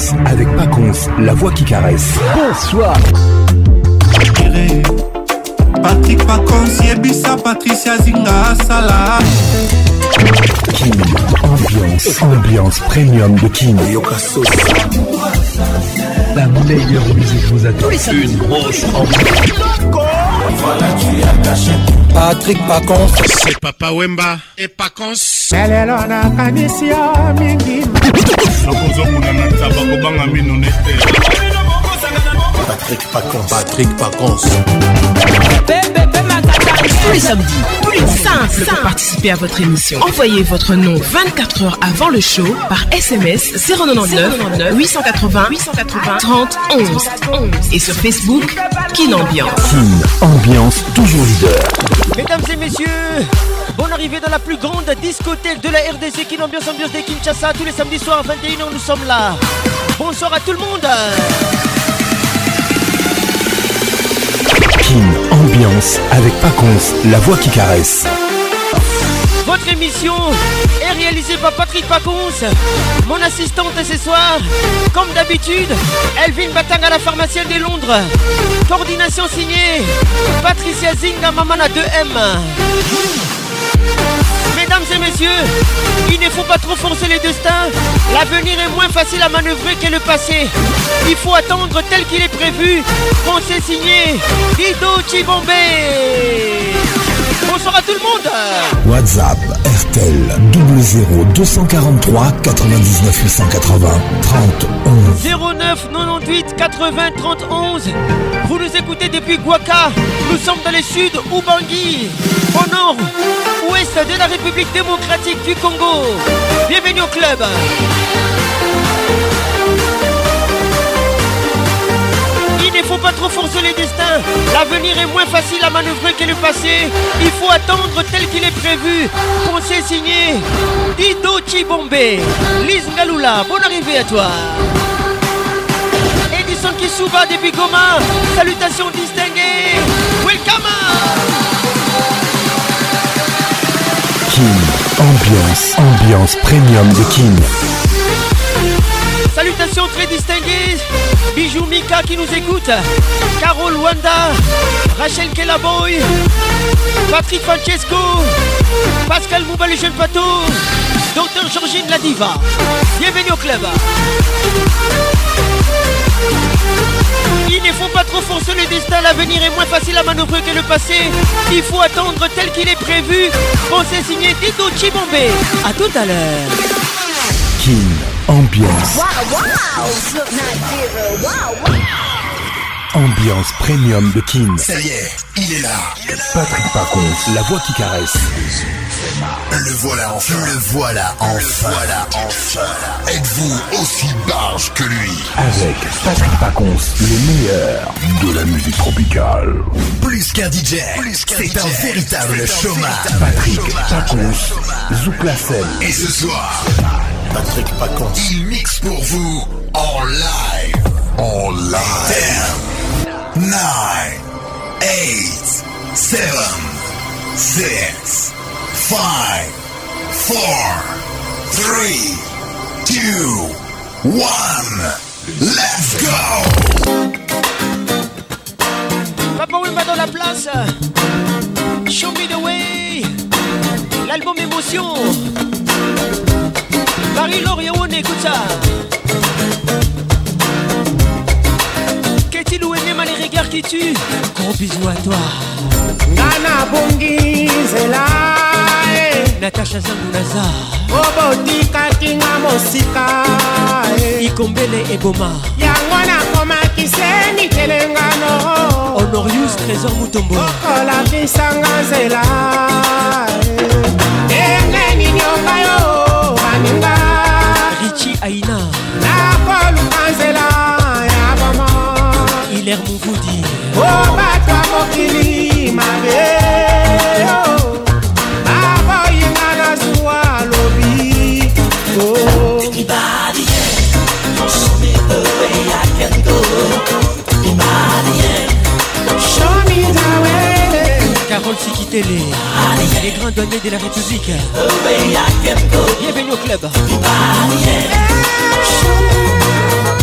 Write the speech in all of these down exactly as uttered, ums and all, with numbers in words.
Ambiance avec Paconce, la voix qui caresse. Bonsoir. Patrick Paconce, Yebisa, Patricia Zinga, Salah. Kin, ambiance, ambiance premium de Kin. La meilleure musique vous attend. Une grosse ambiance. Voilà, tu as caché. Patrick Paconce. C'est Papa Wemba et Paconce. Elelona kanisia mingi. Sokozo munana tabako banga minonete. Patrick Paconce. Patrick Paconce. Tous les samedis, tous les simple pour participer à votre émission. Envoyez votre nom vingt-quatre heures avant le show par S M S zéro neuf huit cent quatre-vingts trente onze et sur Facebook Kin Ambiance. Kin Ambiance, toujours leader. Mesdames et messieurs, bonne arrivée dans la plus grande discothèque de la R D C, Kin Ambiance, ambiance de Kinshasa. Tous les samedis soirs à vingt et une heures, nous sommes là. Bonsoir à tout le monde. Kin Ambiance avec Paconce, la voix qui caresse. Votre émission est réalisée par Patrick Paconce, mon assistante ce soir, comme d'habitude, Elvin Batanga, la pharmacienne de Londres. Coordination signée Patricia Zinga, Mamana deux M. Mesdames et messieurs, il ne faut pas trop forcer les destins. L'avenir est moins facile à manœuvrer que le passé. Il faut attendre tel qu'il est prévu. On s'est signé Dido Chibombe. Bonsoir à tout le monde. WhatsApp R T L double zéro deux cent quarante-trois quatre-vingt-dix-neuf huit cent quatre-vingts trente onze zéro neuf quatre-vingt-dix-huit quatre-vingts trente onze. Vous nous écoutez depuis Guaca. Nous sommes dans le sud, Ubangi. Au nord, ouest de la République démocratique du Congo. Bienvenue au club. Il ne faut pas trop forcer les destins. L'avenir est moins facile à manœuvrer que le passé. Il faut attendre tel qu'il est prévu. On s'est signé Dido Chibombe. Lise Ngalula, bonne arrivée à toi. Edison Kisuba depuis Goma. Salutations distinguées. Welcome. Kin Ambiance, ambiance premium de Kin. Salutations très distinguées. Bijou Mika qui nous écoute. Carole Wanda. Rachel Kellaboy. Patrick Francesco. Pascal Mouba le jeune pato. Docteur Georgine la diva. Bienvenue au club. Il ne faut pas trop forcer le destin. L'avenir est moins facile à manœuvrer que le passé. Il faut attendre tel qu'il est prévu. On s'est signé Dido Chibombe. A tout à l'heure. Kin Ambiance. Wow, wow. Look, not zero. Wow, wow. Ambiance premium de Kin. Ça y est, il est là. Patrick Paconce, la voix qui caresse. Le voilà enfin. Le voilà enfin. Le voilà enfin. Êtes-vous aussi barge que lui? Avec Patrick Paconce, le meilleur de la musique tropicale. Plus qu'un D J, c'est un véritable showman. Patrick Paconce, Zouk la scène. Et ce soir, Patrick Paconce, il mixe pour vous en live. En live. ten, nine, eight, seven, six, five, four, three, two, one. Let's go. Papa Wemba dans la place. Show me the way. L'album Émotion. Marie-Laure Yaone, écoute ça. Qu'est-il ou Enema, les regards qui tuent. Gros bisous à toi. Nana Bongi Zela. Natacha Zangunaza. Obotika Kinga Mosika. Ikombele Eboma. Yangwana Koma Kiseni Kelengano. Honorius Trésor Mutombo. Okola Kisanga Zela. Engeni Nyonga yo. Baninga. Richie Aina. Nakolu Kanzela. Yabama. Hilaire Mouvoudi. Obatwa Mokili Mabe. Aba Yingana Zuwa Lobi. Anybody, yeah. Show me the way I can go. Anybody, yeah. Show me the way. Carole Sikitele. Les grands douaniers de la République. The way I can go. Bienvenue au club. Anybody, yeah.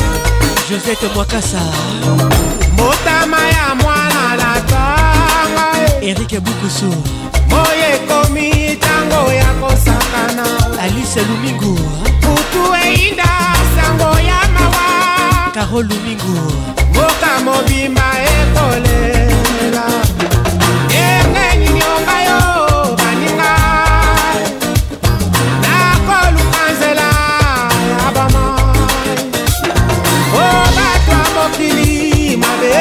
Josette Mwakasa motama ya mwana na tanga Eric Bukusu moye komi tango ya kosakana Alice Lumingu kutu einda sango ya mawa Carole Lumingu moka mobimba ekolela engeni nyonga yo baninga nakolukanzela ya bama o batwa mokili mabe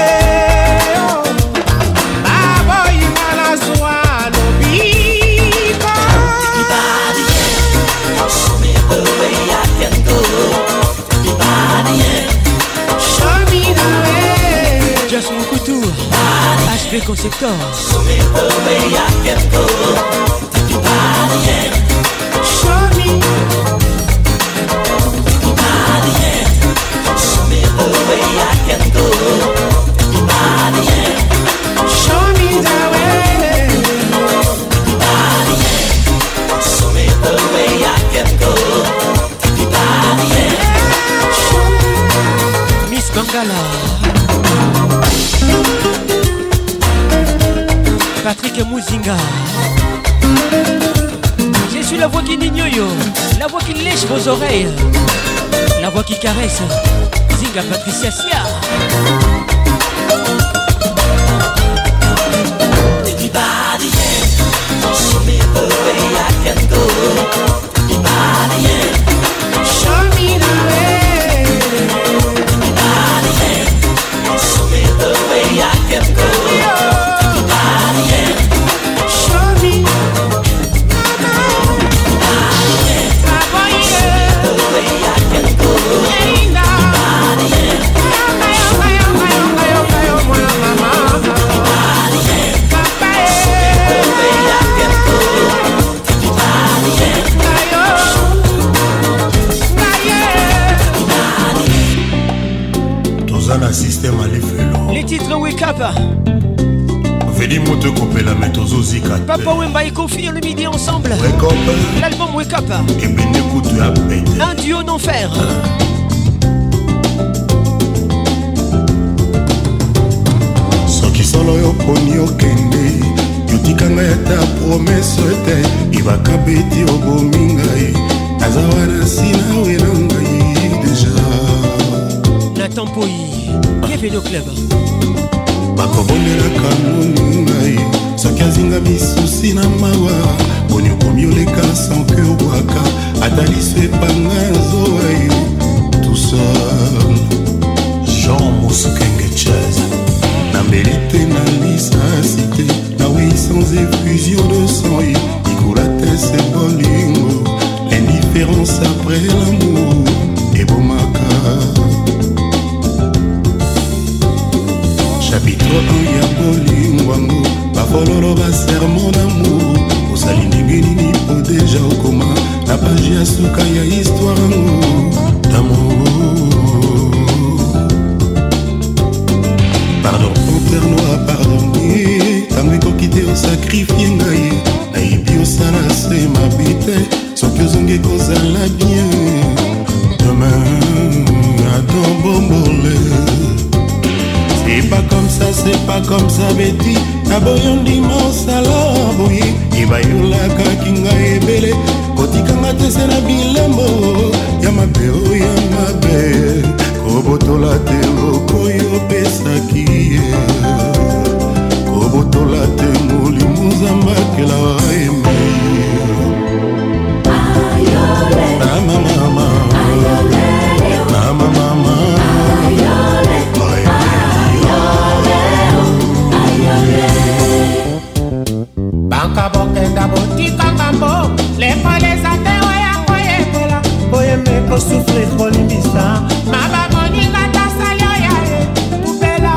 baboyinga na zwa lobiko Everybody, yeah, show me the way I can go. Everybody, yeah, show me the way. Just Mukutu H P Conceptor show me the way I can go. Everybody, yeah, Show me, everybody, yeah, show me the way I can go. Everybody, yeah, show me the way. everybody, yeah, show me the way I can go. Everybody, yeah. Miss Bangala Patrick Mouzinga Je suis la voix qui n'ignore, la voix qui lèche vos oreilles, la voix qui caresse Zinga Patricia Sia. Everybody, yeah, show me the way I can go. Everybody, yeah, Show me the way. everybody, yeah, show me the way I can go. Everybody, yeah, Show me. Papa, yeah. the way I can go. Linda. Everybody, yeah, Yonga, yonga, yonga, yonga, yonga, mwana mama. everybody, yeah, Papa, the yeah. way I can go. Everybody, yeah, Ngayo. Ngaye. toza na système alifelo Les titres Wake Up veli moto ekopela me tozozika te Papa Wemba et Kofi le midi ensemble. wekope L'album Wake Up, ebende kutu ya pete un duo d'enfer. soki solo yo poni okende yotikanga ata promese te ibaka beti obomi ngai naza wana sinawe na ngai deja Nathan Poi, bienvenue au club. bakobondelaka moni ngai soki azinga misusi na mawa poni okomi oleka sanke obwaka ata liso epanga zowa yo tout seul jean mosukenge ches nambeli te na lisasi te nawei sans effusion de sang ye likula te se bolingo l'indifférence après l'amour ebomaka chapitre un ya bolingwango bafololo basermon d'amour osali ndenge nini po deja okoma na page ya suka ya histoire yango d'amour pardon père noir pardonnier ntango ekoki te osakrifie ngai nayebi osala se mabe te soki ozongi kozala bien demain atan bombole. C'est pas comme ça, c'est pas comme ça, Betty. Aboyon dimanche alors, boy. Ibayolaka kinga ebele. Kotikanga te se na bilembo. Yamabe, oh yamabe. Kobotola te lokoyo pesaki. Kobotola te moli muzamba kela eme. Mama, mama. Mama, mama. Banka bokenda botika ngambo lekoleza te oya koyekola boyembe kosufre kolimbisa maba moninga tasali oya ye kupela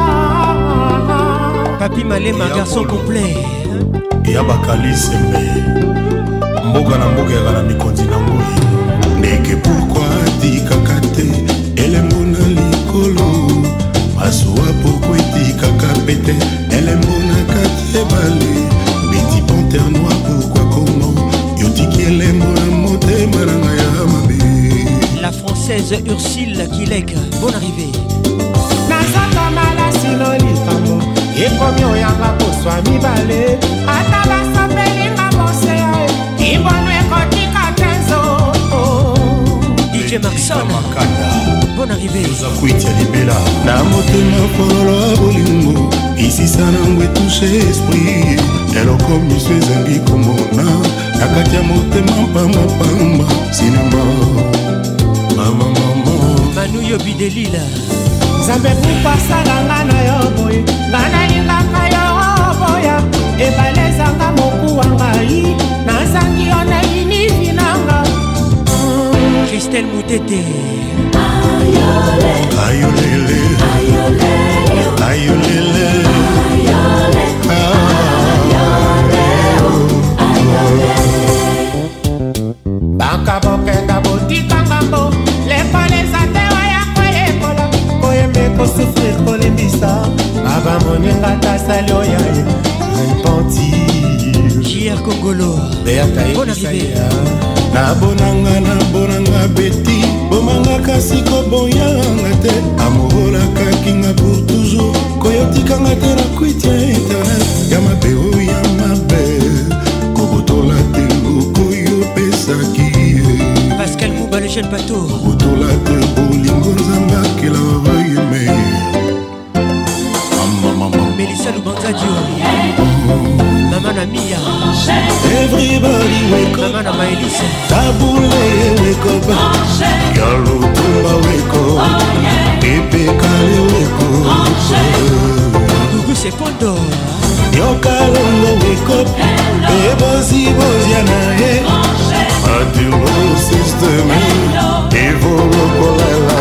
Papi Malema, garçon complet. ya bakalisembe mboka na mboka yaka na mikonzi na ngoi ndeke pourkui atikaka te elembo na likolo masuwa pourkui etikaka pete elembo na kati ebale beti panter noir pourkui komo yotiki elembo na motema na ngai ya mabe La française Rose Ursule Kilek, bonne arrivée. Nazaka malasino likambo ekomi oyanga koswa mibale ata basapelinga boseya ibono ekotika tenzo D J Maxon, bonne arrivée. Zakuitia libela na motema polo bolingo ici sana ngwe touche esprit eloko miso ezangi komona nakati ya motema pamba pamba sinema mama mama Manu Yobi Delila Zambe kupasala ngana yo boy ngana lingaka yo boya ebalezanga moku wangai nazangi ona inivinanga Christelle Moutete ayolele ayolele ayolele baka bokenga botikanga mbo lekoleza te waya koyekola koyembe kosufrir kolembisa aba moninga tasali oyaye repentir J R Congolo, bonne arrivée. nabonanga nabonanga beti bomanga kasi koboyanga te amorolakakinga pour toujours koyotikanga te na kwitia internet ya mabe oyo ya mabe kobotola te lokoyo pesaki Pascal Mouba le jeune bateau kobotola te bolingo nzambe akela bayeme Melissa Lubanzadio Maman Amia everybody wake up Maman Amaelise tabule wake up yalo tumba wake up epekale wake up Gugu Sekondo yokalongo wake up ebozibozia ye atilo system evolokolela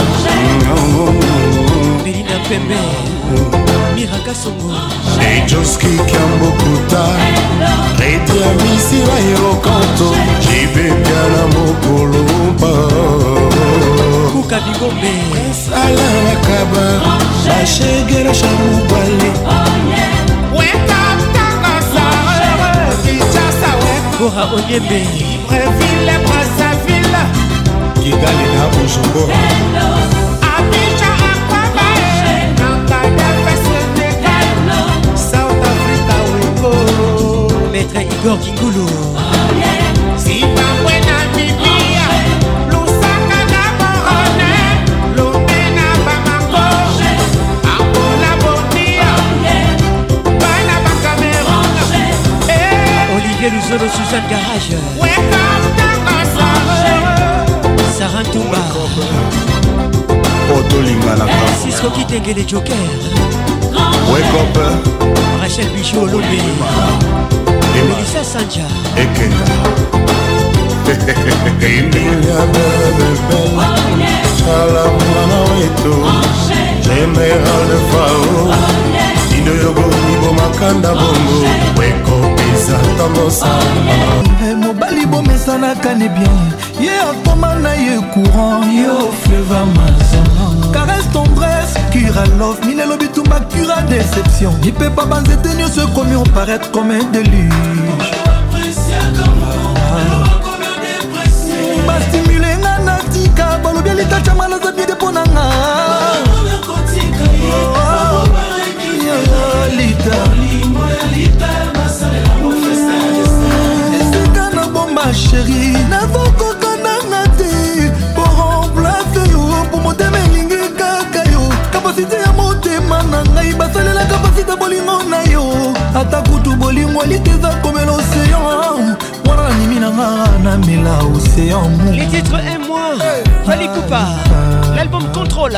Belinda Pembe Miraka Songo ejoski kiambokuta rete ya misila yokanto jibepiana mokolomba Kuka Bigombe sala makaba bashegera shamubale wake up tanga sa kichasa wake Bora Onyembe Libreville Brazzaville kigali na bujumbura Abidjan Akwaba Nankada Senegal South Africa weko Maître Igor Kingulu Zimbabwe Namibia Lusaka Gaborone Lomé na Bamako Angola Bondia Bana ba Cameroun Olivier Luzolo Suzanne Garage Wake up Tangasa Sarah Toumba otolinganaka Cisco Kitengele Joker wake up Rachel Bichot Olombe Melissa Sanja ekenda imbilia bebebele chala mwana wetu general de fao indoyogo nibo makanda bongo weko pesa tamosala mobali bomesanaka ne bien ye akoma na ye courant yo fleva mazana caresse tendresse cura love minelo bitumba cura déception ipepa banzete nyonso ekomi oparaître comme un déluge bastimule nga na tika balobi litachama na zabide mpo na nga esika na bomba sheri nazokokananga te po remplace yo po motema elingi kaka yo kapasite ya motema na ngai basalela kapasite bolingo na yo ata kutu bolingo liteza komela océan wana nanimi na nga na mela océan mu Les titres aime-moi Fali Poupa L'album Contrôle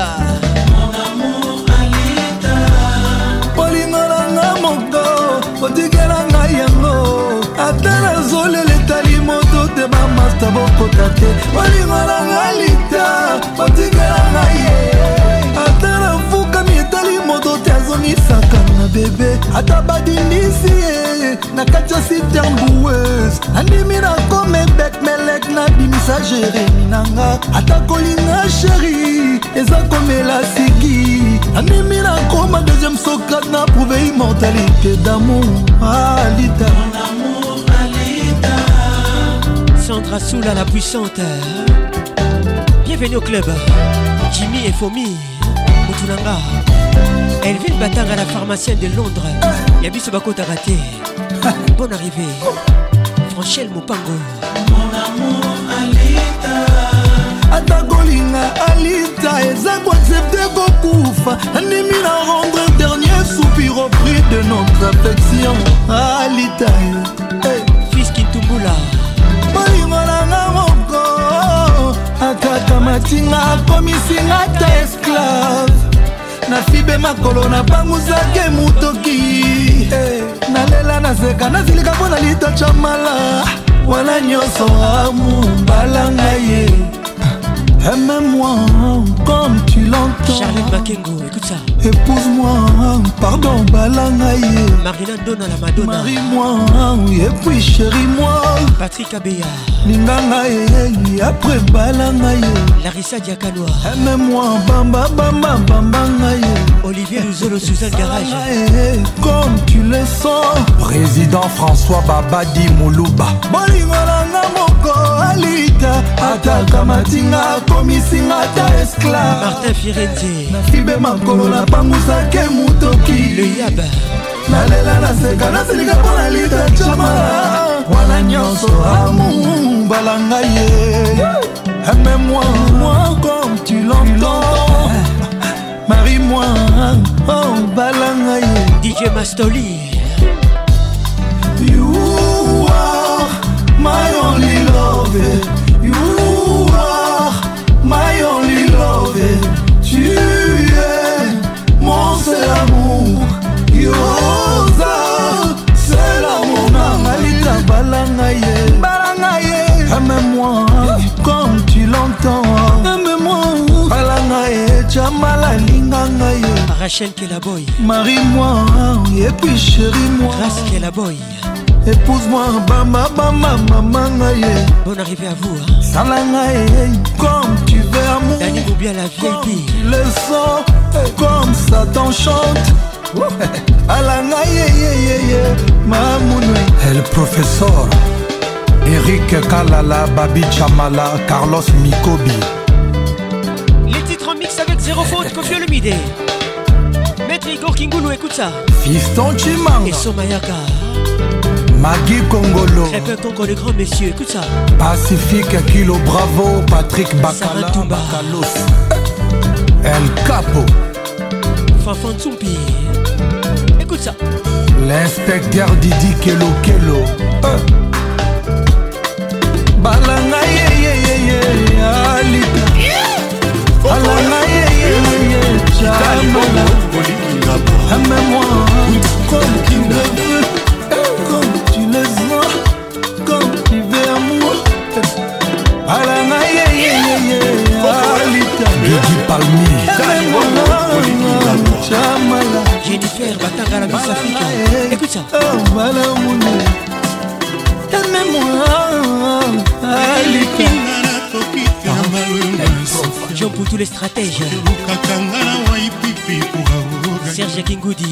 bolingo nanga moko otikela ngai yango ata nazolela etali moto te bamasta bokota te bolingo nanga lita otikela ngai ye ata nafukami etali moto te azongisaka na bebe ata badindisi ye na kati ya sitemboueuse andimi nakome bek melek nabimisa jeremi nanga ata kolinga sheri eza komela siki andimi nakoma deuxième socrate na prouve immortalité d'amour alita Sandra Soula la puissante Bienvenue au club. Jimmy et Fomi Moutoulanga. Elvin Batang à la pharmacienne de Londres. Yabiso Bako Tagate. Bonne arrivée. Franchel Mopango. Mon amour Alita. Atagolinga Alita. Eza ko accepter kokufa. Animi na rendre dernier soupir au prix de notre affection. Alita. Hey. Fils Kintumbula. Malingolanga moko. Akaka matinga komisinga ta esclave. Na fibe makolo na banguzake mutoki. Hey. Nalela naseka nazilika pona lita chamala. Wana nyoso amu balanga ye. Aime-moi comme tu l'entends. Charlotte Makengo, écoute ça. Épouse-moi, pardon, balangaye. Marina Donna la Madonna. Marie-moi, et puis chéris-moi. Patrick Abeya. Ningangaye, après balangaye. Larissa Diakanoa. Aime-moi, bamba, bamba, bambangaye. Olivier Luzolo, Suzanne Garage. Comme tu le sens. Président François Babadi Moulouba. Bolingolanga moko alita. Ataka matinga komisinga ta esclave. Martin Firenze. Na fibe makolo na banguzake mutoki. Le Yab. Nalela naseka nasilika pona lita chamala. Wana nyonso amu balangaye. Aime-moi, moi comme tu l'entends. Marie-moi, oh balangaye. D J Mastoli. You are my only love. You are my only love. Tu es mon seul amour. Yoza, seul amour. Nangalita balangaye. Balangaye. Aime-moi comme tu l'entends. Aime-moi. Balangaye, chamala lingangaye. Rachel Kelaboy. Marie-moi, et puis chéris-moi. Grace Kelaboy. Épouse-moi, bamba, bamba, mamangaye. Bonne arrivée à vous. Hein. Salangaye, comme tu veux amour. Dani Moubia la V I P. Tu le sens, comme ça t'enchante. Alangaye, mamoune. El professeur Eric Kalala, Babi Chamala, Carlos Mikobi. Les titres en mix avec zéro faute, Kofi Olomide. Maître Igor Kingoulou, écoute ça. Fiston Chimanga. Et Somayaka. Magui Kongolo. Répète encore les grands messieurs, écoute ça. Pacifique Kilo Bravo, Patrick Bakala, Bakalos. El Capo. Fanfan Tsumpi. Écoute ça. L'inspecteur Didi Kelo Kelo. euh. Balangaye, alita. Balangaye, chamala. Aime-moi comme tu le veux. Comme tu le sens. Comme tu veux amour. Balangaye, alita. Didi Palmi. Aime-moi, chamala. Jennifer Batanga la Miss Africa. Écoute ça. Oh, balamoune. Aime-moi, alita. Jean pour tous les stratèges. Serge Kingoudi.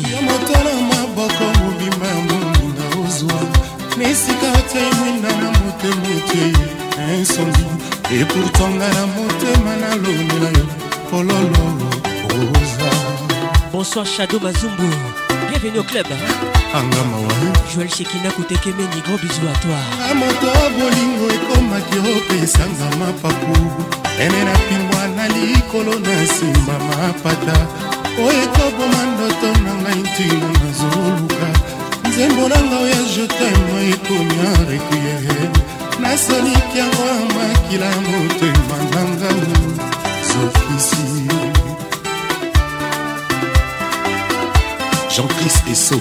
Et pourtant la motema na lonela yo pololo oza. Bonsoir Shadow Mazumbu. Bienvenue au club. Angama wa Joël Shekina Koutekemeni, gros bisous à toi. Amoto bolingo ekomaki opesanga mapapu. Ene na pingwa na likolo na simba mapata. Oyo ekoboma ndoto na ngai ntina nazoluka. Nzembo na ngai ya je t'aime ekomi en requiem. Nasoliki yango makila motema na ngai Zofisi. Jean-Christ Esso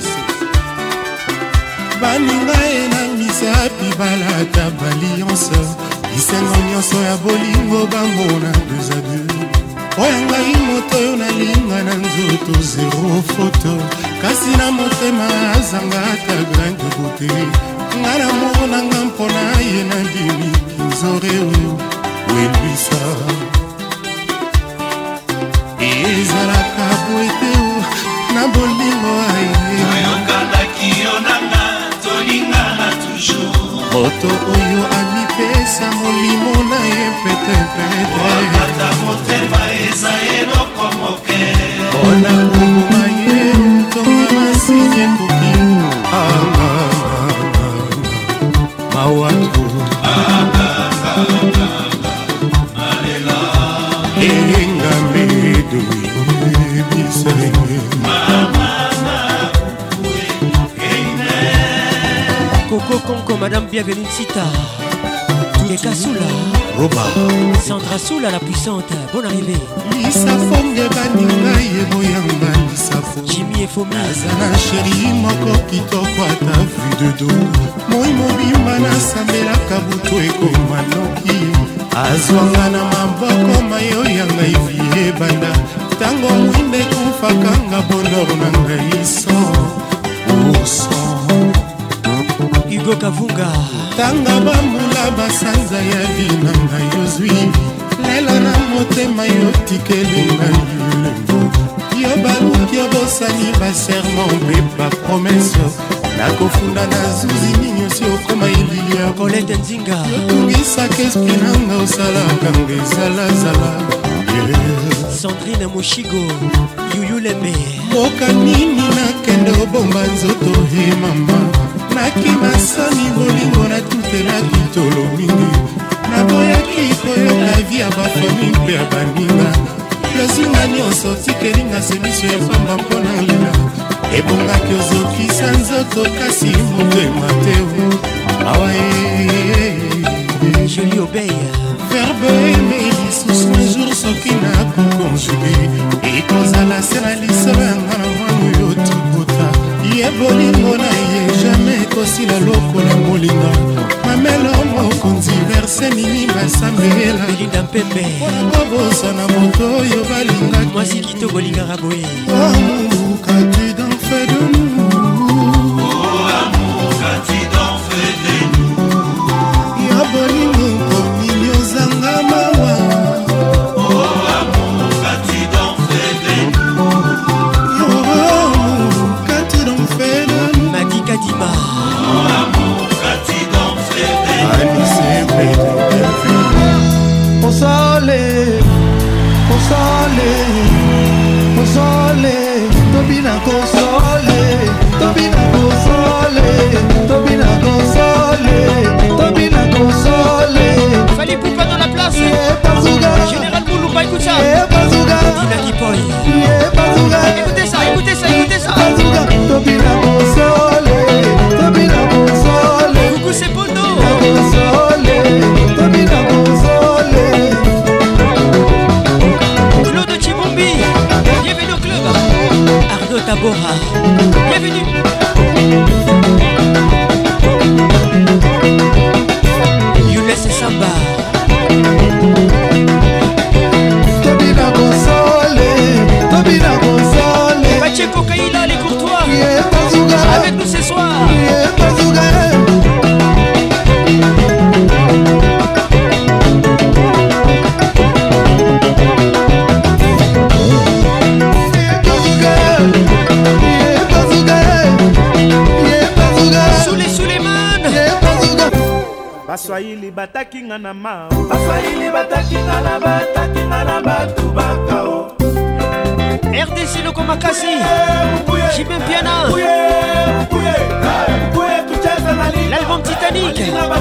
baninga ena misapi balata balianse isengo nyonso ya bolingo bambona deux à deux. Oyo ngai moto oyo nalinga na nzoto zero foto kasi na motema azanga ata grain de beauté. Nga na moko na nga mpona ye na bimi kinzore oyo welwisa ezalaka boete o na bolingo aye oyokandaki yo nanga tolingana toujours moto oyo ami apesa molimo na ye petepete motema eza eloko moke mpona koboma ye tonga masini ekoki mawako engamedo ebisenge Coco Conco, Madame Bienvenue Sita Keka Soula Roba Sandra Soula la puissante, bonne arrivée Lisa Fonge baninga yeboyamba Lisa Fonge Jimmy et Fomi Azana chéri moko kitoko ata vu de dos Moi mobimba nasambelaka butu ekoma noki Azwanga na maboko mayo yanga ivi ebanda Tango mwinde kufakanga bonheur na ngai son Oh son Hugo Kavunga tanga bambula basanza ya vina ngai ozwi lelo na motema yo tikeli ngai lembo yo baluki obosani baserment mpe bapromese nakofunda na zuzi ninyosi okoma ililia Colette Nzinga yotungisaka esprit nanga osalaka nga ezalazala Sandrine Moshigo Yuyu Lembe boka nini nakende obomba nzoto he mama nakimasani bolingo natutelaki tolo mingi naboyaki koyoka vi ya bafami mpe ya baninga losinga nyonso tikelinga semisio ya pamba mpona lina ebongaki ozokisa nzoto kasi motema te awa Julie Obey verbe eme lisusu un jour soki nakokonjuge ekozala se na lisolo yanga na mwana oyo tobota ye bolingo na ye jamai ekosila lokola molinga mamelo mokonzi verse nini basambela Belinda Mpembe kobosa na moto oyo balingaki mwasi kitoko lingaka boye amour qu'as-tu donc fait de nous Oh amour qu'as-tu donc fait de nous ya bolingo komini ozanga mawa Oh amour qu'as-tu donc fait de nous yo amour qu'as-tu donc fait de nous Madi Kadima Oh amour qu'as-tu donc fait de nous Alice Osale, osale, osale, tobina kosole, tobina kosole, tobina kosole, tobina kosole. Fallait Poupa dans la place Général Moulouba, écoute ça Dina Kipoy Écoutez ça, écoutez ça, écoutez ça Tobina kosole, tobina kosole. Coucou c'est Bono Kosole, tobina kosole. Claude Chibombi Bienvenue au club Arnaud Tabora Bienvenue Younes Samba Tobina kosole, tobina kosole. Pacheco Kaila les courtois Yeah, bazooka. Avec nous ce soir Yeah, bazooka. Soulé Souleymane baswahili batakinga na ma baswahili batakinga na batakinga na batu bakao R D C Loko Makasi Jimem Piana L'album Titanic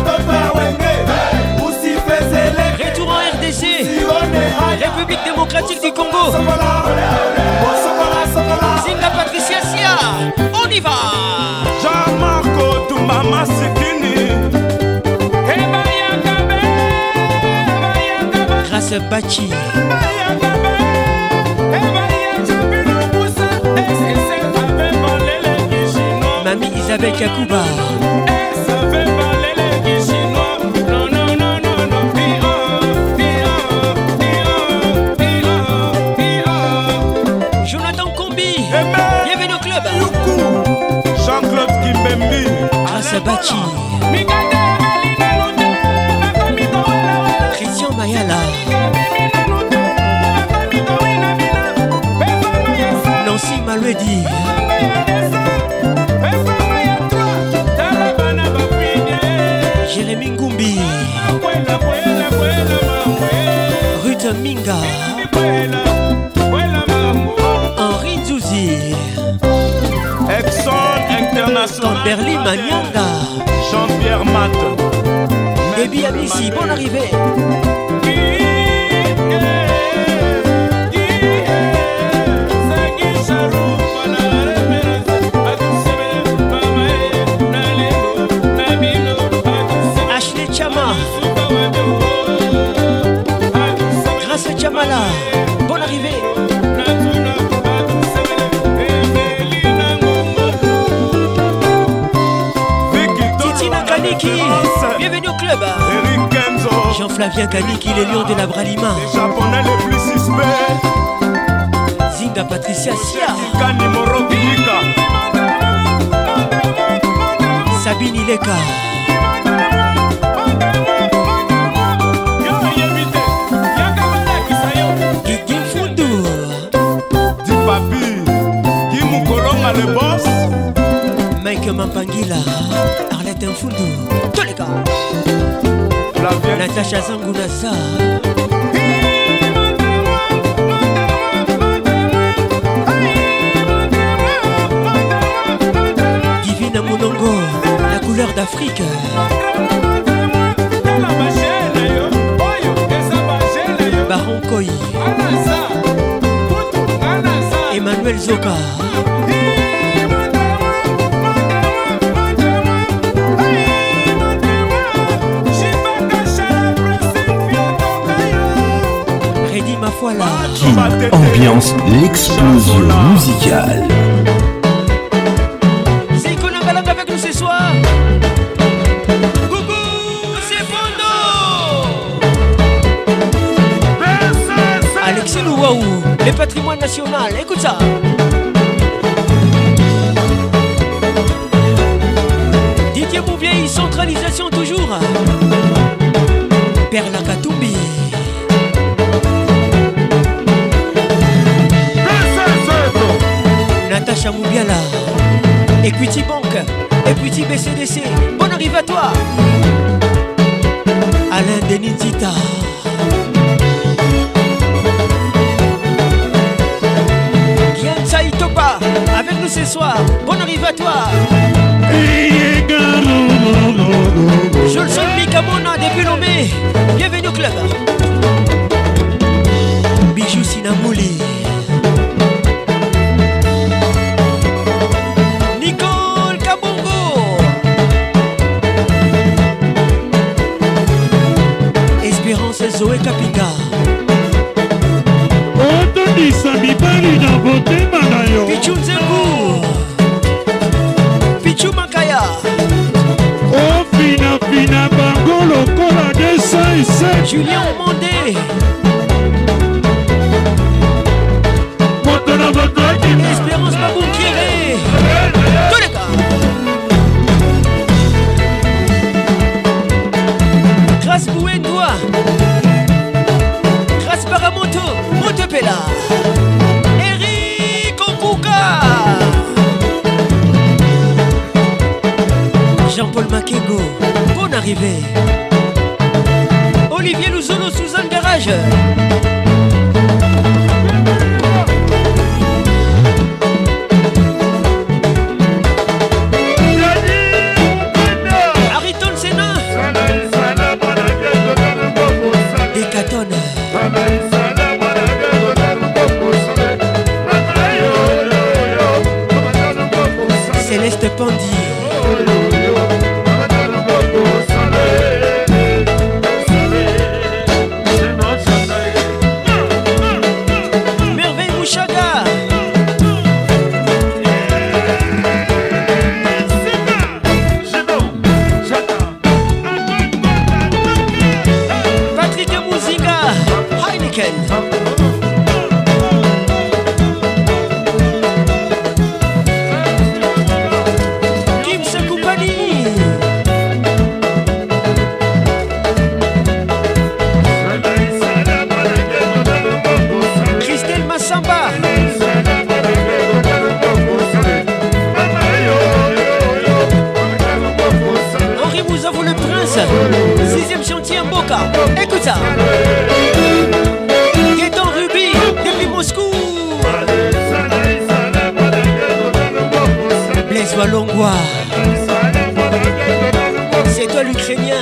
Retour en R D C République démocratique du Congo Zinga Patricia Sia On y va Jean-Marco Tumba Masikini Grâce Bachi Mamie Isabelle Kakuba Jonathan Kombi Bienvenue au club Jean-Claude Kimbembi Grâce Bachi Christian Mayala Nancy Maluedi Jérémy Ngumbi Manyanga, Henri Nzouzi, Exxon International, Berlin Manyanga, Jean-Pierre Mat, Déby Amissi, bonne arrivée. Ashley Chama, Grâce Chamala, bonne arrivée. Titina Kaniki, bienvenue au club. Jean-Flavien Kaniki, les lions de la Bralima. Les Japonais les plus suspects. Zinga Patricia Sia, Sabine Ileka, Guigui Fundu, Di Papi, Guy Moukolonga le boss, Mike Mampangila, Arlette Fundu, tous les gars, Natacha Zangunasa, Divine Monongo, la couleur d'Afrique, Baron Koi, Emmanuel Zoka, Reddy Mafuala, Kin ambiance l'explosion musicale. C'est Konangalang avec nous ce soir. Coucou, c'est Bondo. Alexis Louaou, le patrimoine national, écoute ça. Didier Bouvier, centralisation toujours. Perla Katumbi. Natacha Moubiala, Equity Bank, Equity B C D C, bonne arrivée à toi. Alain Denizita, Guillaume Saïtopa, avec nous ce soir, bonne arrivée à toi. Jolson Mikamona, depuis Lomé, bienvenue au club. Bijou Sinamouli, Nicole Kabongo, Espérance Zoé Kapinga, Pichou Nzengu, Pichou Makaya, Julien Omondé, Espérance Babou Kéré, tous les gars. Grâce Bouendoua, Grâce Baramoto, Montepela, Eric Okuka, Jean-Paul Makengo, bonne arrivée. Olivier Louzolo, Suzanne Garage. Ariton Sena, Décatone, Céleste Pandi, toi Longwa. C'est toi l'Ukrainien.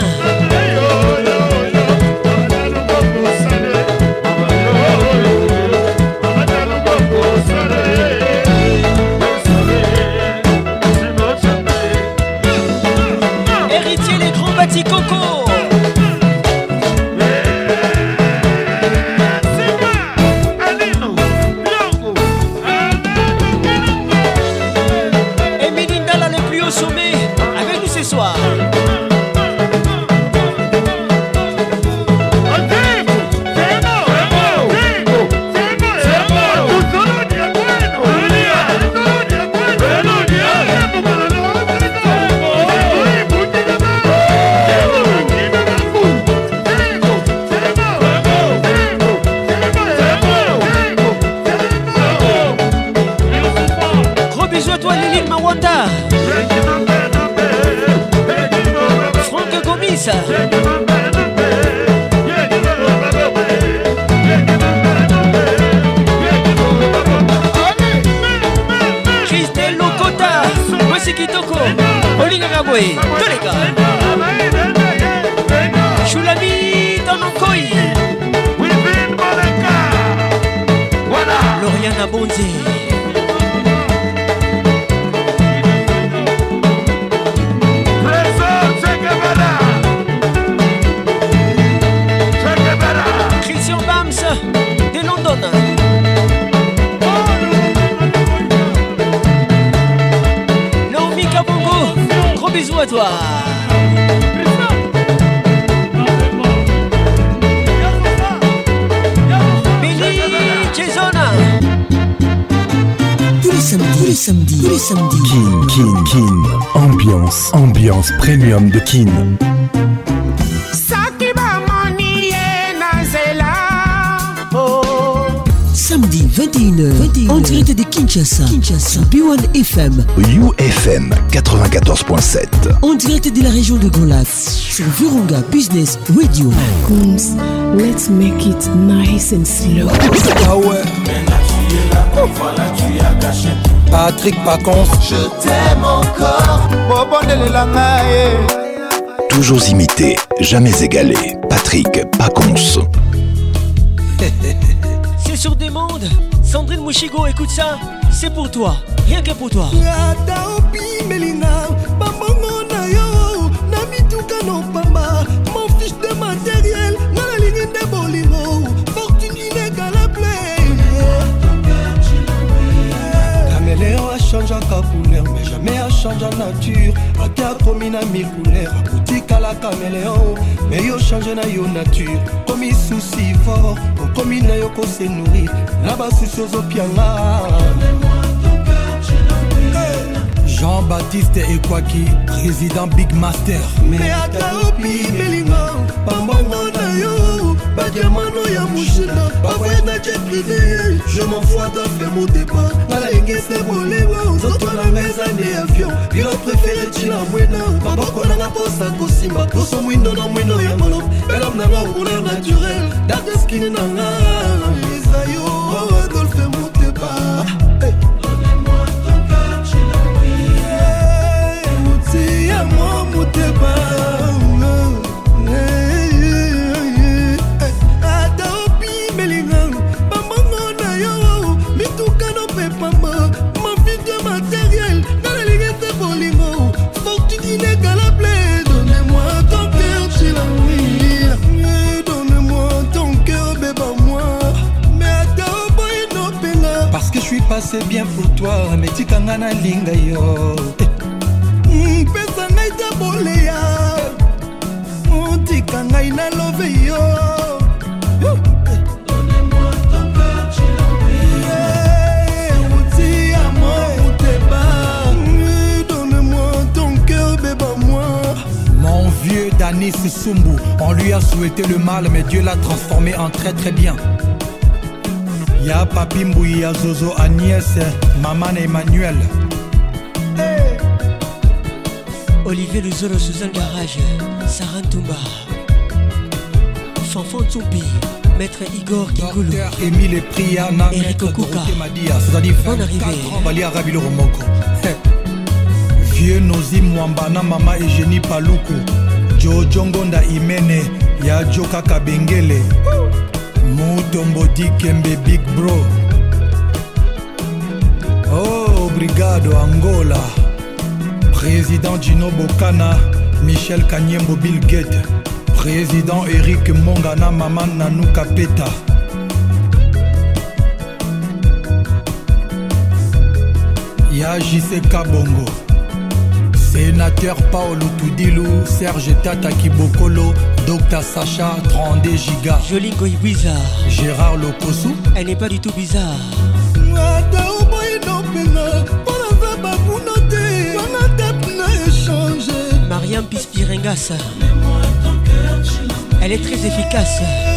Héritier les grands bâtis coco. Sommet avec nous ce soir. Gros bisous à toi Lily Mawanda. Franck Gomis. Christelle Lokota. Voici Kitoko. Olinga Gaboué. Tous les gars. Choulami Tanokoi. Lauriana Bonzi. De London. Naomi Kabongo, gros bisous à toi. Billy Jason. Tous les samedis, tous les samedis, tous les samedis. Kin, Kin, Kin. Ambiance, ambiance premium de Kin. Samedi vingt et une heures, en direct de Kinshasa, Kinshasa, B un F M, U F M quatre-vingt-quatorze point sept, en direct de la région de Grand Lac, sur Virunga Business Radio. Coons, let's make it nice and slow. Ah ouais. Patrick Pacons, Je t'aime encore. Toujours imité, jamais égalé. Patrick Pacons. C'est sur des mondes. Sandrine Mouchigo, écoute ça. C'est pour toi, rien que pour toi. Mon fiche de matériel, dans la ligne de Bolino, fortune inégalable. Caméléon a changé en couleur, mais jamais a changé en nature. A qu'à promis na mille couleurs, a boutique à la caméléon, mais yo changé na yo nature. Comme il souci fort, comme il n'a yo qu'on se nourrir, là-bas souci aux opianga. Jean-Baptiste Ekwaki, président Big Master. Mais à Kaopi, Melingo, Pambongo na yo, Badiamano ya Mouchina, Bavoye na jet privé, je m'en fous à faire mon départ. Nala Enge se bolewa, Zoto na meza ne avion, pilote préféré Chila Mwena, Baboko na posa Kosimba, Koso Mwindo na Mwendo ya Molop, Belam na nga couleur naturelle, Date skin na nga, Isayo, Adolphe mon départ. Parce que je suis passé bien pour toi, mais tu kangana linga yo. Pesa ngai ta boleya, Monti kangai na love yo. Donnez-moi ton cœur, tu l'as oublié. Amour, t'es pas. Donne-moi ton cœur, bébé, moi. Mon vieux Danis Sumbu, on lui a souhaité le mal, mais Dieu l'a transformé en très très bien. Y'a Papi Mbouy, y'a Zozo, Agnès, Maman Emmanuel. Hey. Olivier Luzolo, Suzanne Garage, Sarah Toumba, Fanfan Tsoupi, Maître Igor Kikoulou, Émile Priana, Eric Okuka, bonne arrivée. Nozi Mwambana Mama Eugénie Paluku Jojo Ngonda Imene ya Joka Kabengele Mutombo Dikembe Big Bro. Oh, Brigado Angola. Président Gino Bokana, Michel Kanyembo Bill Gates. Président Eric Mongana Maman Nanou Kapeta. Ya J C Kabongo. Sénateur Paolo Toudilou, Serge Tata Kibokolo, Docteur Sacha, trente-deux gigas. Jolingo est bizarre. Gérard Lokosu. Elle n'est pas du tout bizarre. Mariam Pispirengas. Elle est très efficace.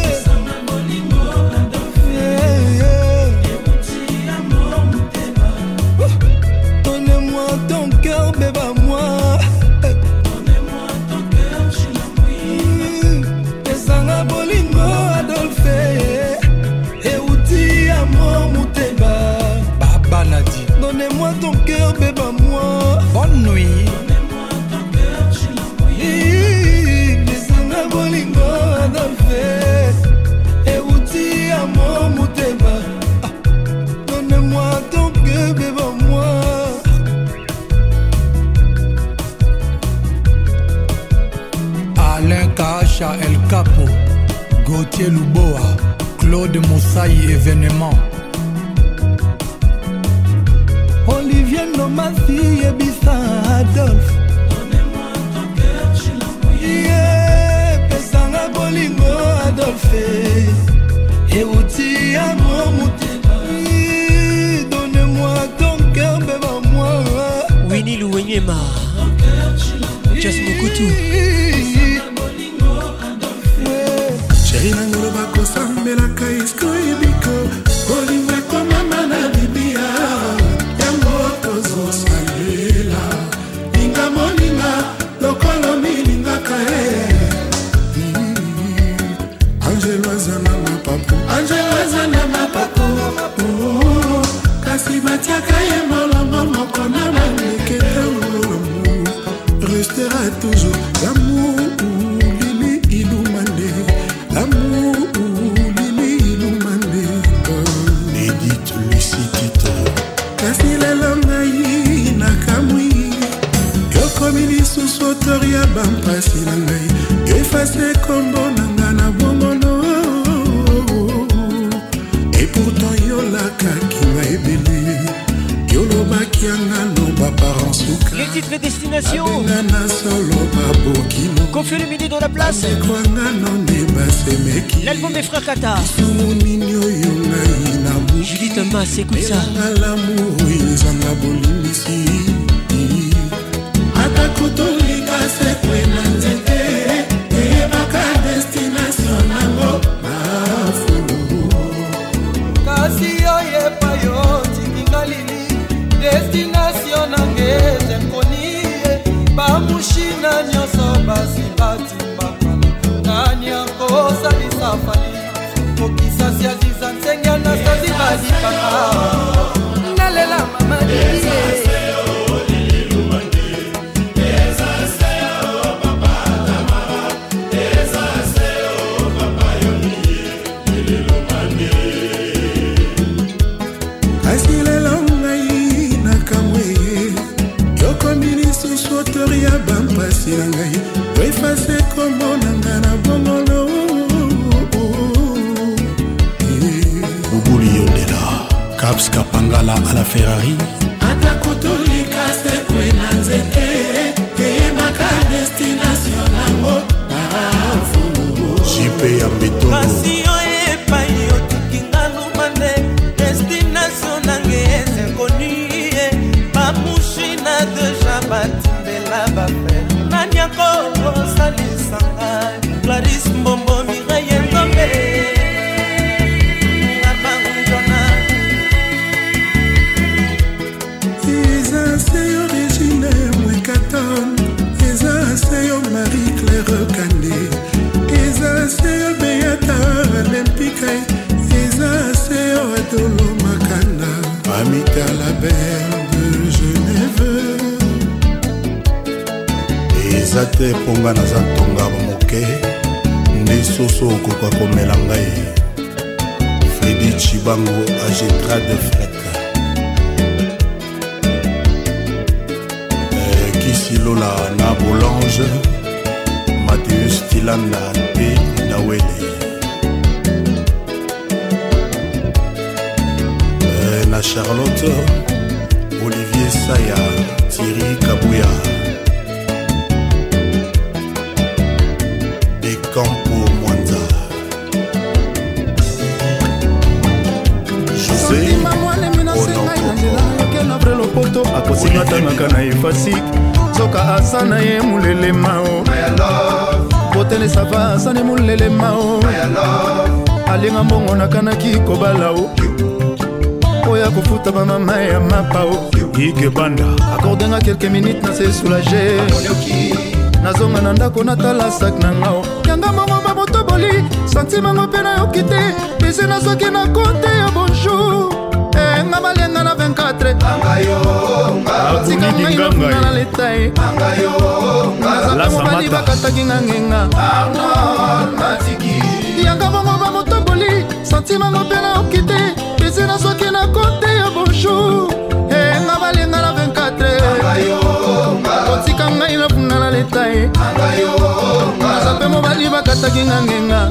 Donnez-moi ton cœur, bébé, moi. Donnez-moi ton cœur, Esanga bolingo Adolphe. Et outi amour Mouteba. Baba Nadi. Donnez-moi ton cœur, bébé, moi. Bonne nuit. Donnez-moi ton cœur, Esanga bolingo Adolphe. Et outi amour Mouteba. Donnez-moi ton cœur, bébé, moi. Alain Kacha El Capo, Gauthier Luboa, Claude Moussaï événement. Olivier Nomasi et Bissa Adolphe. Donnez-moi ton cœur, je l'envoie. Yeah, Pesanga Bolingo Adolphe. Et Outi Amour Mouteba. Donnez-moi ton cœur, bébé, moi. Winnie Louenyema. Just Mokutu. Chéri nangolo bako sambelaka isko ebiko Kolimwe kwa mama na bibia Yango tozo salela Linga moninga lokolo milinga kae Angelo azana mapapu Angelo azana mapapu Kasi batiaka ye molongo moko na malekete ngolomu Restera toujours l'amour Lili Ilumande L'amour, Lili Ilumande Edith Lucie Tito Kasi lelo ngai nakamwi Yokomili susotori ya bampasi na ngai Efase kombo nanga na bongono Et pourtant yolakaki na ebele Yolobaki yanga no baparents suka Les titres destination Abengana solo babokino Confie le midi dans la place. L'album des frères Kata. Judith Mas, écoute ça. Destination nangeze koni bamushina nyoso basi batimba nani akosa lisafali kokisa siaziza nsenga na sazi basi paka nalela mama Efase kombo nanga na bongolo Bubuli Yondela Caps Kapangala à la Ferrari Atakotolika se kwena nzete Eyemaka destination nango J P ya Beto Kasi oye pa yo tukinga lumande Destination nange eze konuye Bamushina deja batimbela bafe Nanyako Salisanga Clarisse Mbombo Mireille Ndombe Abandona Eza seyo Regine Mwekaton Eza seyo Marie-Claire Kande Eza seyo Beata Olympique Eza seyo Adolo Makanda Amita la belle de Genève eza te mponga naza ntonga moke nde soso okoka komela ngai Fredi Chibango Agetra de Fret eh, Kisilola na Bolange Mathieu Stilanda P. Nawele eh, na Charlotte Olivier Saya Thierry Kabouya Campo Mwanza José Onopo Lopoto akosingatangaka na efasik soka asana ye mulele mao botele sava asana mulele mao alinga mbongo nakanaki kobalao oya kofuta bamama ya mapao Ike Banda accordenga quelques minutes na se soulager nazonga na ndako natala sak na ngao yanga mongo babotoboli santimango mpe nayoki te bisi nazoki na konte ya bonjour nga balenga na vingt-quatre tika ngai nafuna na letai nazape mobali bakataki nga ngenga yanga mongo babotoboli santimango mpe nayoki te bisi nazoki na konte ya bonjour nga balenga na vingt-quatre otika ngai nafuna na letai nazape mobali bakataki nga ngenga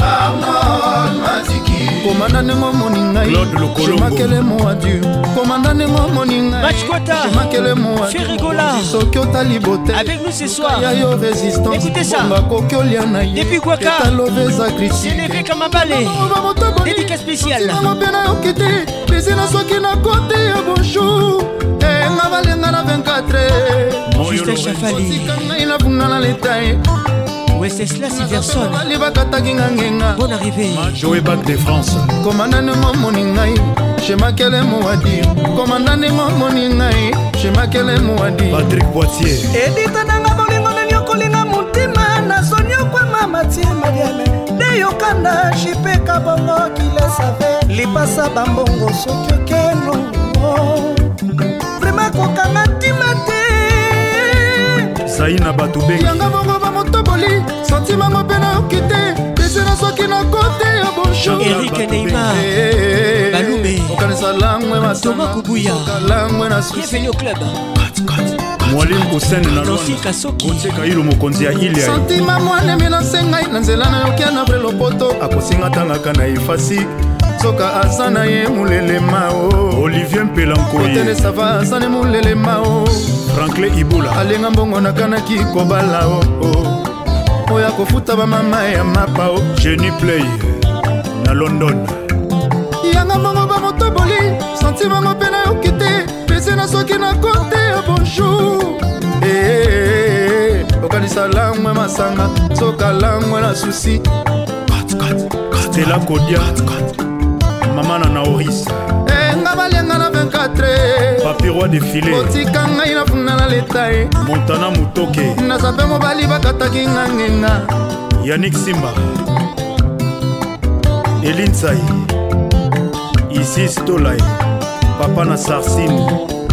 komanda nengo moni ngai jemakele mo adieu komanda nengo moni ngai jemakele Ferrigola soki otali bote avec nous ce soir yayo résistance écoutez ça koki olia na ye depuis Gwaka etalobeza krisi Sénévé Kamabale dédicace spéciale mpe nayoki te bisi nasoki na kote ya bonjour nga balenga na vingt-quatre Justin Chafali ngai nafuna na letai Wenceslas Iverson bonne arrivée Joe Bac de France Commandant moni ngai Chemakele Mouadi Commandant moni ngai Chemakele Mouadi Patrick Boitier Edita nanga bolingo nenyokolinga mutima na sonyo kwa mama tie mariame de yokanda jipe kabongo kile save lipasa bambongo sokyo keno vraiment kokanga timate Saina Batube yanga bongo bamotoboli sentima mopena okite pesena soki na kote ya bonjour Eric Neymar Balume okanisa langwe Thomas Kubuya langwe na bienvenue au club Mwalimu Hussein na Nancy Kasoki Oteka ilo mokonzi ya ile sentima mwane mina sengai na nzela na yokia na bre lopoto akosinga tangaka na efasi soka asana ye mulele mao Olivier Mpelankoye Otene sava asane mulele mao Franklin Ibula alenga mbongo nakanaki kobala o oh. Oya kofuta bamama ya mapao Jenny Play na London yanga mbongo bamotoboli sentima mopena yoki te pese na soki na kote ya bonjour hey, okanisa langwe masanga soka langwe na susi Stella Kodia Mama na Naoris nga balenga na vingt-quatre Papi Roi défilé otika ngai nafuna na letai Montana Mutoke nazape mobali bakataki nga ngenga Yannick Simba Eline Sai Ici Stolai Papa na Sarsine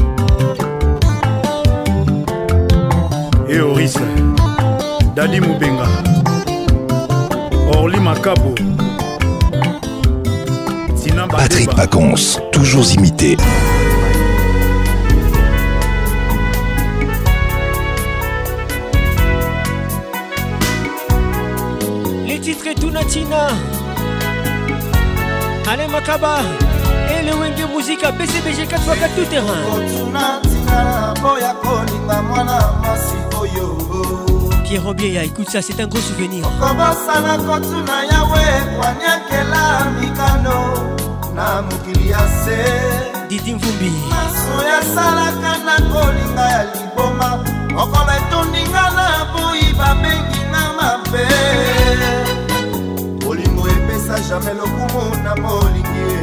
Eoris Dadi Mubenga Orly Makabo Patrick Pacons, toujours imité. Les titres et Tunatina Alain Makaba et le Wenge Musique à B C B G quatre fois quatre tout terrain. Pierre Robieya, écoute ça, c'est un gros souvenir. Didi Mvumbi Masoya salaka na kolinga ya liboma Okola etondinga na boi babengi na mabe Olingo epesa jamais lokumu na molingi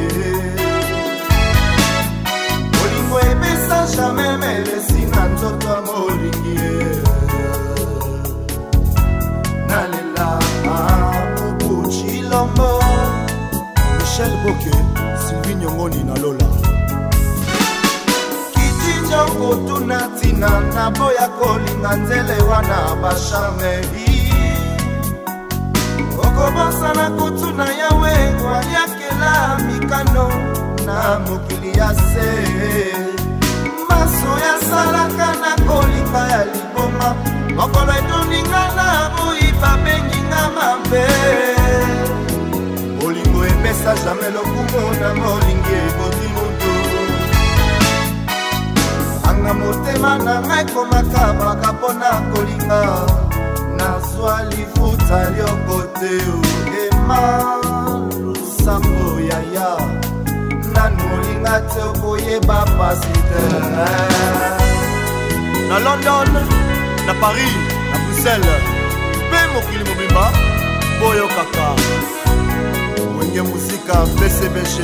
Olingo epesa jamais melesi na nzoto ya molingi Nalela Ubuchi Lombo Michel Boke Sylvie Nyongoni na Lola Kijinjo kotuna tina na boya kolinga nzele wana bashamei okobosana kotuna yawe waliakela mikano na mokili ya se maso ya salaka na kolinga ya liboma mokolo etoninga na boyiba benginga mabe bolingo epesa jamai lokumu na molingi eboti moto anga motema na ngai komakabaka mpona kolinga nazwa lifuta liokote ema lusambo yaya nanolinga te okoyeba pasite na London, na Paris, na Bruxelles mpe mokili mobimba boyo kaka wenge muzika B C B G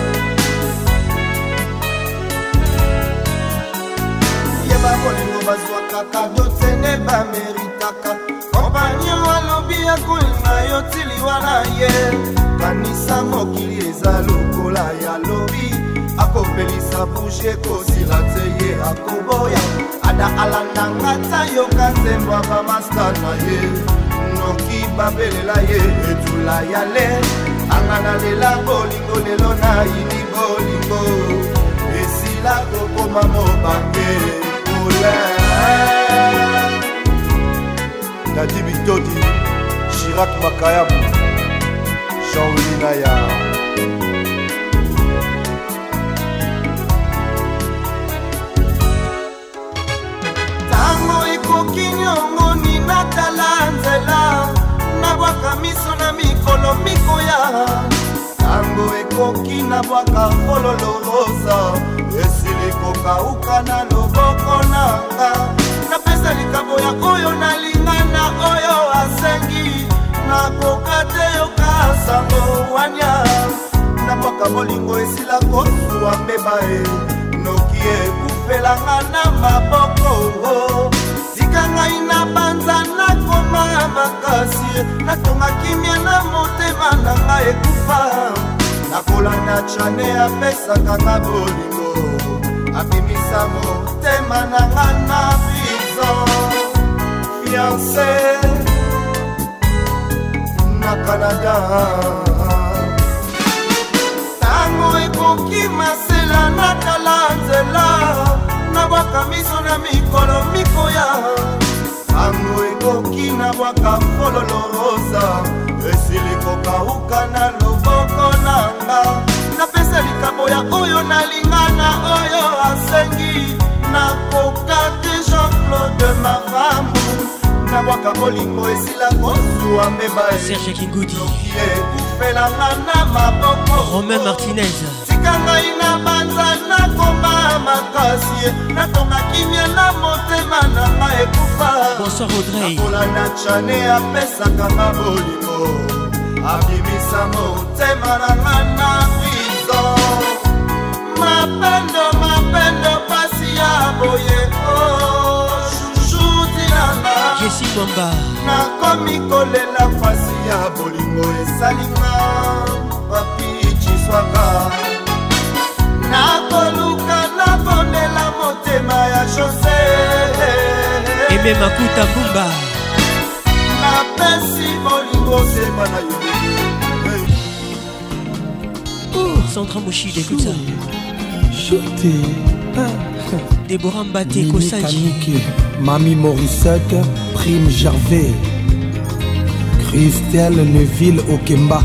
yeba bolingo bazwakaka byotene bameritaka kompanio alobi ya kolinga yo tiliwa na ye kanisa mokili eza lokola ya lobi akopelisa bouge kosila te ye akoboya ada alandanga ta yoka nzembo bamasta na ye noki babelela ye etula ya le angana lela bolingo lelo na yini bolingo esila kokoma mobange ole Dadi Bitodi, Chirac Makayabu, Jean-Louis Naya. Tango ekoki nyongo ni natala nzela nabwaka miso na mikolo mikoya tango ekoki nabwaka fololo rosa esili kokauka na loboko nanga napesa likambo ya oyo nalingana oyo asengi nakoka te yoka sango wanya nabwaka bolingo esila kosuwa mbeba e noki ekufelanga na maboko tika ngai na banza nakoma makasi natonga kimia na motema na ngai ekufa nakolanda chane apesaka nga bolingo abimisa motema na nga na prison fiancé na Canada tango ekoki masela natala nzela nabwaka miso na mikolo mikoya tango ekoki nabwaka fololo rosa esili kokauka na loboko nanga napesa likambo ya oyo nalingana oyo asengi nakoka te Jean-Claude Maramu nabwaka bolingo esila kozuwa mbeba Serge Kingudi ekufelanga na maboko Romain Martinez tika ngai na banza nakoma makasi natonga kimia na motema na ngai ekufa Bonsoir Audrey nakolanda chane apesaka nga bolingo abimisa motema na nga na prison mapendo mapendo pasi ya boye o chuchutilanga Jessie Mwamba nakomi kolela pasi ya bolingo esalinga papi chiswaka nakoluka nabonela motema ya José Eme Makuta Mbumba napesi bolingo sema na yo Sandra Moshide, écoute ça. Chuté. Déborah Mbaté, Kosanji. Mamie Morissette, Prime Gervais. Christelle Neville Okemba.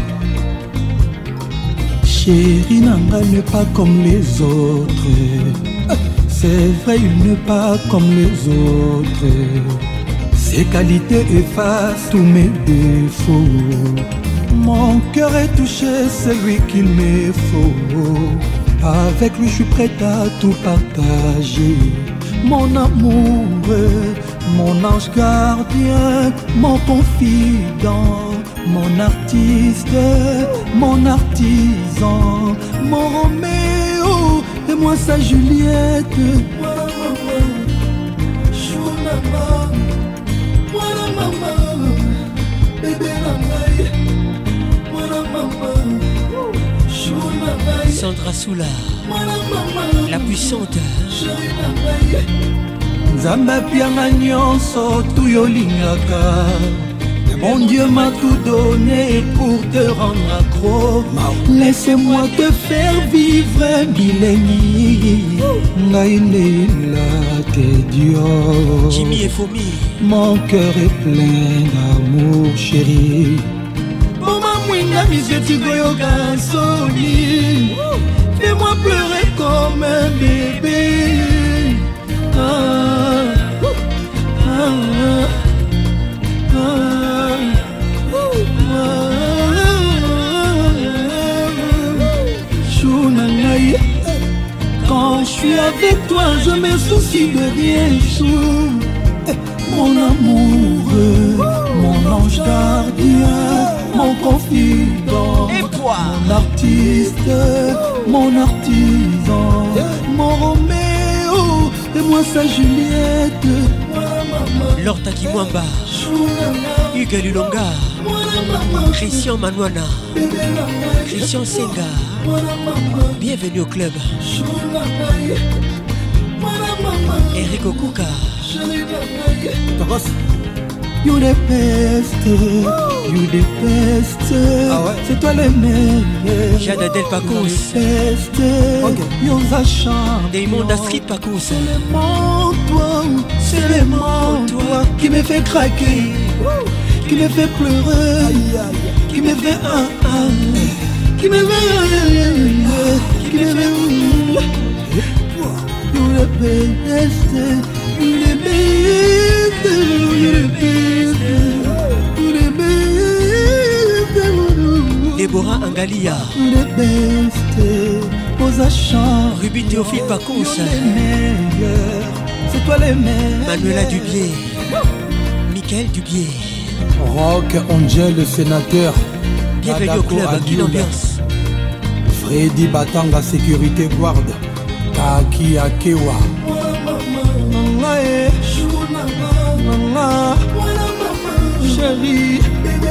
Chérie Nanga n'est pas comme les autres. C'est vrai, il n'est pas comme les autres. Ses qualités effacent tous mes défauts. Mon cœur est touché, c'est lui qu'il me faut. Avec lui, je suis prête à tout partager. Mon amour, mon ange gardien, mon confident, mon artiste, mon artisan, mon Roméo et moi sa Juliette. Voilà maman, chou maman, voilà maman, bébé maman, voilà maman, chou maman. Sandra Soula. Voilà maman. La puissante Nzambe pianga nyonso tuyolingaka. Mon Dieu m'a tout donné pour te rendre accro. Laisse-moi te faire vivre Bileni. Naïla t'es Dieu. Jimmy et Fomi. Mon cœur est plein d'amour chéri. Mama mwinga miseti goyoka soni. Fais-moi pleurer comme un bébé. Ah, ah, ah, ah. Quand je suis avec toi, je me soucie de rien. Chou, mon amoureux, mon ange gardien, mon confident, mon artiste, mon artisan, mon Roméo et moi sa Juliette. Lorta Kimwamba, Hugues Lulonga, Christian Manouana, Christian Senga. Bienvenue au club. Eric Okuka. You the best, you the best. Ah ouais. C'est toi le meilleur. Jada Del Pacous. Yosa chante. Damon Street Pacous. C'est le monde toi, c'est le monde toi qui me fait craquer, qui me fait pleurer, qui me fait un un, qui me fait, qui me fait. You the best, you the best, you the best, you the best. Déborah Angalia. You the best, Osa chante. Ruby Théophile Pacous. C'est toi le meilleur. Manuela Dubier. Michael Dubier. Rock Angel le sénateur. Bienvenue au club, une ambiance. Freddy Batanga sécurité guarde. Kaki Akewa. Chérie.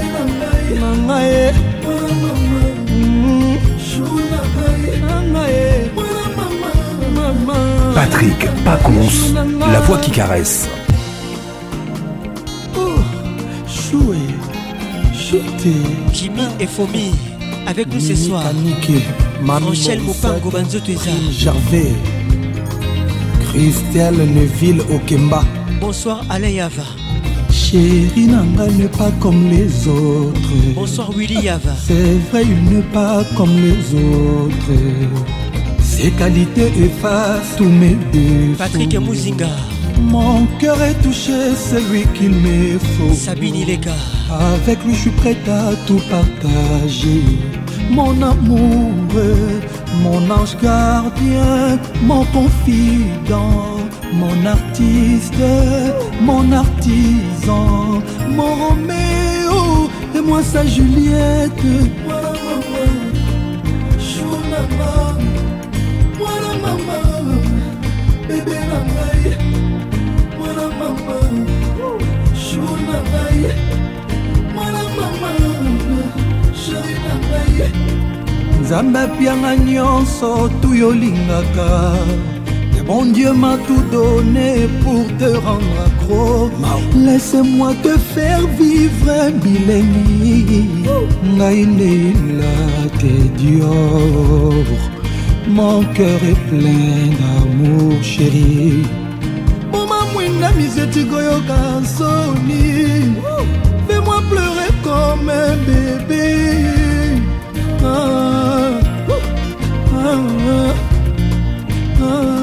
Patrick Pacons, la voix qui caresse. Choué, chuté. Jimmy et Fomi avec nous ce soir. Michel Mopango Banzo Tueza. Gervais. Christelle Neville Okemba. Bonsoir Alain Yava. Chérie Nanga n'est pas comme les autres. Bonsoir Willy Yava. C'est vrai, il n'est pas comme les autres. Ses qualités effacent tous mes défauts. Patrick Mouzinga. Mon cœur est touché, c'est lui qu'il me faut. Sabine Ileka. Avec lui je suis prête à tout partager. Mon amour, mon ange gardien, mon confident, mon artiste, mon artisan, mon Roméo et moi sa Juliette. Voilà maman, chouna maman, voilà maman, bébé la maille, voilà maman, chouna maille, voilà maman, chérie la maille. Nzambe pianga nyonso tuyolingaka. Mon Dieu m'a tout donné pour te rendre accro. Laisse-moi te faire vivre Bileni. Naïla t'es Dieu. Mon cœur est plein d'amour chéri. Mama mwinga miseti goyoka soni. Fais-moi pleurer comme un bébé. Ah, ah, ah, ah.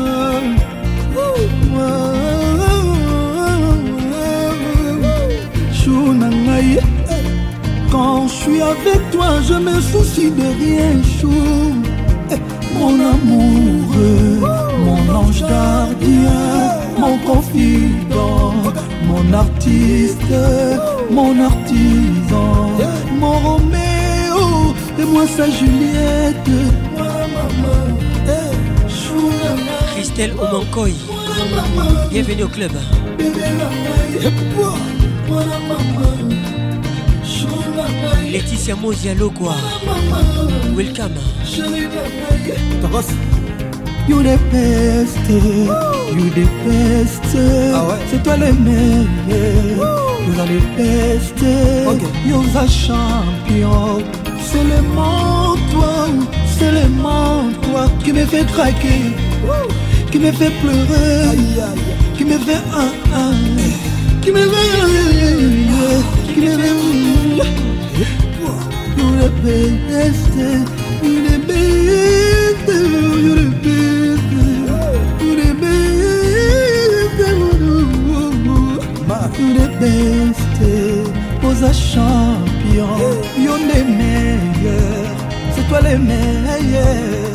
Quand je suis avec toi, je me soucie de rien, chou. Mon amoureux, mon ange gardien, mon confident, mon artiste, mon artisan, mon Roméo et moi sa Juliette. Christelle Omankoy. Bienvenue au club. Laetitia Mozialo quoi. Welcome. You the best, you the best. Ah ouais? C'est toi le meilleur. You are the best. Okay. You are the champion. C'est le monde toi, c'est le monde toi qui me fait craquer, qui me fait pleurer, aïe, aïe. Qui me fait un un, qui me fait, qui me fait. You the best, you the best, you the best, you the best, you the best. Aux champion, you the meilleur, c'est toi le meilleur.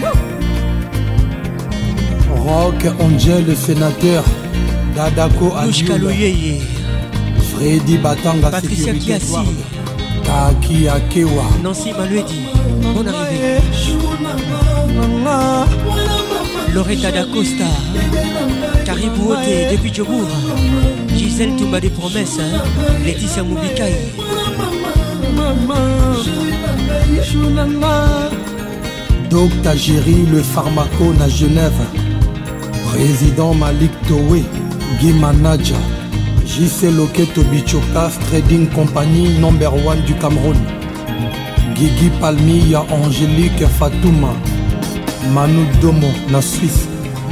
Rock Angel le sénateur, Dadako Adioula, Freddy Batanga, Patricia Kiassi, Taki Akewa, Nancy Maluedi, bonne arrivée. Loretta D'Acosta, Caribou Ote depuis Djobour, Gisèle Toumba des promesses, hein? Laetitia Moubikai. Docteur Géry le pharmaco à Genève, Président Malik Towe, Guy Manaja, J C Loketo Bichokas Trading Company number one du Cameroun, Guigui Palmilla Angélique Fatouma, Manu Domo na Suisse,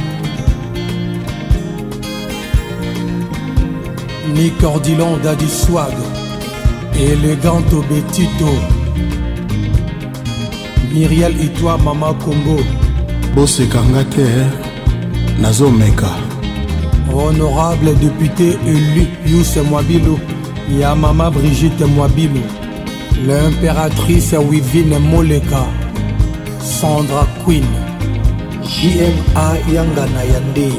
Nick Ordilon Daddy Swag, Eleganto Betito, Myriel Itwa Mama Congo, Bosse Kangate, Nazo Meka, Honorable député élu Yousse Mwabilo, Yamama Brigitte Mwabilo, l'impératrice Wivine Moleka, Sandra Queen, J M A Yangana Yande.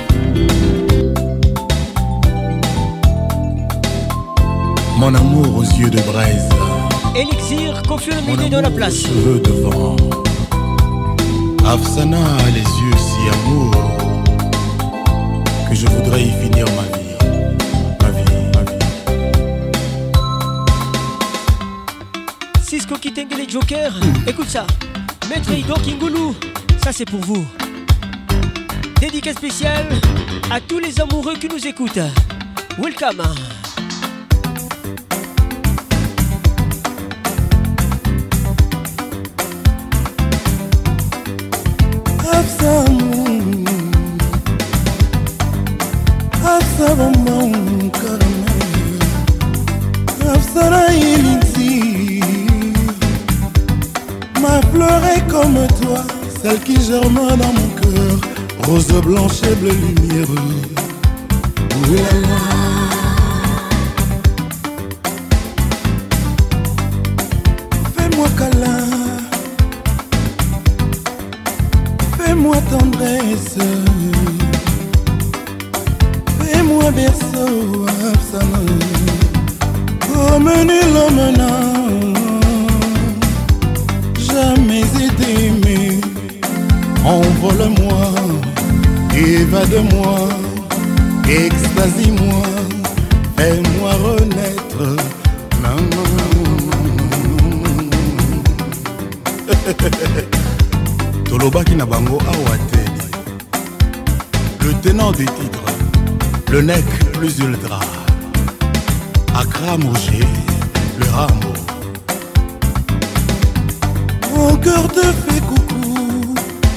Mon amour aux yeux de braise, Elixir, Kofi Olomide dans la place. Cheveux de vent, Afsana a les yeux si amour que je voudrais y finir ma vie, ma vie, ma vie. Cisco Kitengele Joker, écoute ça. Maître Ido Kingoulou, ça c'est pour vous. Dédicace spéciale à tous les amoureux qui nous écoutent. Welcome. Ma fleur est comme toi, celle qui germe dans mon cœur, rose blanche et bleue lumière. Oulala. Fais-moi câlin, fais-moi tendresse, fais-moi berceau, Afsana, comme nul homme n'a jamais été aimé. Envole-moi, évade-moi, extasie-moi, fais-moi renaître. Tolobaki na bango awateli, le tenant des titres, le nec plus ultra, Accra Moshe, le Rambo. Mon cœur te fait coucou,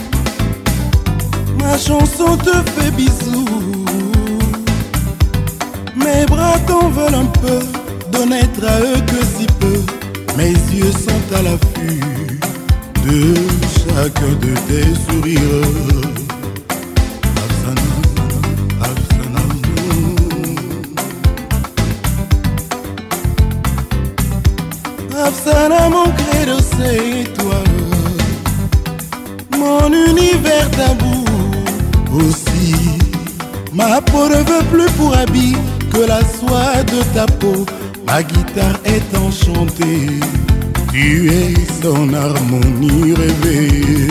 ma chanson te fait bisous, mes bras t'en veulent un peu, d'honnête à eux que si peu, mes yeux sont à l'affût de chacun de tes sourires. Afsana, Afsana. Afsana, mon credo c'est toi, mon univers tabou. Aussi, ma peau ne veut plus pour habit que la soie de ta peau. Ma guitare est enchantée, tu es son harmonie rêvée.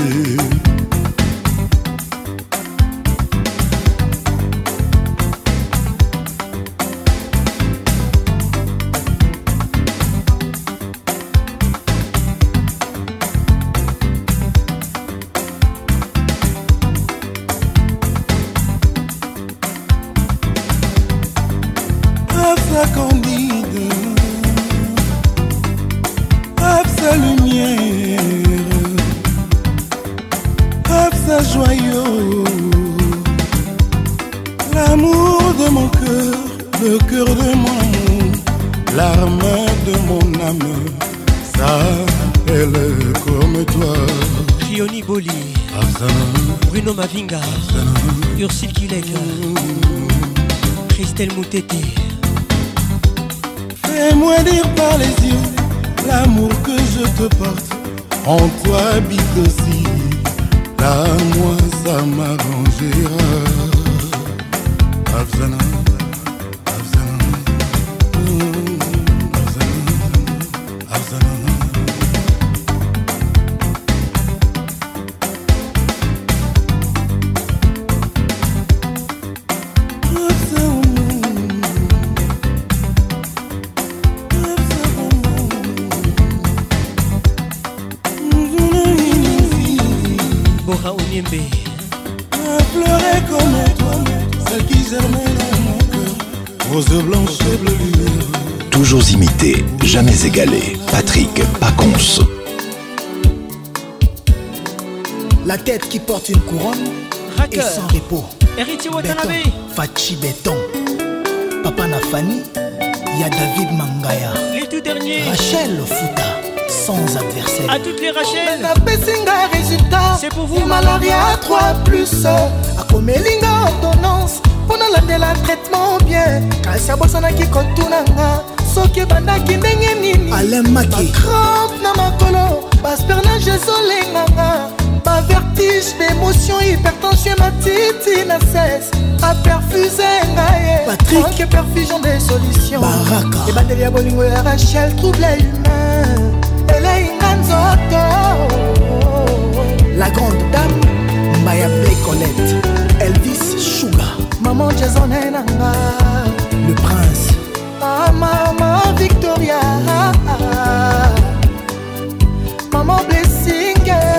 Absa candide, Absa lumière, Absa joyau, l'amour de mon cœur, le cœur de mon amour, l'arme de mon âme, ça elle est comme toi. Rioni Boli, Absa, Bruno Mavinga, Absa, Ursule Kilek, Christelle Moutete. Fais-moi dire par les yeux l'amour que je te porte. En toi habite aussi, là moi ça m'arrangera. Absana, Absana, Absana, Absana. Bora Onyembe. Pleurer comme toi, celle qui germait dans mon cœur, rose blanche et bleu lumière. Toujours imité, jamais égalé. Patrick Pacons. La tête qui porte une couronne Racker. et sans repos. Héritier Watanabe. Fachi Béton. Papa Nafani, il y a David Mangaya. Les tout derniers. Rachel Fouta, sans adversaire. À toutes les Rachel. C'est pour vous. Malaria trois plus. A komelinga ordonnance. Pendant la de la traitement bien. Kasi abosana ki kotunanga. Soki bandaki ndenge nini. Alain Maki. Crampe na makolo. Baspernage ezolenganga. Ba vertige, d'émotion, hypertension, ma titi na cesse. A perfusé ngaye. Patrick. Ok, perfusion des solutions. Baraka. Et batterie à bolingo et Rachel trouble humain. Elle est inganzoto. La grande dame, Maya Blake Colette, Elvis Sugar, Maman Jason Henanga, le prince, ah, Maman Victoria, Maman Blessing,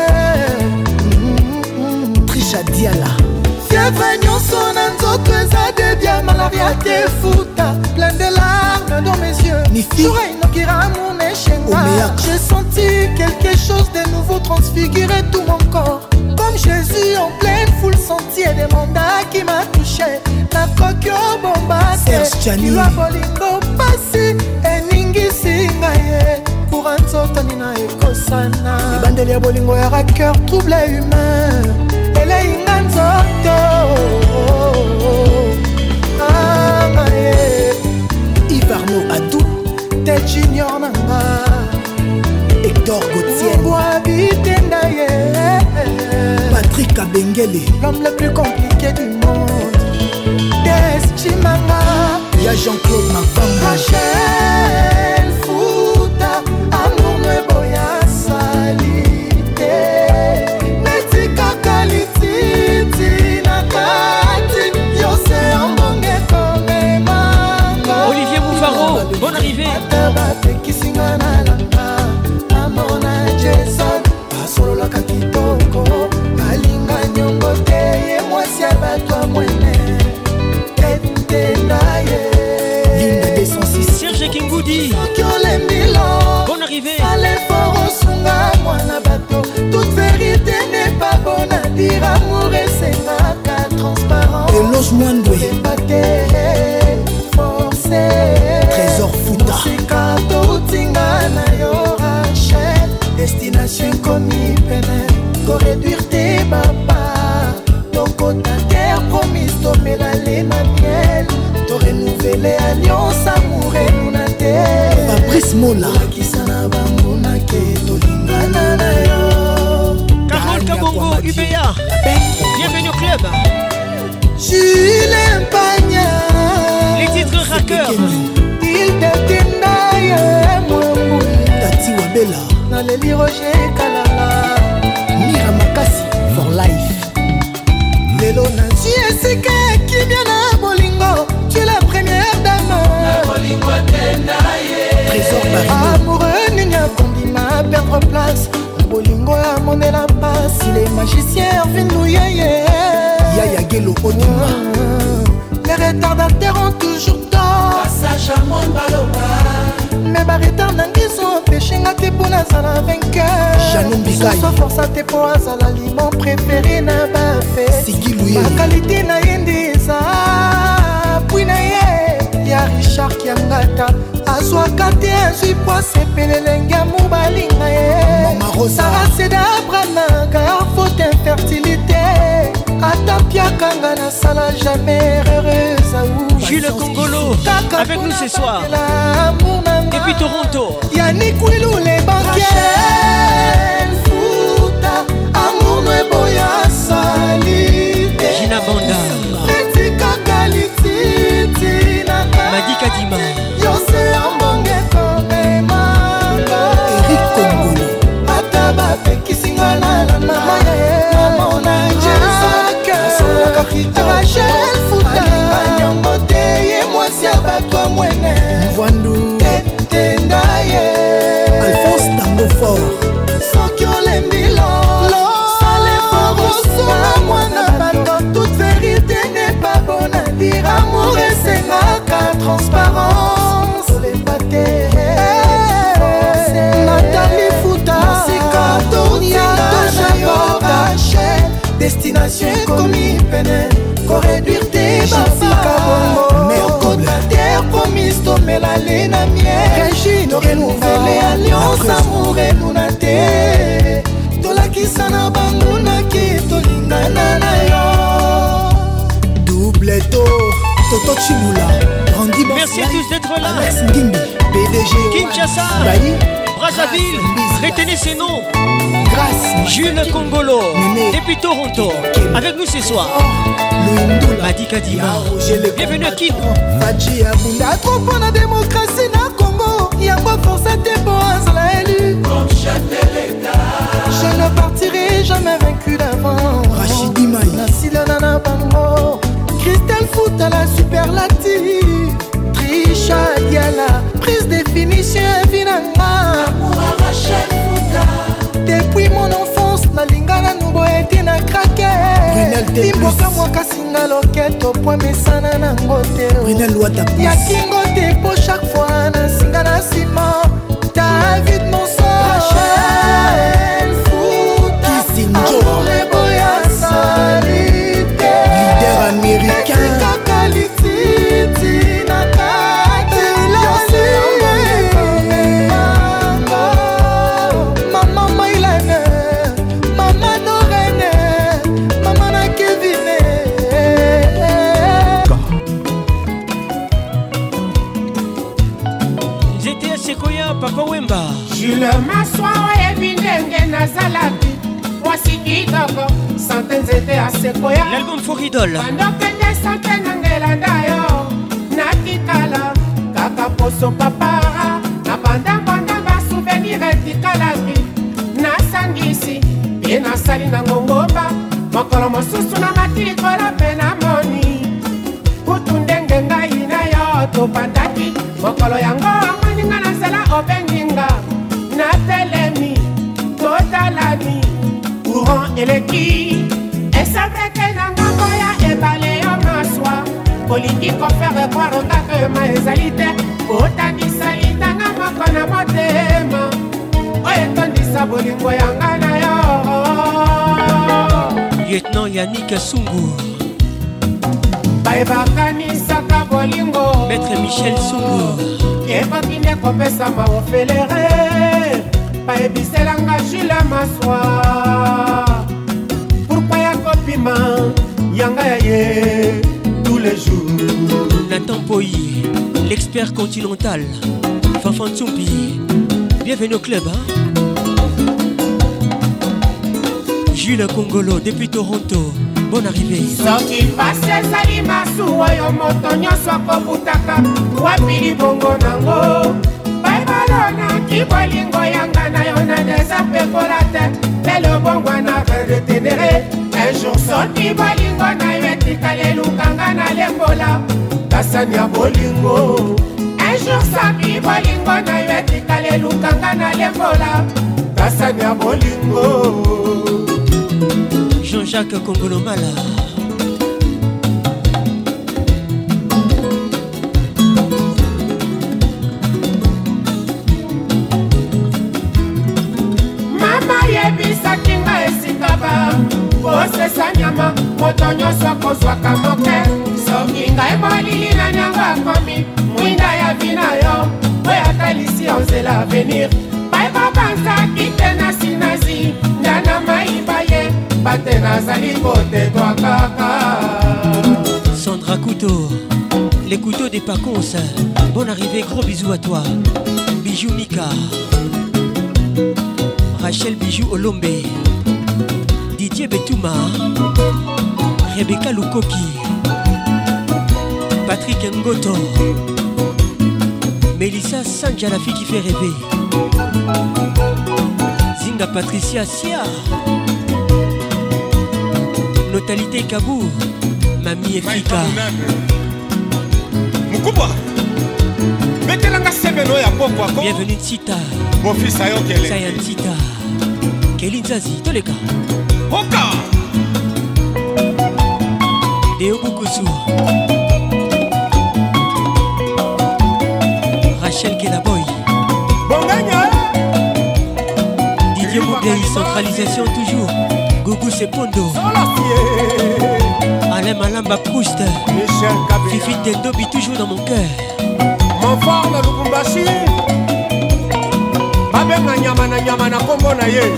mm-hmm. Trisha Diala, fièvre nyonso na nzoto eza debia malaria te futa, plein de larmes dans mes yeux, Nifi, j'ai senti quelque chose de nouveau transfigurer tout mon corps. Comme Jésus en pleine foule sentier des mandats qui m'a touché. Na kokyo bombate, kilwa bolingo pasi, eningisi ngaye. Pour un sotani na ekosana. Les bandeli ya bolingo ya racker trouble humain. Elle est inganzoto. Ah ngaye. Ivarno Adou, tel junior nanga. Hector Gauthier, Patrick Abengele, l'homme le plus compliqué du monde. Des Chimanga, il y a Jean-Claude Mafanga. Rachel Fouta, amour me boya salite. Netika kalititi nakati, yose ambonge kome manga. Olivier Moufaro, bonne arrivée. Solo la kakitoko alinga nyongo te ye mwasi abatwa mwene etendaye Linda deux cent six Serge Kingoudi Sokiole Milo bonne arrivée Fale foro sunga mwana bato toute vérité n'est pas bonne à dire amour et c'est ma transparent Eloge Mwandwe Embate forcé Trésor Fouta Sikato utinga na yo Rachel Destination commis peine, go réduire tes papas. Ton côté terre promise, tomber la laine à miel. Te renouveler alliance, amour et nunate. Fabrice Mola, qui s'en a bambouna, qui to lingana na yo. Carole Kabongo, U B A. Bienvenue au club. Julien Pagna. Les titres rackers. Il détenda, moi, Tati Wabella. Naleli Roger Kalala Mira Makasi for life Lelo Nancy Esika Kimia na Bolingo Tu es la première dame Na Bolingo Tendaye Trésor Barino Amoureux Nunia Kondima perdre place Na Bolingo a monné la passe Il est magicien Vinou Yeye Yaya Gelo Onima Les retardataires ont toujours tort Passage chamon baloba me baretar nangi so empêchenga te mpo nazala vainqueur so força te mpo azala limon préféré na bafe bakalite na ye nde eza pwi na ye ya richard kiangata azwaka te azwi po asepelelenge ya mobalinga ye saraseda abranaka faute infertilité atapiakanga nasala jamais heureuse aou Jules Congolo avec nous ce soir depuis Toronto Yannick Willou les banquiers Futa amour no eboya salite Gina Banda Etika kalititi Madi Kadima Yose ambonge komemanga Eric Congolo Ataba pekisinga la la na Mamona Jezak Rachel Futa Nyambote ye mwasi abatwa mwene Mvandu Tendaye Alphonse Tango Fort Soki olembilo Sale foroso na mwana bato toute vérité n'est pas bonne à dire amour esengaka transparence olembate Nathalie Futa Sika Tonia Tojayo Rachel Destination commis pene Corréduire tes babas Mercota terre promise Tomela lena mienne Régine renouvelée alliance amour enunate Tolakisa na banguna ki tolingana na yo Double tour Toto Chimula Randy Bansai merci à tous d'être là Alex Ngimbi P D G Kinshasa Brazzaville retenez ces noms Grâce Jules Congolo depuis Toronto avec nous ce soir Madi Kadima bienvenue à Kin Faji Abunda trop pour la démocratie na Congo Yango force te pour azala élu comme chef de l'État je ne partirai jamais vaincu d'avant Rachidi Maï Nasila Nana Bango Christelle Foot à la superlative Trisha Diala prise définition Vinanga Amour à Rachel Fouta depuis mon enfance nalingana nubo ete na krake imboka mwaka singa loketo po mesana na ngote ya kingo te po chaque fois na singa na sima David Monso Rachel Fouta amour eboya salite leader américain kakalititi na kate lase Mama Maylene, Mama Norene, Mama na Kevine. J'étais à Sequoia, Papa Wemba. Jules Massoa et Binenge Nazalaki. Voici Kidogo, centaines étaient à Sequoia. L'album Foridol. Pendant que des centaines d'Angelandayo, Nakikala, Kakaposo Papara, Nabanda Banda va souvenir et Tikalaki. Nasangisi, bien asali na ngongomba. Mokolo mosusu na matili kola pena moni. Kutundenge ngai na yo topandaki. Mokolo yango amaninga na sala obenginga. Na telemi, totalani. Courant eleki. Et ça fait que nangambo ya ebale yo maswa. Politique faire croire au cas que ma ezalite. Otandisa litanga moko na motema. Oyetondisa bolingo yanga na yo. Lieutenant Yannick Sungu. Baebakanisaka bolingo. Maître Michel Sungu. Ebakinde kopesama ofelere. Baebiselanga Jules Massoa. Pourquoi ya kopima yanga ya ye tous les jours. Nathan Poyi, l'expert continental. Fafan Tsumbi. Bienvenue au club, hein? Jules Congolo depuis Toronto. Bonne arrivée. Soki passe ezali masuwa yo moto nyonso akobutaka wapili bongo nango baibalonaki bolingo yanga na yo na deza pekola te lelo bongo na retenere un jour soki bolingo na yo etikali elukanga na lembola kasani ya bolingo un jour soki bolingo na yo etikali elukanga na lembola kasani ya bolingo. Jean-Jacques Congolo Mala. mama moto nyonso akozwaka moke soki ngai molili na nyango akomi mwinda ya vina yo oyo atalisi onzela avenir baebabanzaki te na sinazi ndana mayiba ye bate nazali kotetwa kaka. Sandra Couteau, les couteaux des Paconce. Bonne arrivée, gros bisous à toi. Bijou Mika, Rachel Bijou Olombe, Didier Betouma, Rebecca Lukoki, Patrick Ngoto, Mélissa Sanja, la fille qui fait rêver, Zinga Patricia Sia, Notalité Kabou, Mamie Efrika. Mukubwa metelanga sebeno ya poko ako. Bienvenue Tita. Mon fils ayo kele. Sayan Tita. Kelin Zazi, Toleka. Oka. Deo Bukusu. Rachel Kelaboy. Bonganya. Didier Moubei, centralisation toujours. Gougou Sepondo. Alain Malamba Proust. Michel Kabila. Fifi Tendobi toujours dans mon cœur. Mon fort na Lubumbashi. Babenga nyama na nyama na kombo na ye.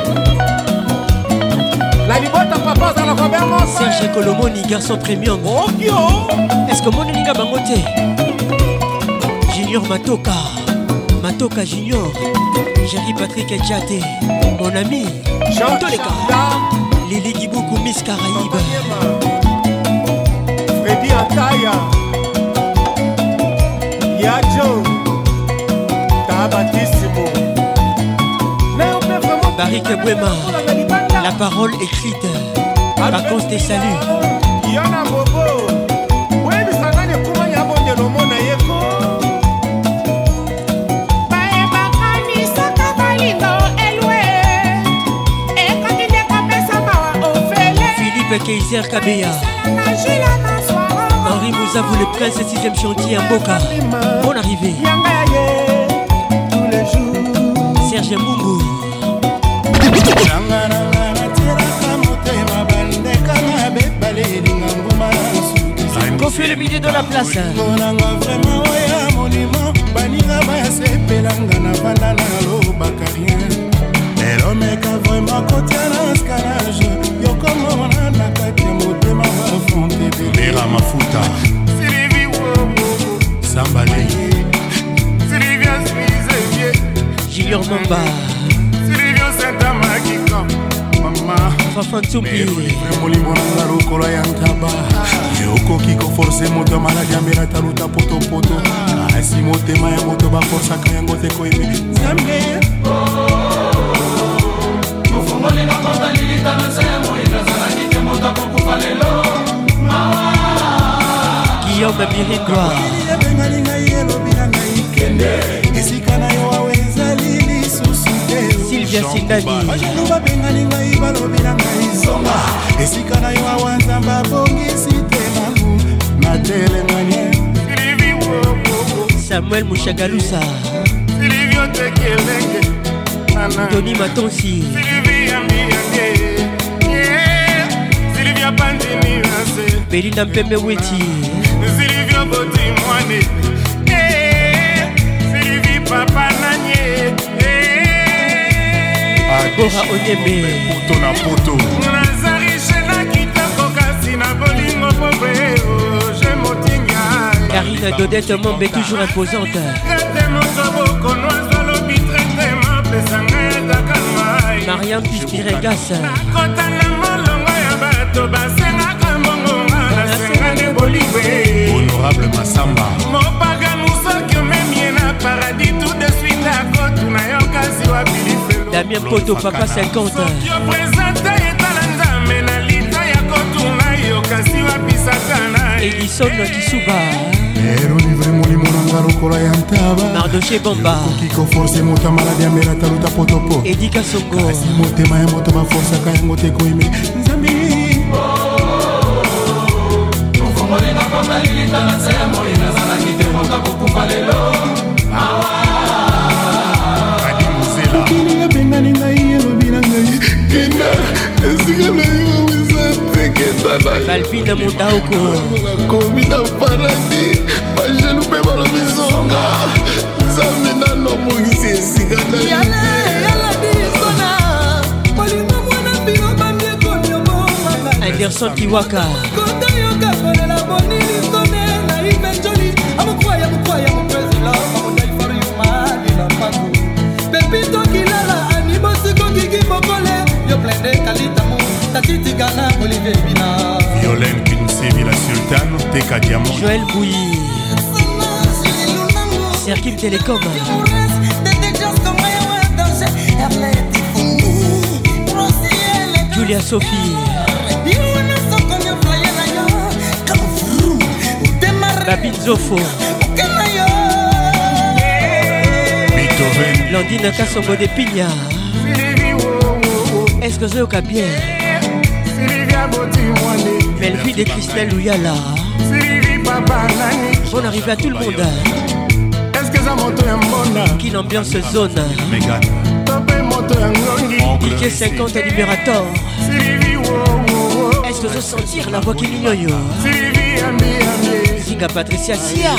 La libota papa za la Robert Serge Colomoni, garçon premium. Oh kyo. Est-ce que mon ninga bangote? Junior Matoka. Matoka Junior. Jerry Patrick Adjate. Mon ami. Jean Toleka. Lili Giboukou Miss Caraïbe. Freddy Antaya. Yadjo Tabatissimo. Barik Bouema. La parole écrite. Vacances des saluts. Yana Bobo. Webi sangane kuma ya bonde no mona yeko. Bae bakani saka balindo elwe. E continue kwa pesa mawa ofele. Philippe Kaiser Kabea. Henri Mouzavou, le prince sixième chantier en Boca. Bonne arrivée. Serge Mungu. Confie le milieu de la place. elomeka vraiment kotiana scarage yokomona na kati ya motema bafonte bera mafuta Sylvie Wobo Zambale Sylvia Smizevie Junior Mamba Sylvia Santa Makiko Mama Fafan Tsumbi Molimbo na lokolo ya ntaba yokoki koforce moto maladi ambela taluta potopoto asi motema ya moto baforsaka yango te koyebe Zambe Molina kota lilita na semo inazala nike monta kukufa lelo mawa Guillaume Birindwa bengalinga yelo bilanga ikende esika na yo aweza lili susute Sylvia Sindani bajaluba bengalinga ibalo bilanga izonga esika na yo awanzamba bongisi temangu na telenganye Samuel Mouchagalusa Silvio Tekelenge Tony Matonsi Sylvia Pandini Nase Belinda Mpembe Weti Sylvia Boti Mwane Sylvie Papa Nanye Bora Onyeme Poto na poto Nazari Shena Kitako Kasi na Bolingo Pobre Je Motinga Karine Dodette Mombe toujours imposante Mariam Pispiregas Honorable Massamba Damien Poto Papa cinquante Edison Kisuba Ero livre molimo nanga lokola ya ntaba Mardoché Bomba Kiko force moto maladi ambela taluta potopo Edika Songo Kasi motema ya moto baforsaka yango te koyeme Nzambi Molina kota lilita na semo inazala nike monta kukufa lelo mawa Adi Muzela Kini bengalinga yelo bilanga kenda esika na yo wisa teketa Balbina Mondaoko Komina paradis Bajelu pe balo misonga Zamina no mungisi esigana Yala yala disona Polima mwana bino bambie konyo mwana Anderson Kiwaka Kota yoka kone la boni lisone Na imenjoli Amukwaya amukwaya amukwezila Amunai faru yumani la pangu Pepito kilala Animo siko kiki mokole Yo plende kalitamu Tatiti gana Olivier Bina Violaine Kinsey Villa Sultan Teka Diamond Joël Bouilly Circuit Télécom Julia Sophie Babine Zofo Landine Kassongo de Pigna Est-ce que Zoyoka bien Melvie de Christelle Louyala Bonne arrivée à tout le monde Qui l'ambiance zone D J cinquante Libérator Est-ce que je sentir la voix qui mignoyo Zinga Patricia Sia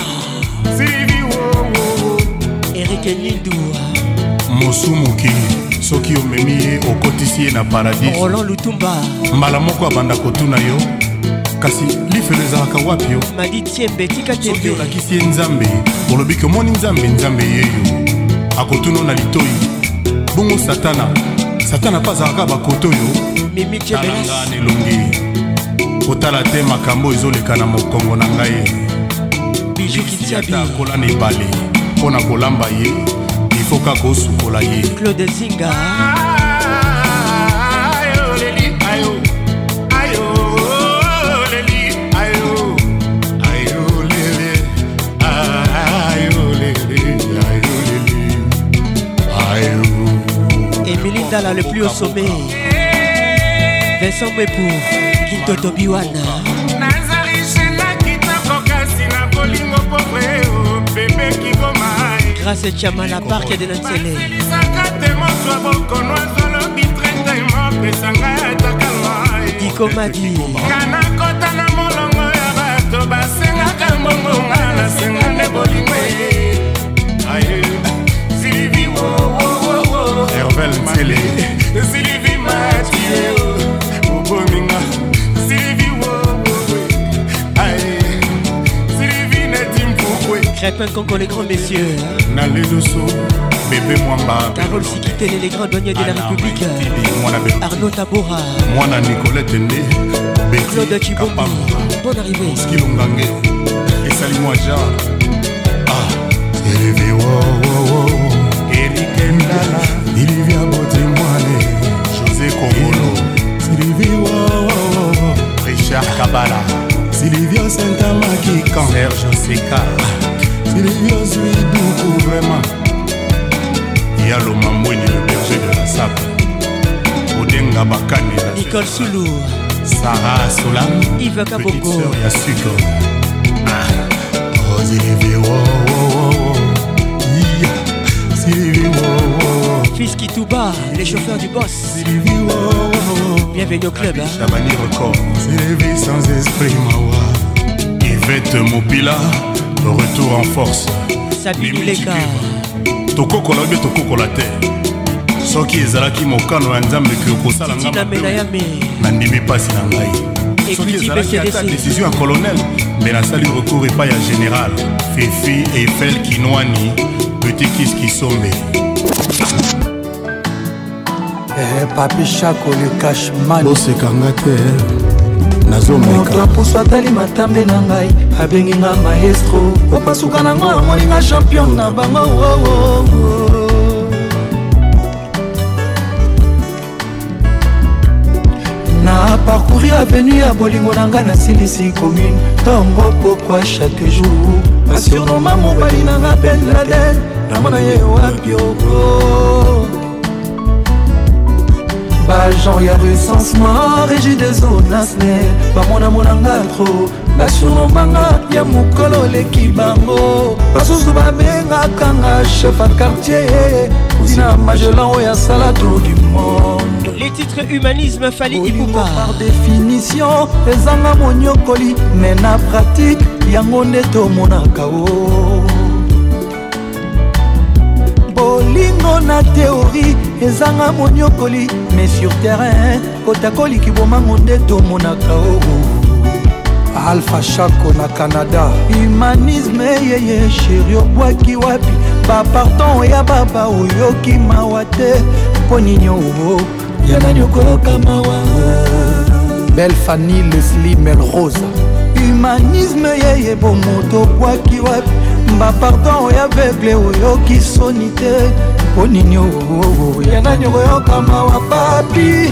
Eric Nindou Mosumuki Soki omemi okotisi na paradis Roland Lutumba Mbala moko abanda kotuna yo kasi lifelo ezalaka wapi yo Madi Tiembe tika Tiembe soki olakisi ye nzambe olobi ke omoni nzambe nzambe yeyo akotuna na litoi bongo satana satana mpe azalaka bakoto oyo talanga nelongi kotala te makambo ezoleka na mokongo na ngai ata akola na ebale mpo na kolamba ye ifo kaka osukola ye Claude Zinga Émilie Dalla le plus au sommet Vincent Mbepou Kintoto Biwana Grâce à Chama la barque de Nansele Diko Madi Hervel Ntsele Sylvie Mathieu Obominga Sylvie Wowowe Aïe Sylvie Netim Foukwe Crépin Congo les grands messieurs Nalé Dosso Bébé Mwamba Carole Sikitele les grands douaniers de la République Arnaud Tabora Mwana Nicolette Ndé Claude Chibombi Bonne arrivée Skilongange Et Salimou Adja Ah Sylvie Wowowo Eric Ndala Olivia Botemwane José Kongolo Sylvie Wowowo Richard Kabala Sylvia Saint-Amakikan Serge Seka Sylvia Zuidoukou vraiment Yalo Mamouini le berger de la Sape Odenga Bakani Nicole Soulou Sarah Solam Yves Kabongo Petite sœur Yasuko Ah Sylvie Wowowo Sylvie Wowowo Fils Kitouba, les chauffeurs du boss. Bienvenue au club. Chabani Record. Sylvie sans esprit Mawa. Yvette Mopila, retour en force. Sabine Leka. Tokokola be tokokola te. Soki ezalaki mokano ya nzambe ke okosala ngamba. Tina Menayame. Nandimi pasi na ngai. Soki ezalaki ata décision ya colonel, mais nasali recours epai ya général. Fifi Eiffel Kinwani, Petit Kiss Kisombe. Eh, papi Chako le cashman bosekanga te nazomeka moto atali matambe na ngai abengi nga maestro opasuka na ngo amoninga champion na bango oh, oh, oh. Na parcouri avenue ya bolingo na ngai nasilisi commune ntongo pokwa chaque jour asurnoma mobali na nga Ben Laden namona ye wapi oko bajan ya recensement régi des zonasne bamonamonanga tro basunomanga ya mokolo leki bango basusu babengakanga chef à quartier tina magelan oyo asala tour du monde. Les titres humanisme Fally Ipupa par définition ezanga monyokoli mais na pratique yango nde tomonaka o bolingo na théorie ezanga monyokoli mais sur terrain kotakoli kibomango nde tomonaka o Alpha Chaco na Canada humanisme yeye chéri obwaki wapi bapardon ya baba oyoki mawa te mpo ninyo yana nyokoloka mawa Belle Fanny Leslie Melrose humanisme yeye bomoto obwaki wapi bapardon ya aveugle oyoki soni te mpo ninyo yana nyokoyoka mawa papi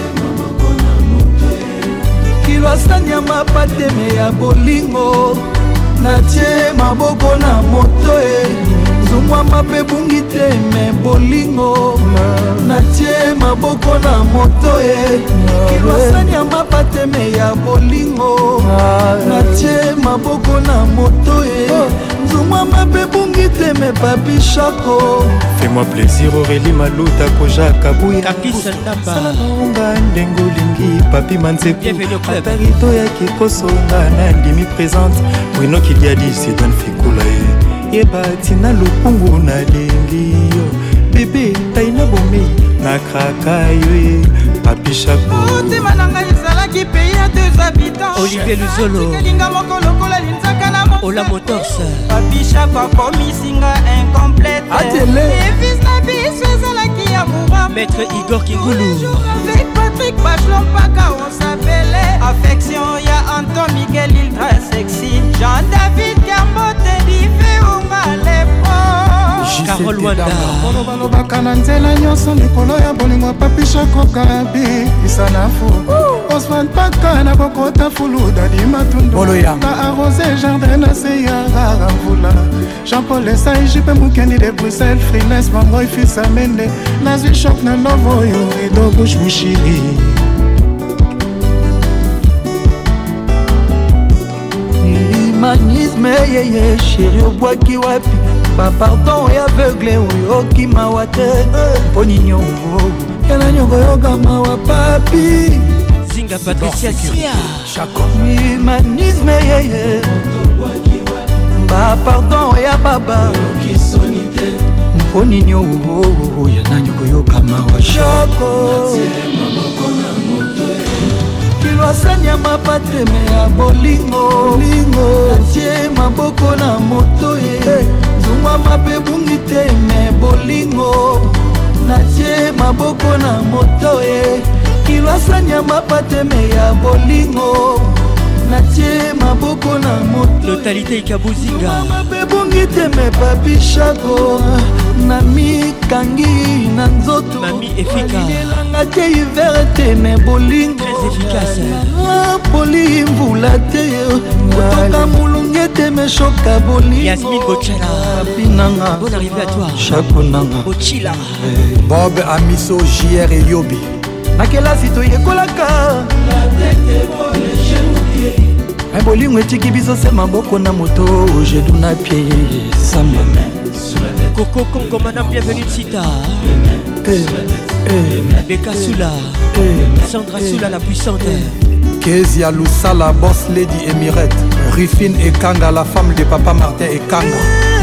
kilwasanya mapateme ya bolingo natie maboko na moto e zungwa mape bungi te me bolingo natie maboko na moto e kilwasanya mapateme ya bolingo natie maboko na moto e zungwa mape bungi te me papi Chaco. Fais-moi plaisir Aurélie Maluta Koja Kabuya Kakisa Ndamba Salonga ndengo lingi Papi Manseku Atarito ya kikosonga na ndimi présente Bruno Kiliadi Sidan Fikula Yeba tina lupungu na lingi Bébé taina bomei na kraka yue Papi Chaco Otima nanga yisala ki pays à deux habitants Olivier Luzolo Linga moko lokola linzaka na mo Ola Motors Papi Chaco komi singa incomplète Atele Fils na biso ezalaki ya moura Maître Igor Kingulu Avec Patrick Bachelon Paka on s'appelait Affection ya Anton Miguel ultra sexy Jean-David Kermote Dive Ongalepo Carole Wanda balobaka na nzela nyonso likolo ya bolingo Papi Chaco kabi isanafu Osman Paka na kokota fulu dadi matundu na arrosé jardin na se ya rara mvula Jean-Paul Esai jipe mukendi de Bruxelles freelance bangoy fils amende nazwi choc na lovo yo rido bush mushiri humanisme yeye chéri obwaki wapi bapardon ya aveugle oyoki mawa te mpo ninyo yana nyokoyoka mawa papi Zinga Patricia Sia humanisme yeye bapardon ya baba mpo ninyo yana nyokoyoka mawa Chaco kilwasanya mapateme ya bolingo atie maboko na moto ye zungwa mape bungi te me bolingo natie maboko na moto ye kilwasanya mapateme ya bolingo natie maboko na moto Totalité Ikabuzinga mape bungi te me Papi Chaco na mikangi na nzoto Mami efika elanga te hiver te me bolingo très efficace poli mvula te kotoka mulunge te me shoka bolingo Yasmine Bochala pinanga bonne arrivée à toi Chaco nanga Bochila Bob Amiso J R et Yobi na kelasi toyekolaka bolingo etiki biso se maboko na moto jedu na pie sambe Coco Congo madame bienvenue Sita eh, eh, Beka Soula eh, Sandra eh, Soula la puissante Kezia Lusala boss lady Emirette Rufine Ekanga la femme de papa Martin Ekanga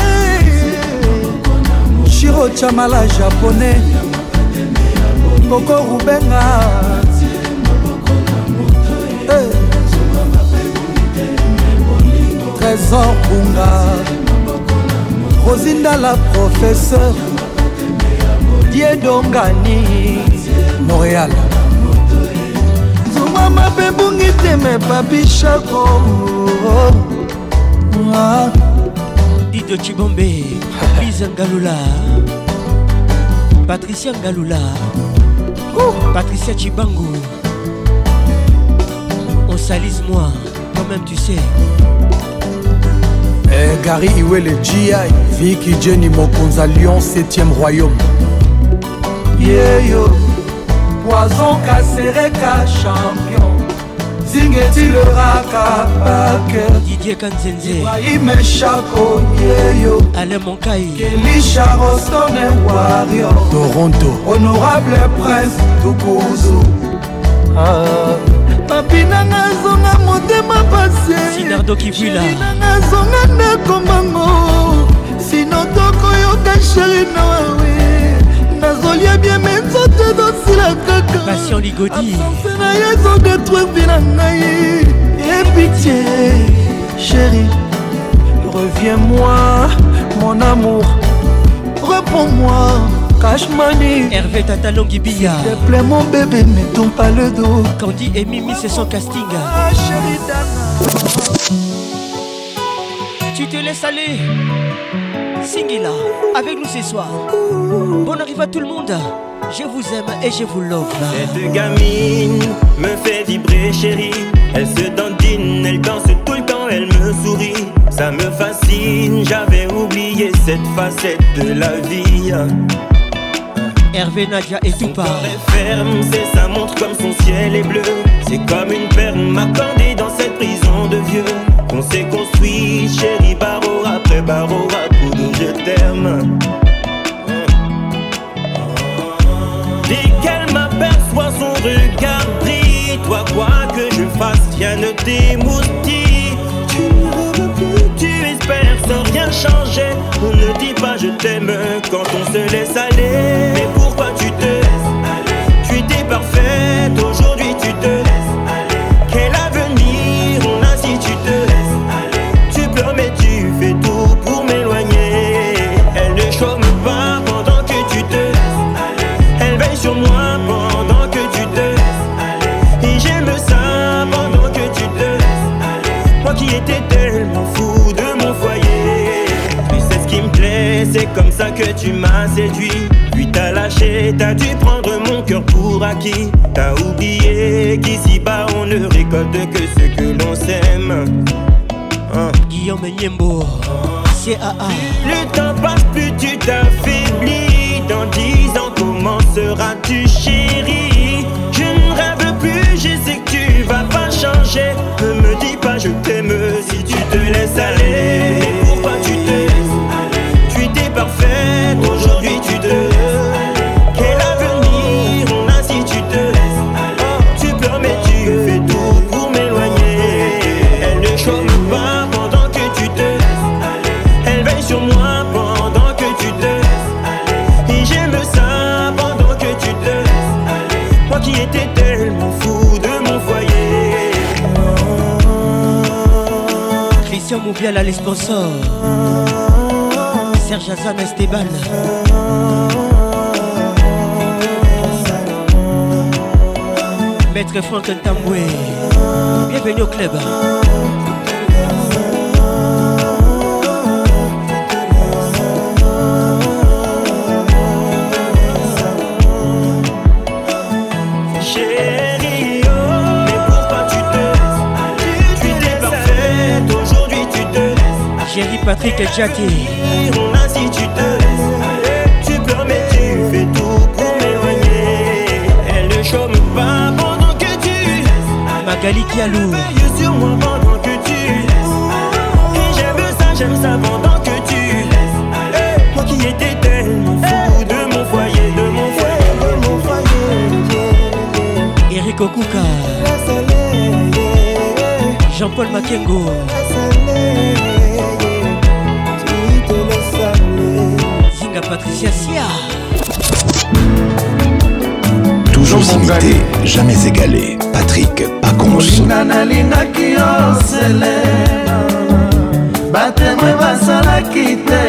Shiro Chamala japonais Coco Rubenga eh. Trésor Bunga Rosinda la professeur Diedongani Montréal Zuma mape bungi teme Papi Chaco Dido Chibombe Lisa Ngalula Patricia Ngalula Patricia Chibango On salise moi quand même tu sais eh, Gary Iwele G I Vicky Jenny Mokonza Lyon septième royaume yeah yo Poison Kasereka champion Zingeti le raka Packer Didier Kanzenze Ibrahim Chako Yeyo Alain Monkai Kelisha Rostone Warrior Toronto Honorable Prince Tukuzu ah. Papi nanga zonga motema pase Sinardo Kivula nanga zonga ndeko mango Sino toko yoka sheri na wawe Nazolia bien menzote dosila kaka Passion Ligodi Absence na yezo détruire vina ngai Et pitié chérie reviens-moi mon amour reprends-moi Cash money Hervé Tatalongi Billa s'il te plaît mon bébé ne tombe pas le dos Candy et Mimi c'est son casting ah, chérie Dana. Tu te laisses aller Singila avec nous ce soir Bonne arrivée à tout le monde Je vous aime et je vous love Cette gamine me fait vibrer chérie Elle se dandine, elle danse tout le temps, elle me sourit Ça me fascine, j'avais oublié cette facette de la vie Hervé, Nadia et tout part. Ferme, c'est sa montre comme son ciel est bleu. C'est comme une perle m'accordée dans cette prison de vieux. On s'est construit, chérie, barreau après barreau, à coup de je t'aime. Dès qu'elle m'aperçoit, son regard brille. Toi, quoi que je fasse, rien ne t'émoustille. Tu ne rêves plus, tu espères sans rien changer. On ne dit pas je t'aime quand on se laisse aller. Mais pourquoi tu te laisses aller? Tu étais parfaite, aujourd'hui tu te laisses aller. Quel avenir on a si tu te laisses aller? Tu pleures mais tu fais tout pour m'éloigner. Elle ne chôme pas pendant que tu te laisses aller. Elle veille sur moi pendant que tu te laisses aller. Et j'aime ça pendant que tu te laisses aller. Moi qui étais tellement fou de mon foyer. Tu sais ce qui me plaît, c'est comme ça que tu m'as séduit. Puis t'as lâché, t'as dû prendre mon cœur pour acquis. T'as oublié qu'ici-bas on ne récolte que ce que l'on sème. Hein? Guillaume Niembo, C A A. Le temps passe, plus tu t'affaiblis. Dans dix ans, comment seras-tu chérie? Je ne rêve plus, je sais que tu vas pas changer. Ne me dis pas je t'aime si tu te laisses aller. Mais pourquoi tu te laisses aller? Tu étais parfaite, aujourd'hui tu te laisses. Quel avenir on a si tu te laisses aller? Tu pleures mais tu fais tout pour m'éloigner. Elle ne chôme pas pendant que tu te laisses aller. Elle veille sur moi pendant que tu te laisses aller. Et j'aime ça pendant que tu te laisses aller. Moi qui étais tellement fou de mon foyer. Christian Moubiala, les sponsors. Serge Azam Esteban. Maître Franck Ntamboué. Bienvenue au club. Chérie, oh, mais pourquoi tu te laisses aller? Tu étais parfaite, aujourd'hui tu te laisses. Chérie Patrick Jackie. On a si tu te laisses aller. Tu pleures mais tu fais tout pour m'éloigner. Elle ne chôme pas pendant que tu laisses aller. Magali Kialou. Veille sur moi pendant que tu laisses aller. Et j'aime ça, j'aime ça pendant que tu laisses aller. Moi qui étais tellement fou de mon foyer, de mon foyer, de mon foyer. Eric Okuka. Jean-Paul Makengo. Zinga Patricia Sia. Toujours imité, jamais égalé. Patrick Pacons. nalingaki yo selena batemwe basalaki te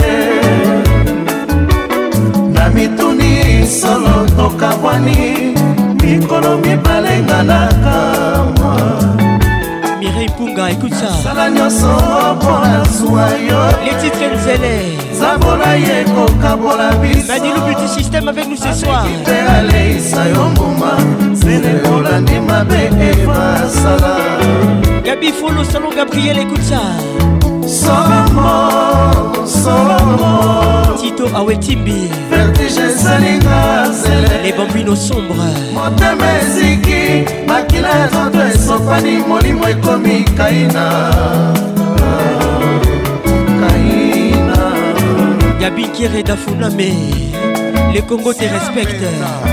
na mituni solo tokabwani mikolo mibale nganaka mwa Mireille Punga, écoute ça. sala nyonso mpona zwa yo Les titres Nzele. zabola ye kokabola biso Madilu Beauty System avec nous ce soir. te aleisa yo mbuma sele olandi mabe evasala Gabi Folo, Salon Gabriel, écoute ça. Solomo, Solomo Tito Awetimbi vertige esalinga zele les bambinos sombres motema eziki makila ya nzoto esopani molimo ekomi kaina kaina Gabi Kere Dafuname les Congo te respectent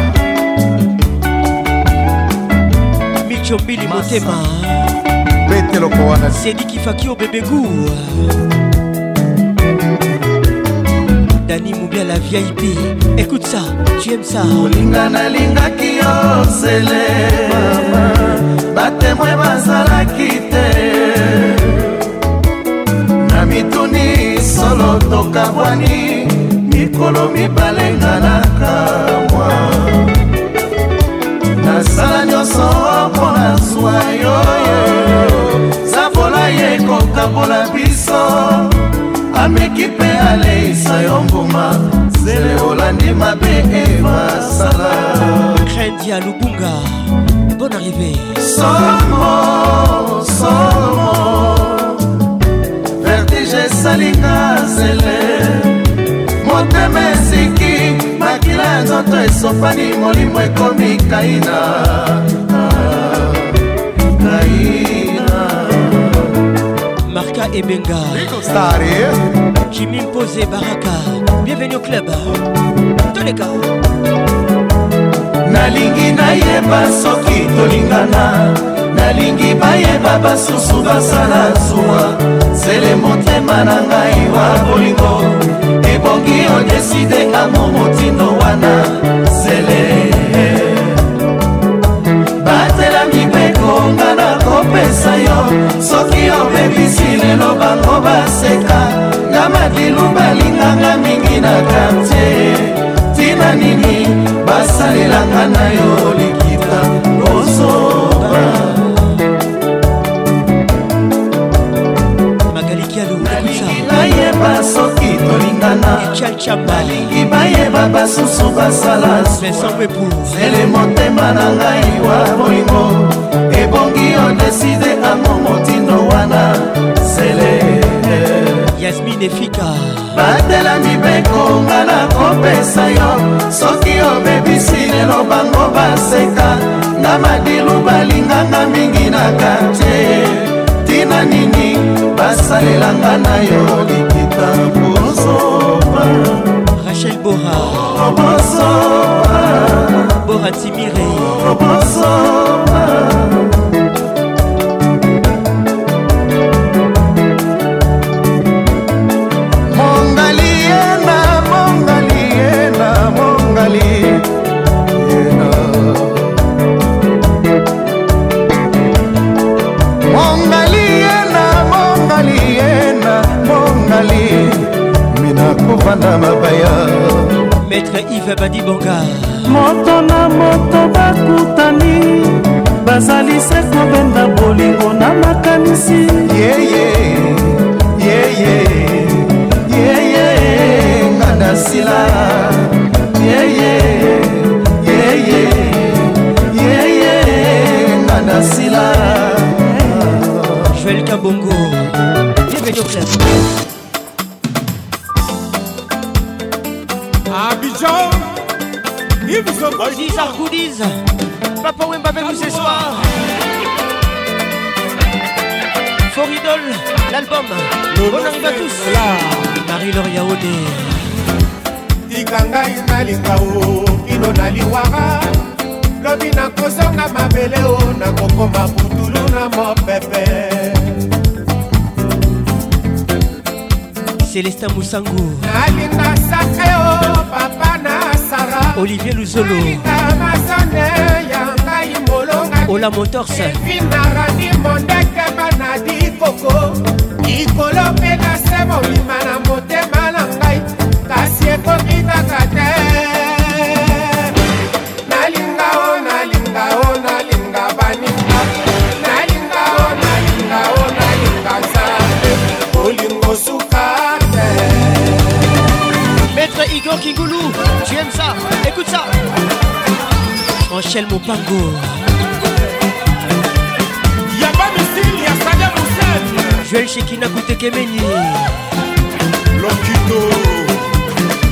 Michombili Motema Sedi Kifakio Bébégou Dani Moubia la V I P. Écoute ça, tu aimes ça. Olinga na linga kio sele mama batemwe bazalaki te na mituni solo tokabwani mikolo mibalenga na kamwa nasala nyonso mpona zwa yoyo zabola ye kokabola biso ameki mpe aleisa yo mbuma zele olandi mabe ebasala Krendia Lubunga, bonne arrivée. Somo, somo vertige salinga zele motema eziki makila ya nzoto esopani molimo ekomi kaina kaina Marca Ebenga Kimi Mpose Baraka. Bienvenue au club. Tous les gars. Nalingi nayeba soki tolingana nalingi bayeba basusu basala zuwa zele motema na ngai wa bolingo ebongi odeside amo motindo wana zele batela mibeko nga na kopesa yo soki obebisi lelo bango baseka nga madilu balinganga mingi na kartier tina nini basalelanga na yo likita ozoba nalingi bayeba soki tolingana nalingi bayeba basusu basala zele motema na ngai wa bolingo ebongi odeside amo motindo wana zele Yasmine Fika batela mibeko nga na kopesa yo soki obebisi lelo bango baseka nga madilu balinganga mingi na kartier tina nini basalelanga na yo likita bozoba Rachel Bora bozoba Bora Timire bozoba Maître Yves Badibonga moto na moto bakutani bazali se kobenda bolingo na makanisi yeye yeye yeye ngana sila yeye yeye yeye ngana sila Joël Kabongo bienvenue au club. Abidjan, Yves Sokoji. Goodies are goodies. Papa Wemba avec nous ce soir. Foridol, l'album. Bonne arrivée à tous. Marie-Laure Yaoné. Tikangai nalinga o kino naliwaka lobi na kozonga mabele o na kokoma butulu na mopepe. Célestin Moussango nalinga sacré o papa na Sara Olivier Luzolo Amazone yangai molonga Ola Motors Finarani mondeke banadi koko ikolo pena semo limana motema na ngai kasi ekomi kaka te nalinga o nalinga o nalinga baninga nalinga o nalinga o nalinga nzambe olingo suka Maître Igor Kingoulou, tu aimes ça? Écoute ça. Angèle Mopango. Y'a pas missile, y'a Saddam Hussein. Joël Shekina Koutekemeni. Lokito.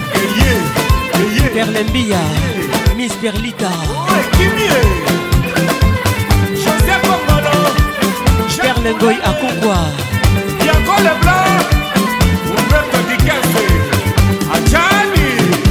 Perlembia, Miss Perlita, Joseph Bongolo, Perlengoy à Congoua, Bianco Leblanc, Humberto Di Kesse, Adjani.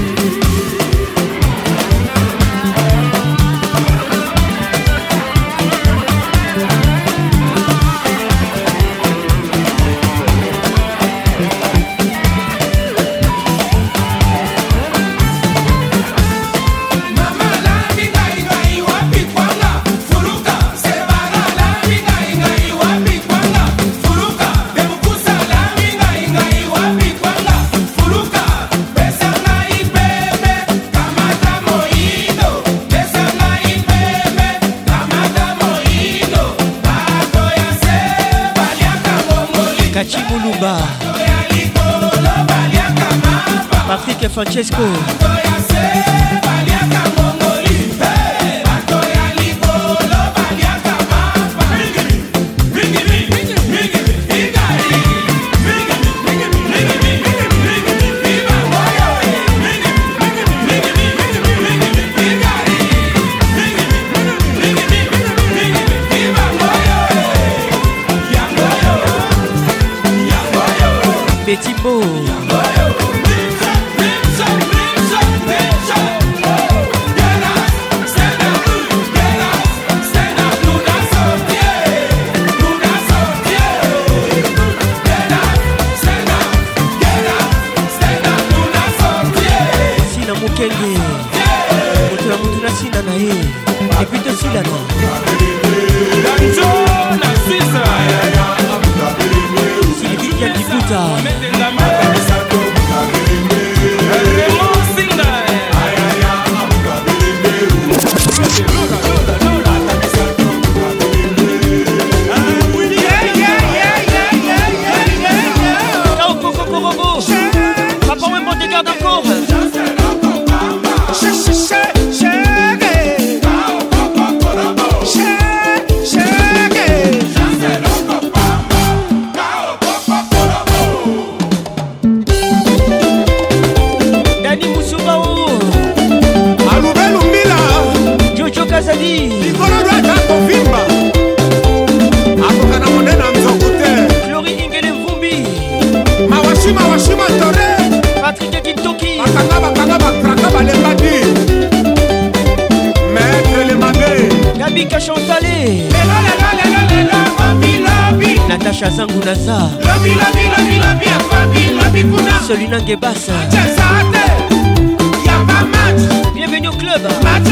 Patrick Francesco, Petit Beau, Bassa. Bienvenue au club.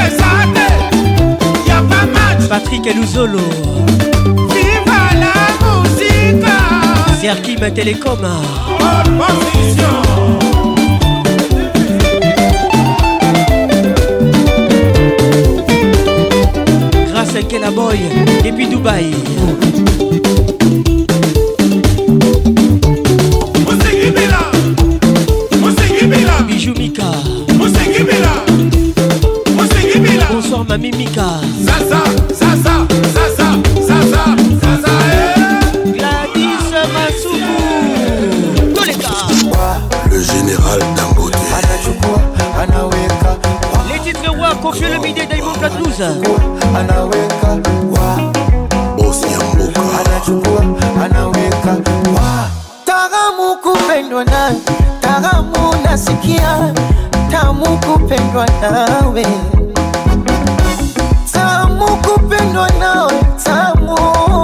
Patrick Eluzolo. Viva la musique. Serkim Télécom. Grâce à Kela Boy depuis Dubaï. Bijou Mika. Bonsoir Mami Mika. Zaza, Zaza, Zaza, Zaza, Zaza, eh. Gladys Masuku. Toleka. Le général Dangote. Les titres Wa, confiez le midi d'Aïmon Platouze. Taramu kupendwa na Taramu nasikia Tamu kupendwa nawe Tamu kupendwa nawe Tamu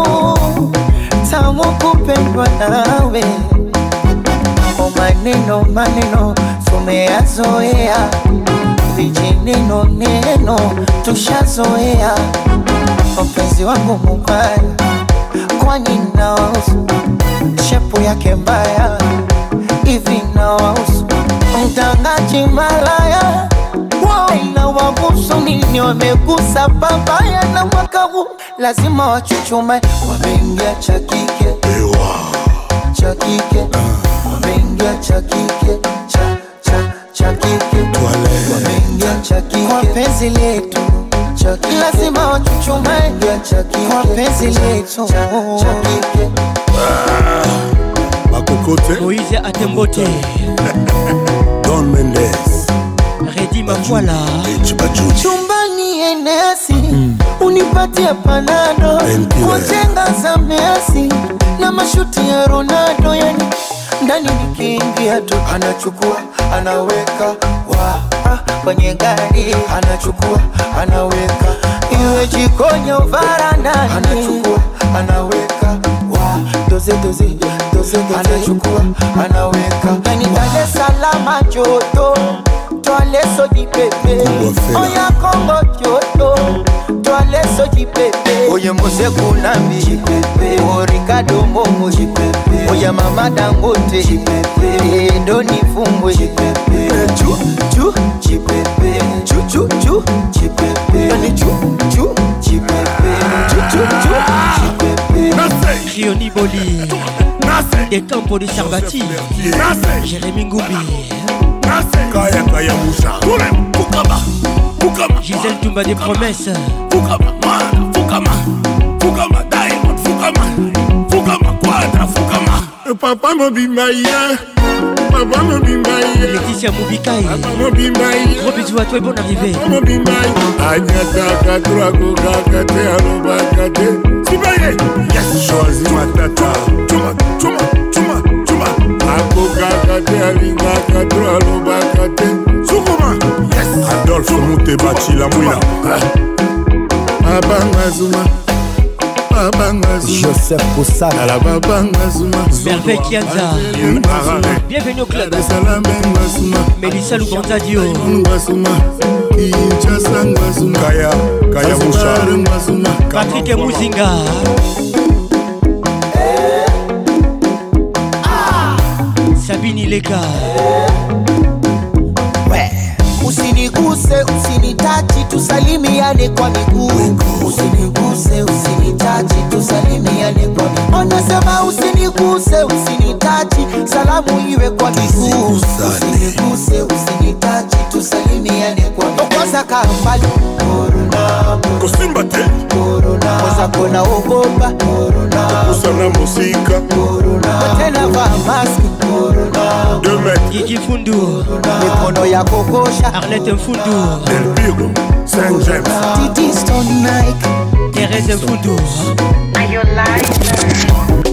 Tamu kupendwa nawe O maneno maneno tumeyazoea Vijineno neno tushazoea Mpenzi wangu mubaya Kwani naosu Shepu yake mbaya Hivi naosu Mtangaji malaya Ina wabusu nini wamegusa babaya na mwaka huu lazima wachuchume wameingia cha kike cha kike wameingia cha kike cha cha cha kike wameingia cha kike kwa penzi letu cha kike lazima wachuchume cha kike kwa penzi letu cha kike Makokote Moïse Atembote Don Mendes Redi ma voilà. Chumbani enesi mm. Unipatia panado Kujenga za Messi na mashuti ya Ronaldo, yani ndani nikiingia tu anachukua anaweka wa ah, kwenye gari anachukua anaweka iwe jikoni au varandani anachukua anaweka wa doze doze doze anachukua anaweka yani Dar es Salaam joto toale so di pepe oya Kongo joto toale so di pepe oye Mose Kunambi jipepe o Ricardo Momo jipepe oya Mama Dangote jipepe ndo nifungwe jipepe chu chu jipepe chu chu chu jipepe yani chu chu jipepe chu chu chu jipepe Rioni Boli des Campos de Sarbati Jérémy Ngoubi Kaya Kaya Moussa Fukama Fukama Gisèle Toumba des Promesses Fukama Man Fukama Fukama Diamond Fukama Fukama Quadra Fukama Papa Mobimbaïa Papa Mobimbaïa Laetitia Moubikai Papa Mobimbaïa Gros bisous à toi et bonne arrivée Papa Mobimbaïa Agnata Katura Koka Kate Aloba Kate Sibaye Yes Choisi Matata Chuma Chuma Chuma Chuma Akoka Kate Alinga Katura Aloba Kate Sukuma Yes Adolphe Moutebachi La Mouina Abanga Zuma Joseph Koussana la Babanga Zuma Merveille Kianza bienvenue au club Mélissa Lubanza Dio Kaya Kaya Moussa Patrick Mouzinga Sabine Leka Usiniguse, usinitachi, tusalimiane kwa miguu. Usiniguse, usinitachi, tusalimiane kwa miguu. Onasema usiniguse, usinitachi, salamu iwe kwa miguu. Usiniguse, usinitachi, tusalimiane kwa miguu. Okoza kambali Corona Kosimba te Corona Koza kona ogopa Corona Kusana musika Corona Tena va maski Corona Deux mètres Gigi Fundu Mikono ya kokosha Arlette Mfundu Del Pigo Saint James Titi Stone Nike Thérèse Mfundu Are you lying?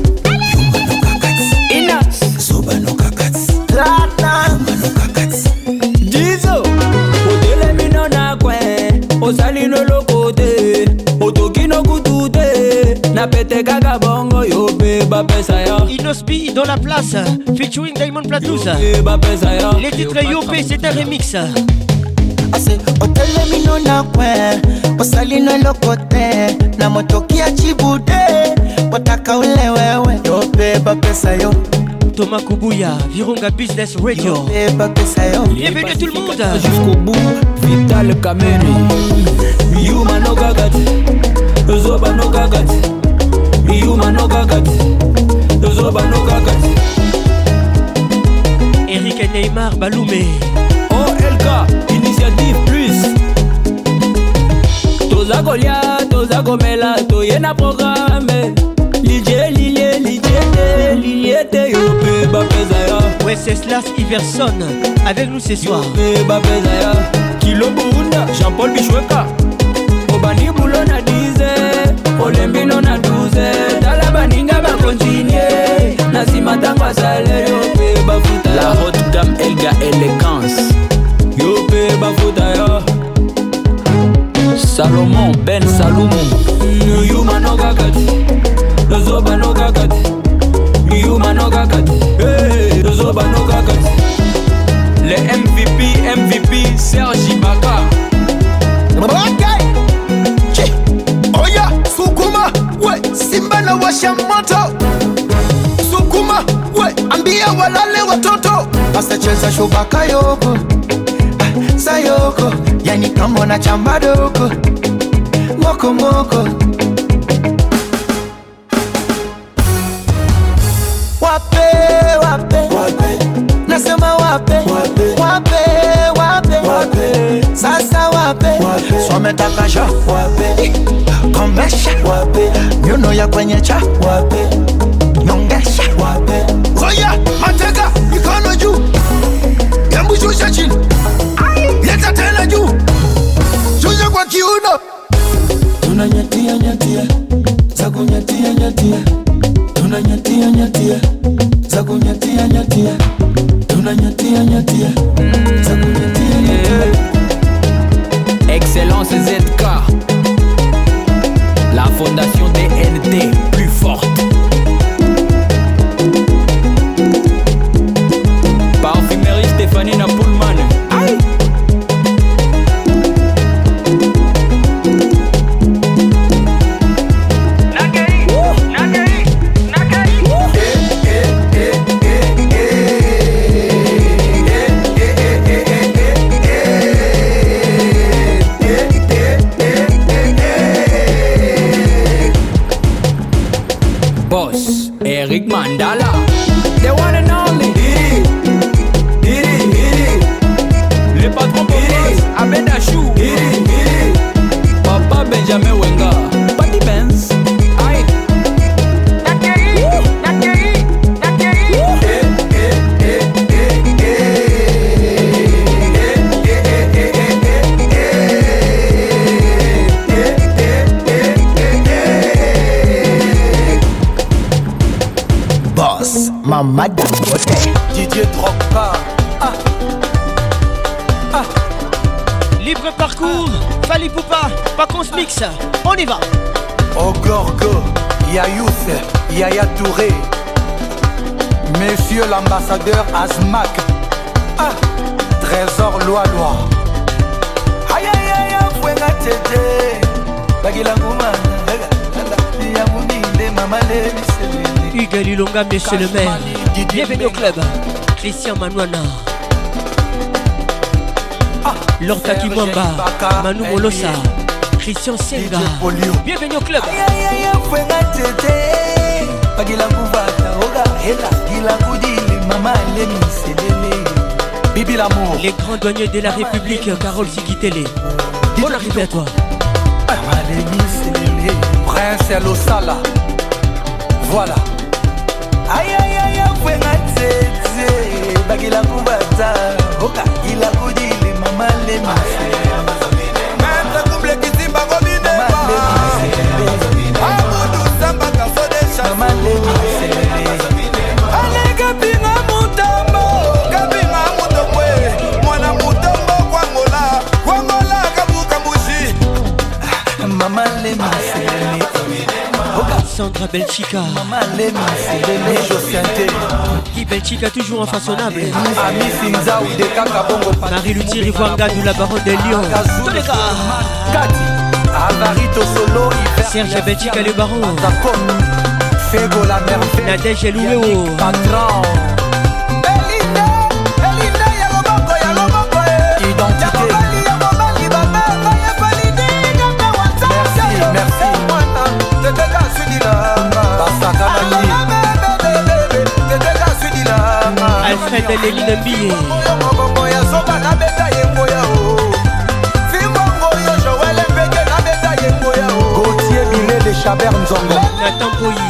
Ina Soba no kakats Rata no kakats Dizo Odele mino na kwe Osali no lokote Otoki no kutute Na pete kaka bongo yo pe ba pesa ya Inospi dans la place featuring Diamond Platous. Les titres Yopé c'est un remix. Ase otele mino na kwe Osali no lokote Na motokia chibude Wataka ule wewe Yope ba pesa yo Thomas Kubuya, Virunga Business Radio. Bienvenue tout le monde. Jusqu'au bout, Vital Kameni. Yuma no gagati, Zoba no gagati. Yuma no gagati, Zoba no gagati. Eric et Neymar Baloumé. O L K, Initiative Plus. Toza Golia, Toza Gomela, Toyena Programme. Lidier, Lilie, Lidier, Liliete, Yopé, Bapezaya. Wenceslas Iverson, avec nous ce soir. Yopé, Bapezaya. Kilo Burunda, Jean-Paul Bichweka. Obani Boulona dize, Olembino na douze. Dalabaninga ba continuer. Nasima tangwa sale, Yopé, Bafuta. La haute gamme Elga Elegance. Yopé, Bafutaya. Salomon, Ben Salomon. Yuma no gagati. Zoba no gagati. Yuma no gagati. Hey, Zoba no gagati. Les M V P, M V P, Serge Ibaka. Ok. Chi. Oya, Sukuma. We, Simba na washa moto. Sukuma. We, ambia walale watoto. Basta cheza shubaka yoko. Ah, sayoko. Yani kama na chamba doko. Moko moko. Wape, wape, wape. Nasema wape, wape, wape, wape, wape. Sasa wape, wape. Swameta kasha, wape. Kombesha, wape. Nyuno ya kwenye cha, wape. Nyongesha, wape. Oya, mateka, mikono juu. Yambu shusha chini. Yeke nyatia, tuna nyatia nyatia, taku nyatia nyatia. Excellence Z K, la fondation D N T plus forte. Parfumerie Stéphanie Napoulman. Aïe. Boss, Eric Mandala, the one and only. Diri, Diri, Diri. Le patron Boss, Abed Achou. Diri, Diri. Papa Benjamin Wenga, Patty Benz. Aïe. Nakeri, Nakeri, Nakeri. Boss, Mama Dangote, Didier Drogba. Ah. Ah. Libre parcours, Fali Poupa, Paconce Mix, on y va. Ogorgo, Yayouf, Yaya Touré, Monsieur l'ambassadeur Azmak. Ah. Trésor Loa-Loa. Aïe aïe aïe, Fouenga Tete, Bagila Gouma, Yamouni, Mama Levi. Hugues Lilonga, monsieur le maire. Bienvenue au club. Christian Manouana. Ah, Lorta Kimwamba, Manu Molosa, Christian Senga. Bienvenue au club. Bibi l'amour. Les grands douaniers de la République, Carole Sikitele. Bonne arrivée à toi. Prince Losala. Voilà. Aïe aïe aïe, fouenga tete, bagila kubata, oka ila kudile mama le masi. Mata kumble kitimba gomine ba. Amudu samba kasodesha mama le masi. Ale kapinga mutambo, kapinga mutomwe, mwana mutombo kwangola, kwangola kabuka mushi. Mama le masi. Sandra Belchica, Maman Lemi, c'est Josiante. Guy Belchica toujours infaçonnable. Ami Finza ou de Kakabongo. Marie Luthier Ivoanga de la baronne de Lyon. Tous les gars. Kati, Avarito Solo, Serge Belchica le baron. Fego la merveille. Nadège Elouéo. Patron. Elinda, Elinda, Yaloboko, Yaloboko. Identité. Merci, merci. Alfred Léline Mbillé. Gauthier Bilé de Chabert Nzongo. Nathan Boyi.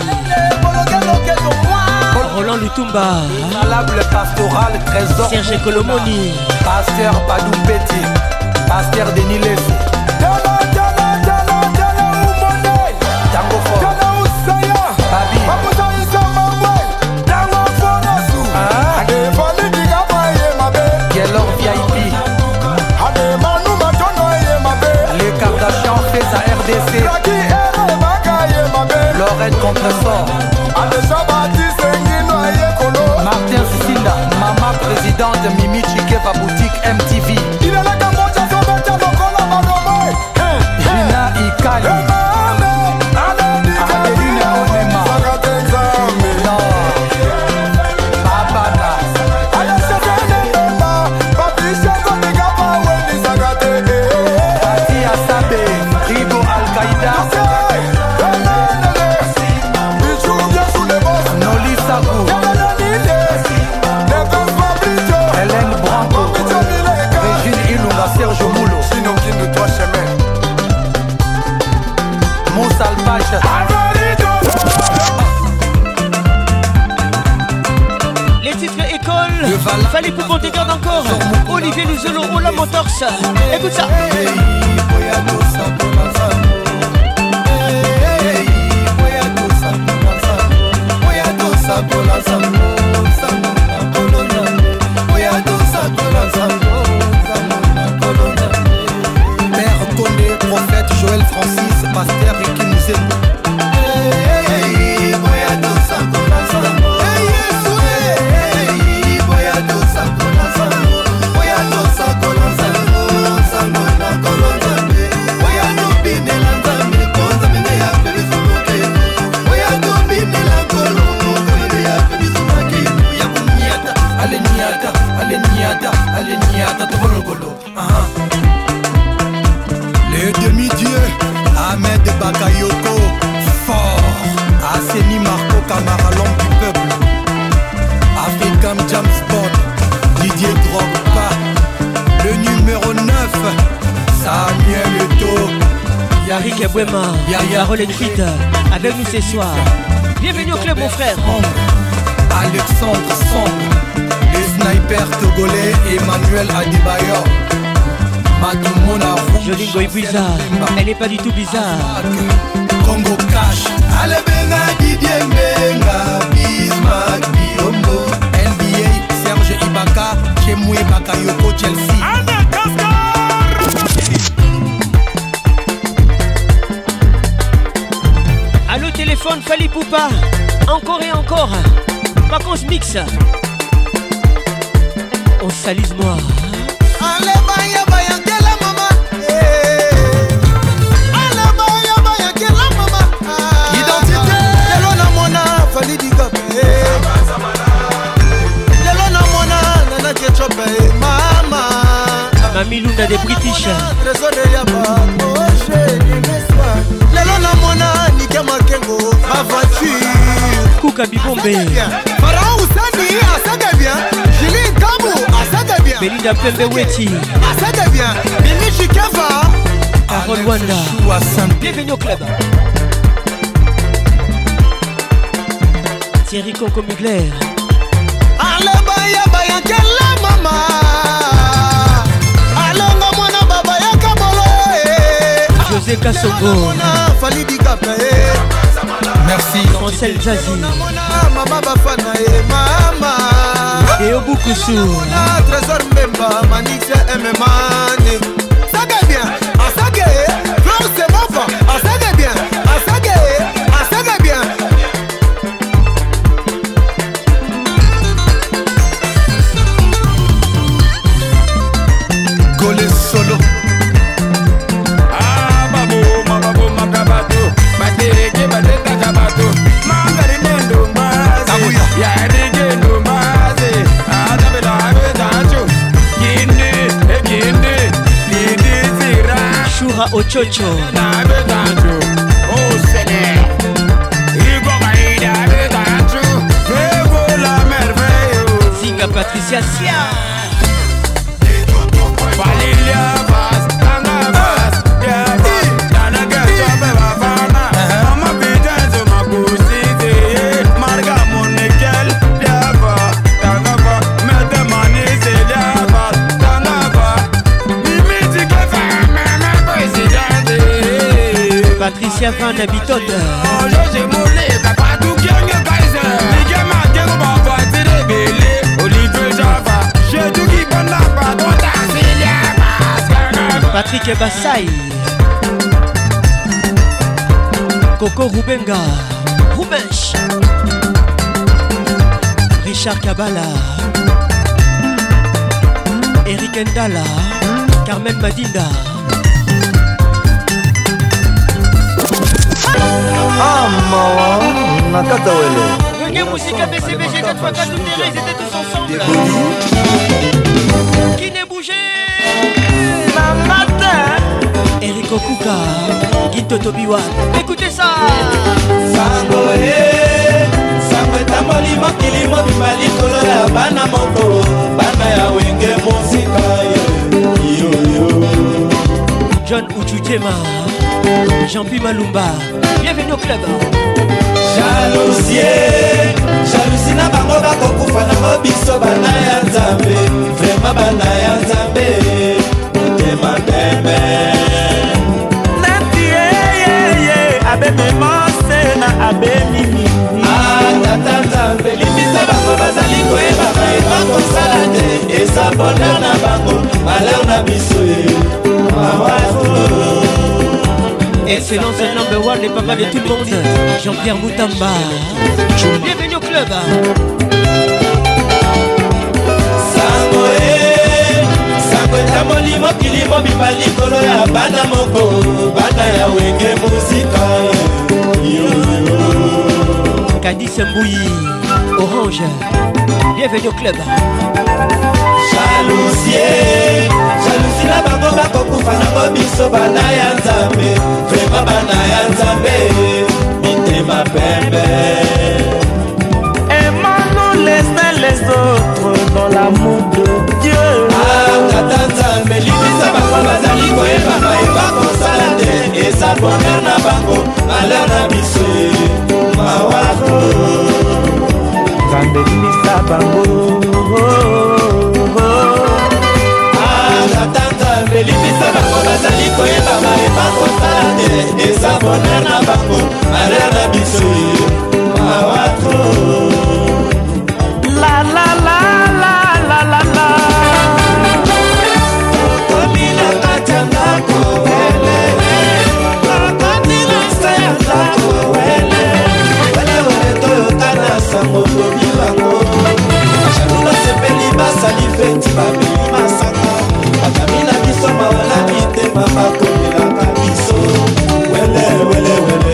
Roland Lutumba. Valable pastoral trésor. Serge Colomoni. Pasteur Padou Petit. Pasteur Denis Lessi. Lorette Compressor Martin Sisinda, Mama présidente Mimi Chikeva boutique M T V. Gina Ikali Adeline Onema Babana Pati Asabe Rigo Al-Qaïda Hélène Branco, Régine Ilunga, Serge Moulo, sinon qui nous doit chemin. Moussa Alpage. Les titres école. Fallait pour qu'on te garde encore. Olivier Luzolo, Ola Motors. Écoute ça. Bouema, Parole écrite avec nous ce soir. Bienvenue au club mon frère. Alexandre Sombre, les snipers togolais, Emmanuel Adebayor, Matumona Rouge, Jolie Goy bizarre, elle n'est pas du tout bizarre. Congo Cash, Alebenga Didier Mbenga, Bismarck Biombo, N B A, Serge Ibaka, Chemoué Bakayoko, Chelsea. Allô téléphone, Fali Poupa, encore et encore. Vacances mix. On salise moi. Allez baya baya kela mama. Allez baya baya kela mama. Identité. Lelo na mona Fali Dikape. Lelo na mona Nana Ketchope mama. Mamie Lunda des British. Trésor de Yaba. Oh chérie n'est-ce Lelo na mona Nika Makengo. Ma voiture. Kouka Bibombe. Pharaon Oussani, ça devient. Julie Kabou, ça devient. Belinda Pembe Weti. Ça devient. Mimi Chikava. Carole Wanda. Bienvenue au club. Thierry Coco Mugler. Allez baya baya kela mama. Alonga mwana baba ya Kabolo. José Kassongo. Fali Dikape. Merci. Francel Zazie. Mama Bafana et mama. Et au Boukoussou. Trésor Mbemba, Manix M M A. Ça va bien. Ah ça va. Flore c'est bon pas. Ah ça va bien. Ah ça va. Ah ça va bien. Golé solo. Ah babo, mababo, makabato. Batereke bateta kabato. Mangari nendo mbaze. Ya rege ndo mbaze. Adabela abetancho. Kinde, e kinde. Lidi zira. Shura Ochocho. Na abetancho. Oh Seigneur. Igo gaida abetancho. Fego la merveille. Zinga Patricia Sia. Valilia Vaz, Tanga Vaz. Yeah, Dana Gacha Bevana. Mama Videnzo Makusite. Marga Monekel. Diava, Tanga Va. Mete Manise Diava, Tanga Va. Mimiti Kefa, Mama Presidente. Patricia Van Habitot. Oh, José Moulé, Papa Doukiang Kaiser. Miguel Makengo Baba Tirebele. Olivier Java. J'ai tout qui bonne la patronne. Patrick Bassay. Coco Rubenga. Rubench. Richard Kabala. Eric Ndala. Carmen Madinda. Ah maman, Nakata Wele. Reggae Musica B C B G quatre fois quatre ils étaient tous ensemble. Qui n'est bougé? Eric Okuka, Guito Tobiwa. Écoutez ça. Sango e, sango etamoli mokili mobimba likolo ya bana moko, bana ya wenge mosika yo yo. John Uchujema, Jean-Pierre Malumba. Bienvenue au club. Jalousie, jalousie na bango bakokufa na biso bana ya Nzambe, vraiment bana ya Nzambe. Tema bebe Nati ye ye abe memose na abe mimi. Ah tata Nzambe limisa bango bazali koyeba bayeba kosala te. Eza bonheur na bango, malheur na biso ye. Excellence number one, les papas de tout le monde. Jean-Pierre Moutamba. Bienvenue au club. Sango e, sango etamoli mokili mobimba likolo ya bana moko, bana ya wenge mosika yo. Candice Mbouyi, Orange. Bienvenue au club. Jalousie, jalousie na bango bakokufa na biso bana ya Nzambe, vraiment bana ya Nzambe, mitema pembe. Aimons-nous les uns les autres dans l'amour de Dieu. Ah, tata Nzambe limisa bango bazali koyeba bayeba kosala te. Eza bonheur bango malheur na biso mawako Nzambe limbisa bango ata Nzambe limbisa bango bazali koyeba mayeba kosala te eza bonheur na bango malheur na biso mawako la la la la la la la okomi na kati ya ndako wele okoti na se ya ndako wele wele wele toyokana sango lobi bango jalo basepeli basali feti babeli masanga bakami na biso mawala mitema bakomelaka biso wele wele wele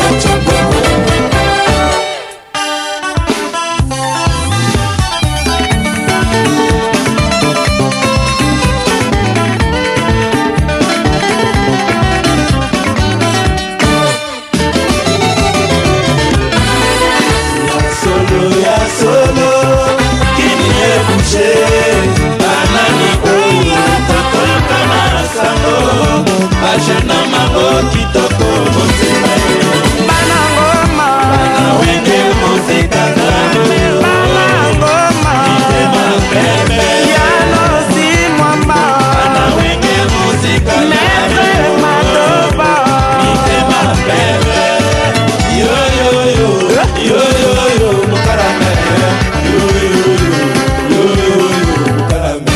bajena mango kitoko motema bana ngoma bana wenge muzika bana ngoma mitema pembe yano si mwamba bana wenge muzika mete matoba mitema pembe yo yo yo yo yo yo mukarame yo yo yo yo yo mukarame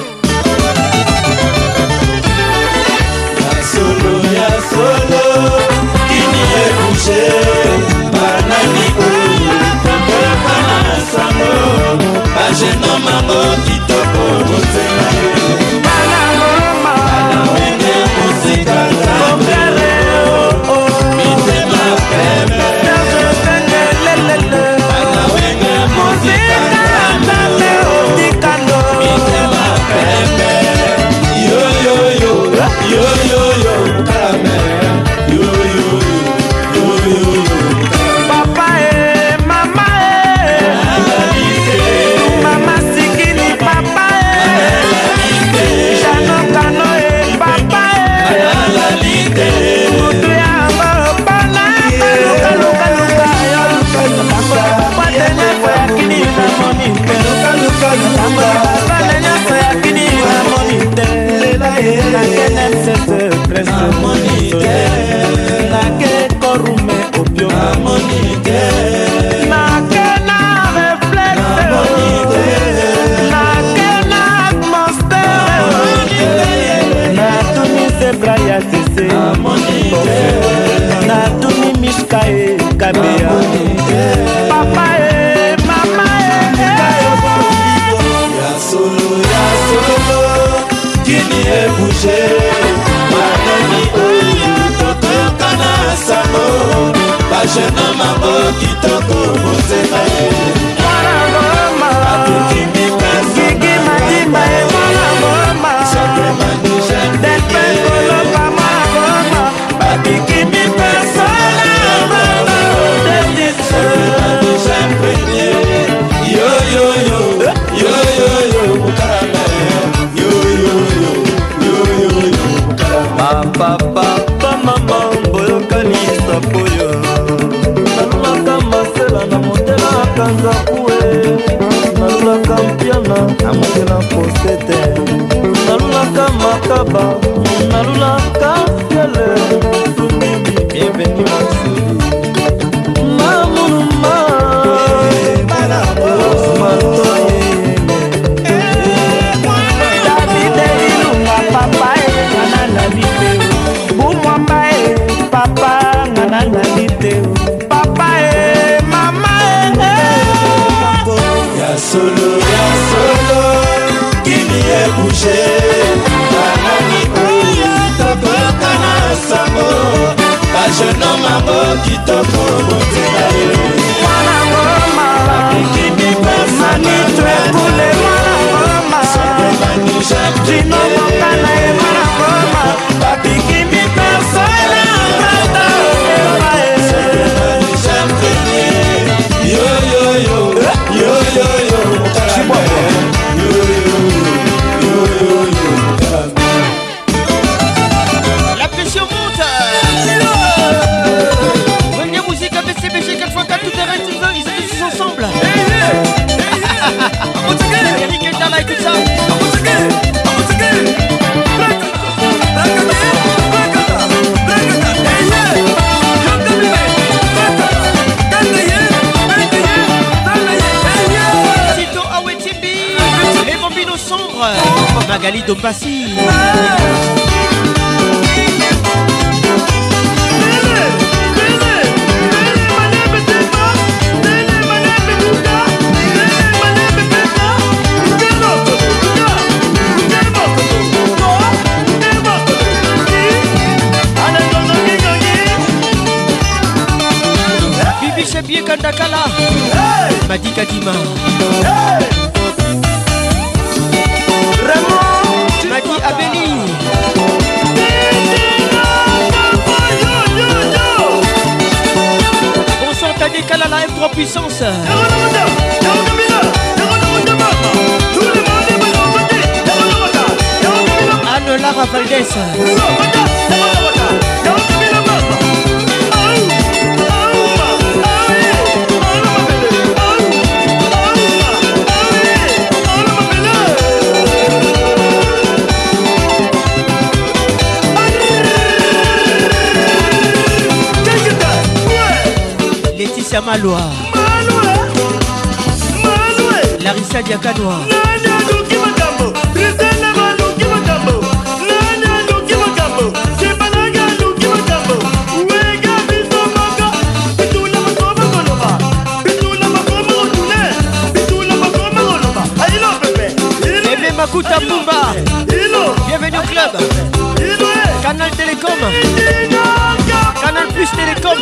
solo kini ebouche banani oyo tokokana sango bajeno mango kitoko motema bana ngoma bana wenge muzika kokere mitema pembe bana wenge muzika nzambe otikano mitema pembe yo yo yo yo yo yo papa e mama e mama sikini papa e jano kano e papa e mutu yango bana kaluka luka luka yo patenya kwa kini na monite patenya kwa kini na monite na kenem sese presque monite na ke korume opio monite na ke na reflexe na ke na atmosphère na tuni zebra ya sese na tuni mishka e kabea papa e mama e ya solo ya solo kini e bouger manani oyo tokokana sango bajena mango kitoko motema mwana ngoma kiki madimba e mwana ngoma depe koloba mwana ngoma babiki mipersona ngoma desise yo yo yo yo yo yo mukarame yo yo yo yo yo yo papa papa mama boyokanisa poyo nalulaka masela na motela kanzakue nalulaka mpiana na motela posete nalulaka makaba nalulaka fiele sumimi bienveni masuli mamuluma matoye davide ilunga papa e ngana na biteo bumwamba e papa ngana na biteo papa e mama e ya solo ya solo kini e bouger banani oyo tokokana sango bajeno mango kitoko motema mwana ngoma manitu ekule mwana ngoma jino mokana e mwana ngoma babiki mipersona ngata epa e yo yo yo yo yo yo yo yo yo yo La pression monte. Magali Dombassi. Bibi Chebie Kandakala. Madi Kadima. Madi Abeli. Bonsoir Tadekala la M trois puissance. Anne Lara Valdez. Laetitia Maloa, Larissa Diakanoa, Bébé Makuta Pumba, bienvenue au club. Canal Télécom, Canal Plus Télécom.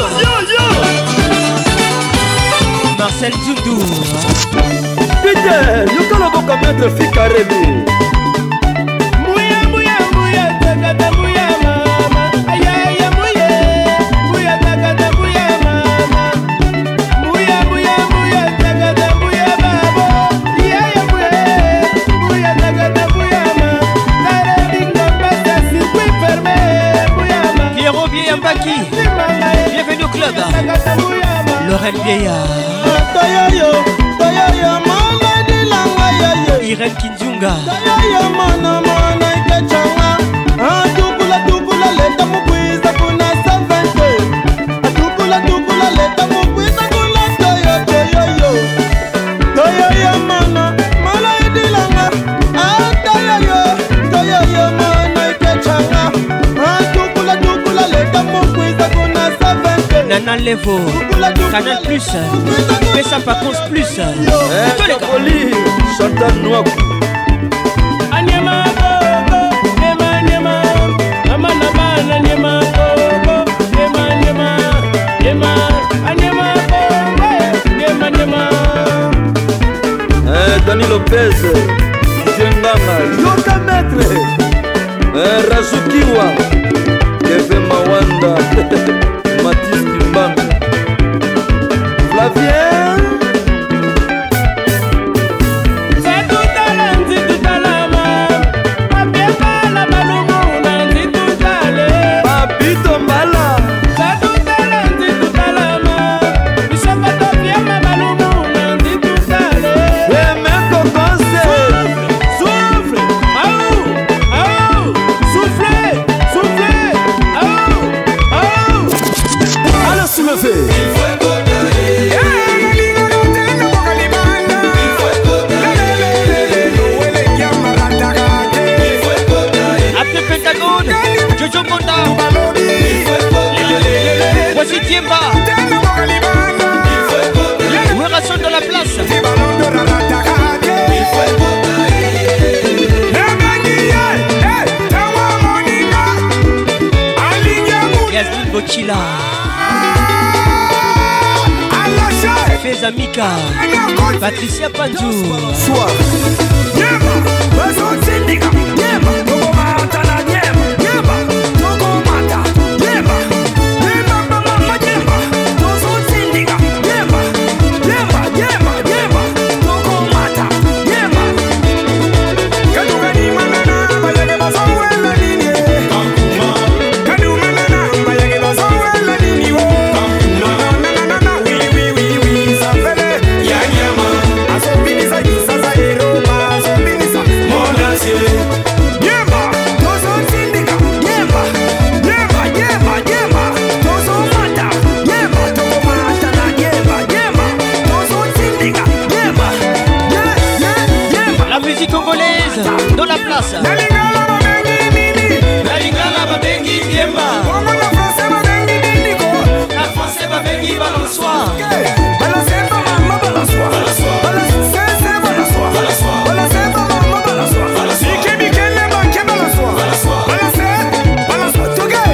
Marcel Zoudou. Peter, yokala boka maître Fikarebi. Mouya mouya mouya tagada mouya mama. Ayaya mouya mouya tagada mouya mama. Mouya mouya mouya tagada mouya babo. Ayaya mouya mouya tagada mouya mama. Taradinga pasta circuit fermé mouya mama. Pierrot Biambaki, bienvenue au club. Lorraine Vieillard. Toyoyo, toyoyo, mama dilanga yeye. Irene Kinzunga. Toyoyo, mana mana ikechanga. Atukula tukula leta mukwiza kuna savente. Atukula tukula leta mukwiza kuna toyo toyoyo. Toyoyo mana mana dilanga. Toyoyo, toyoyo mana ikechanga. Atukula tukula leta mukwiza kuna savente. Nana Levo, Canal Plus, Pessa Pacons Plus. Tous les gars. Chantal Noir. Anyama bobo, nema nema. Nama nama nyema bobo, nema nema. Nema, anyama bobo, nema nema. Eh, Dani Lopez, Jengama, Yoka Maître, eh, Razukiwa, Kevin Mawanda, Mathis Kimbanga, Flavien. C'est tout à l'anzi, tout à la main. Papie bala balumu, nanzi tout à l'é. Papi Tombala. C'est tout à l'anzi, tout à la main. Bishop Atopia, ma balumu, nanzi tout à l'é. Et même Kokose. Souffle, aou, aou, soufflez, soufflez, aou, aou. Alors, tu me fais. Après Pentagone, Jojo Monda. Voici Tiemba. Ouération dans la place. Yasmine Bochila. Feza Mika. Patricia Panzou. Soir. la place. La lingala babengi biemba. La français babengi balançoire. Balançoire maman balançoire. Balançoire. Balançoire balançoire. Balançoire. Balançoire balançoire. Ike bikele manke balançoire. Balançoire. Balançoire toge.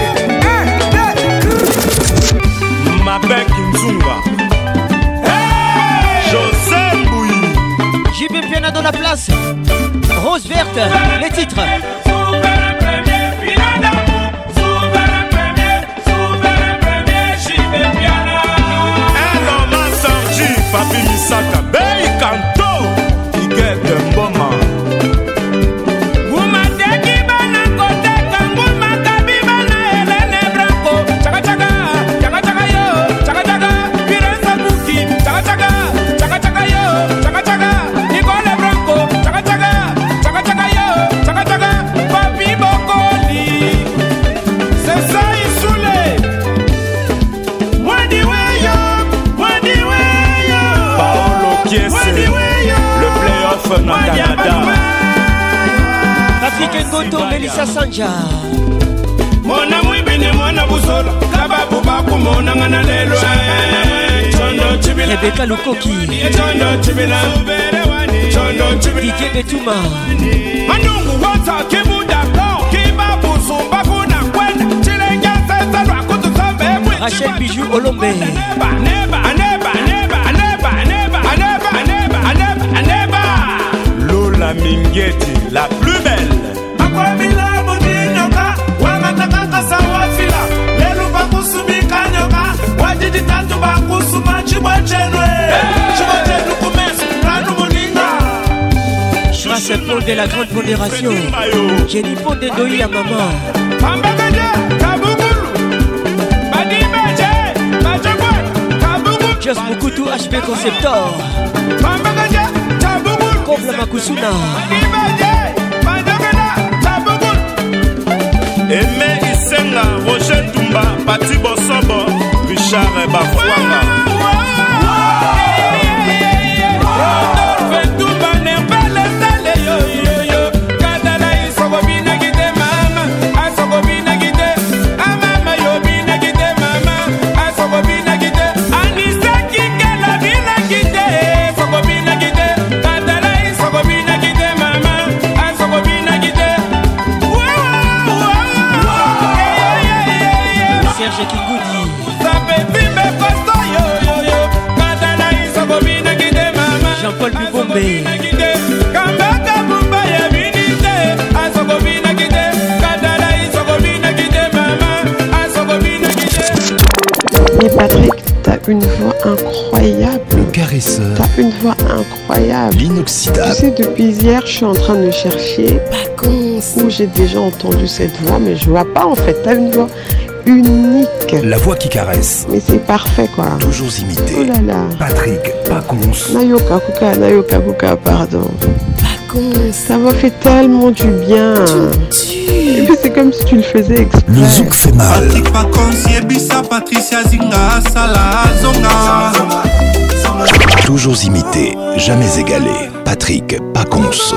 Mabek Nzunga. José Bouy. J B Piana dans la place. Rose verte, les titres. Papi Misaka, Bey Kanto, Igete Mboma. Guma teki bana kote kanguma kabiba na Helene Branco. Chaka chaka, chaka chaka yo, chaka chaka, Pirenza Buki. Chaka chaka, chaka chaka yo, chaka chaka, Nicole Branco. Chaka chaka, chaka chaka yo, chaka chaka, Papi Bokoli. C'est ça Isoulé. Mwadi weyo, mwadi weyo. Kiese, le playoff na Canada. Patrick Ngoto, Melissa Sanja. Mona mwibine mwana busola kababu bakumona ngana lelo. Chondo chibila Rebecca Lukoki. Chondo chibila Chondo chibila Didier Betuma. Manungu wata kibuda ko kibabu sumba kuna kwenda chilenga sasa lwa kutusombe. Rachel Bijou Olombe. Neba neba neba neba neba neba neba neba neba. Lola Mingeti, la plus belle. Akwamila budinyoka wangataka kasawafila lelu bakusumika nyoka wajidi tatu bakusuma chibwachenwe chibwachenu kumesu ranu muninga. Grâce à Paul de la grande pondération. Jenny Pondé Doi à maman. Pambakaje kabugulu badibeje bajabwa kabugulu. Just Mukutu H P Conceptor. Pambakaje kabugulu. Kobla Makusuna. Badibeje bajabwa kabugulu. Aimé Isenga, Roger Tumba, Pati Bosobo, Richard Bafouanga. Serge Kingoudi. Jean-Paul Bubombe. Mais Patrick, t'as une voix incroyable. Le caresseur. T'as une voix incroyable. L'inoxydable. Tu sais, depuis hier, je suis en train de chercher où j'ai déjà entendu cette voix, mais je vois pas en fait. T'as une voix unique. La voix qui caresse. Mais c'est parfait quoi. Toujours imité. Oh là là. Patrick Pacons. Nayoka Kuka, Nayoka Kuka, pardon. Pacons. Ça m'a fait tellement du bien. Et puis c'est comme si tu le faisais exprès. Le zouk fait mal. Patrick Pacons, Yebisa, Patricia Zinga, Salah Zonga. Toujours imité, jamais égalé. Patrick Pacons.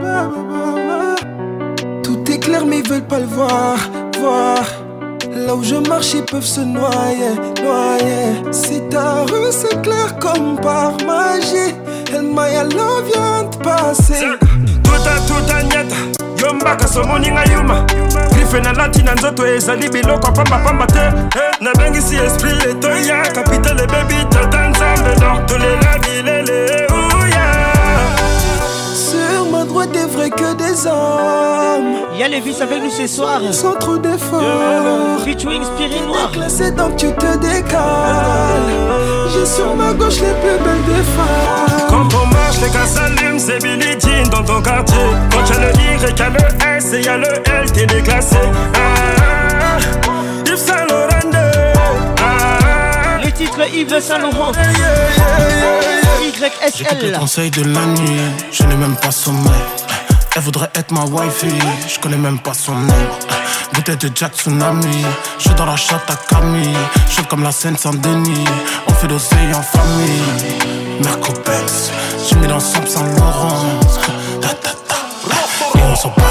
Tout est clair mais ils veulent pas le voir, voir. Là où je marche ils peuvent se noyer, noyer. Si ta rue c'est clair comme par magie, elle m'a love vient de passer. Tuta tuta nyata yombaka somoninga yuma grife na latina nzoto ezali biloko pamba pamba te nabengisi esprit etoya kapitale baby tata nzambe donc tolela bilele ouya. Sur ma droite des vrais que des hommes. Y'a Lévis avec nous ce soir. Sans trop d'efforts. Featuring Spirit Noir. Classé donc tu te décales. J'ai sur ma gauche les plus belles des femmes. Quand on marche les gars s'allument, c'est Billie Jean dans ton quartier. Quand y'a le Y, y'a le S et y'a le L, t'es déclassé. Ah, Yves Saint Laurent. Ah, les titres Yves Saint Laurent. Y S L. J'écoute les conseils de la nuit, je n'ai même pas sommeil. Elle voudrait être ma wifey, je connais même pas son nom. Bouteille de Jack Tsunami, je suis dans la chatte à Camille. Je suis comme la Seine-Saint-Denis, on fait d'oseille en famille. Merco Benz, j'ai mis l'ensemble sans Laurent. Ta ta ta, et on s'en bat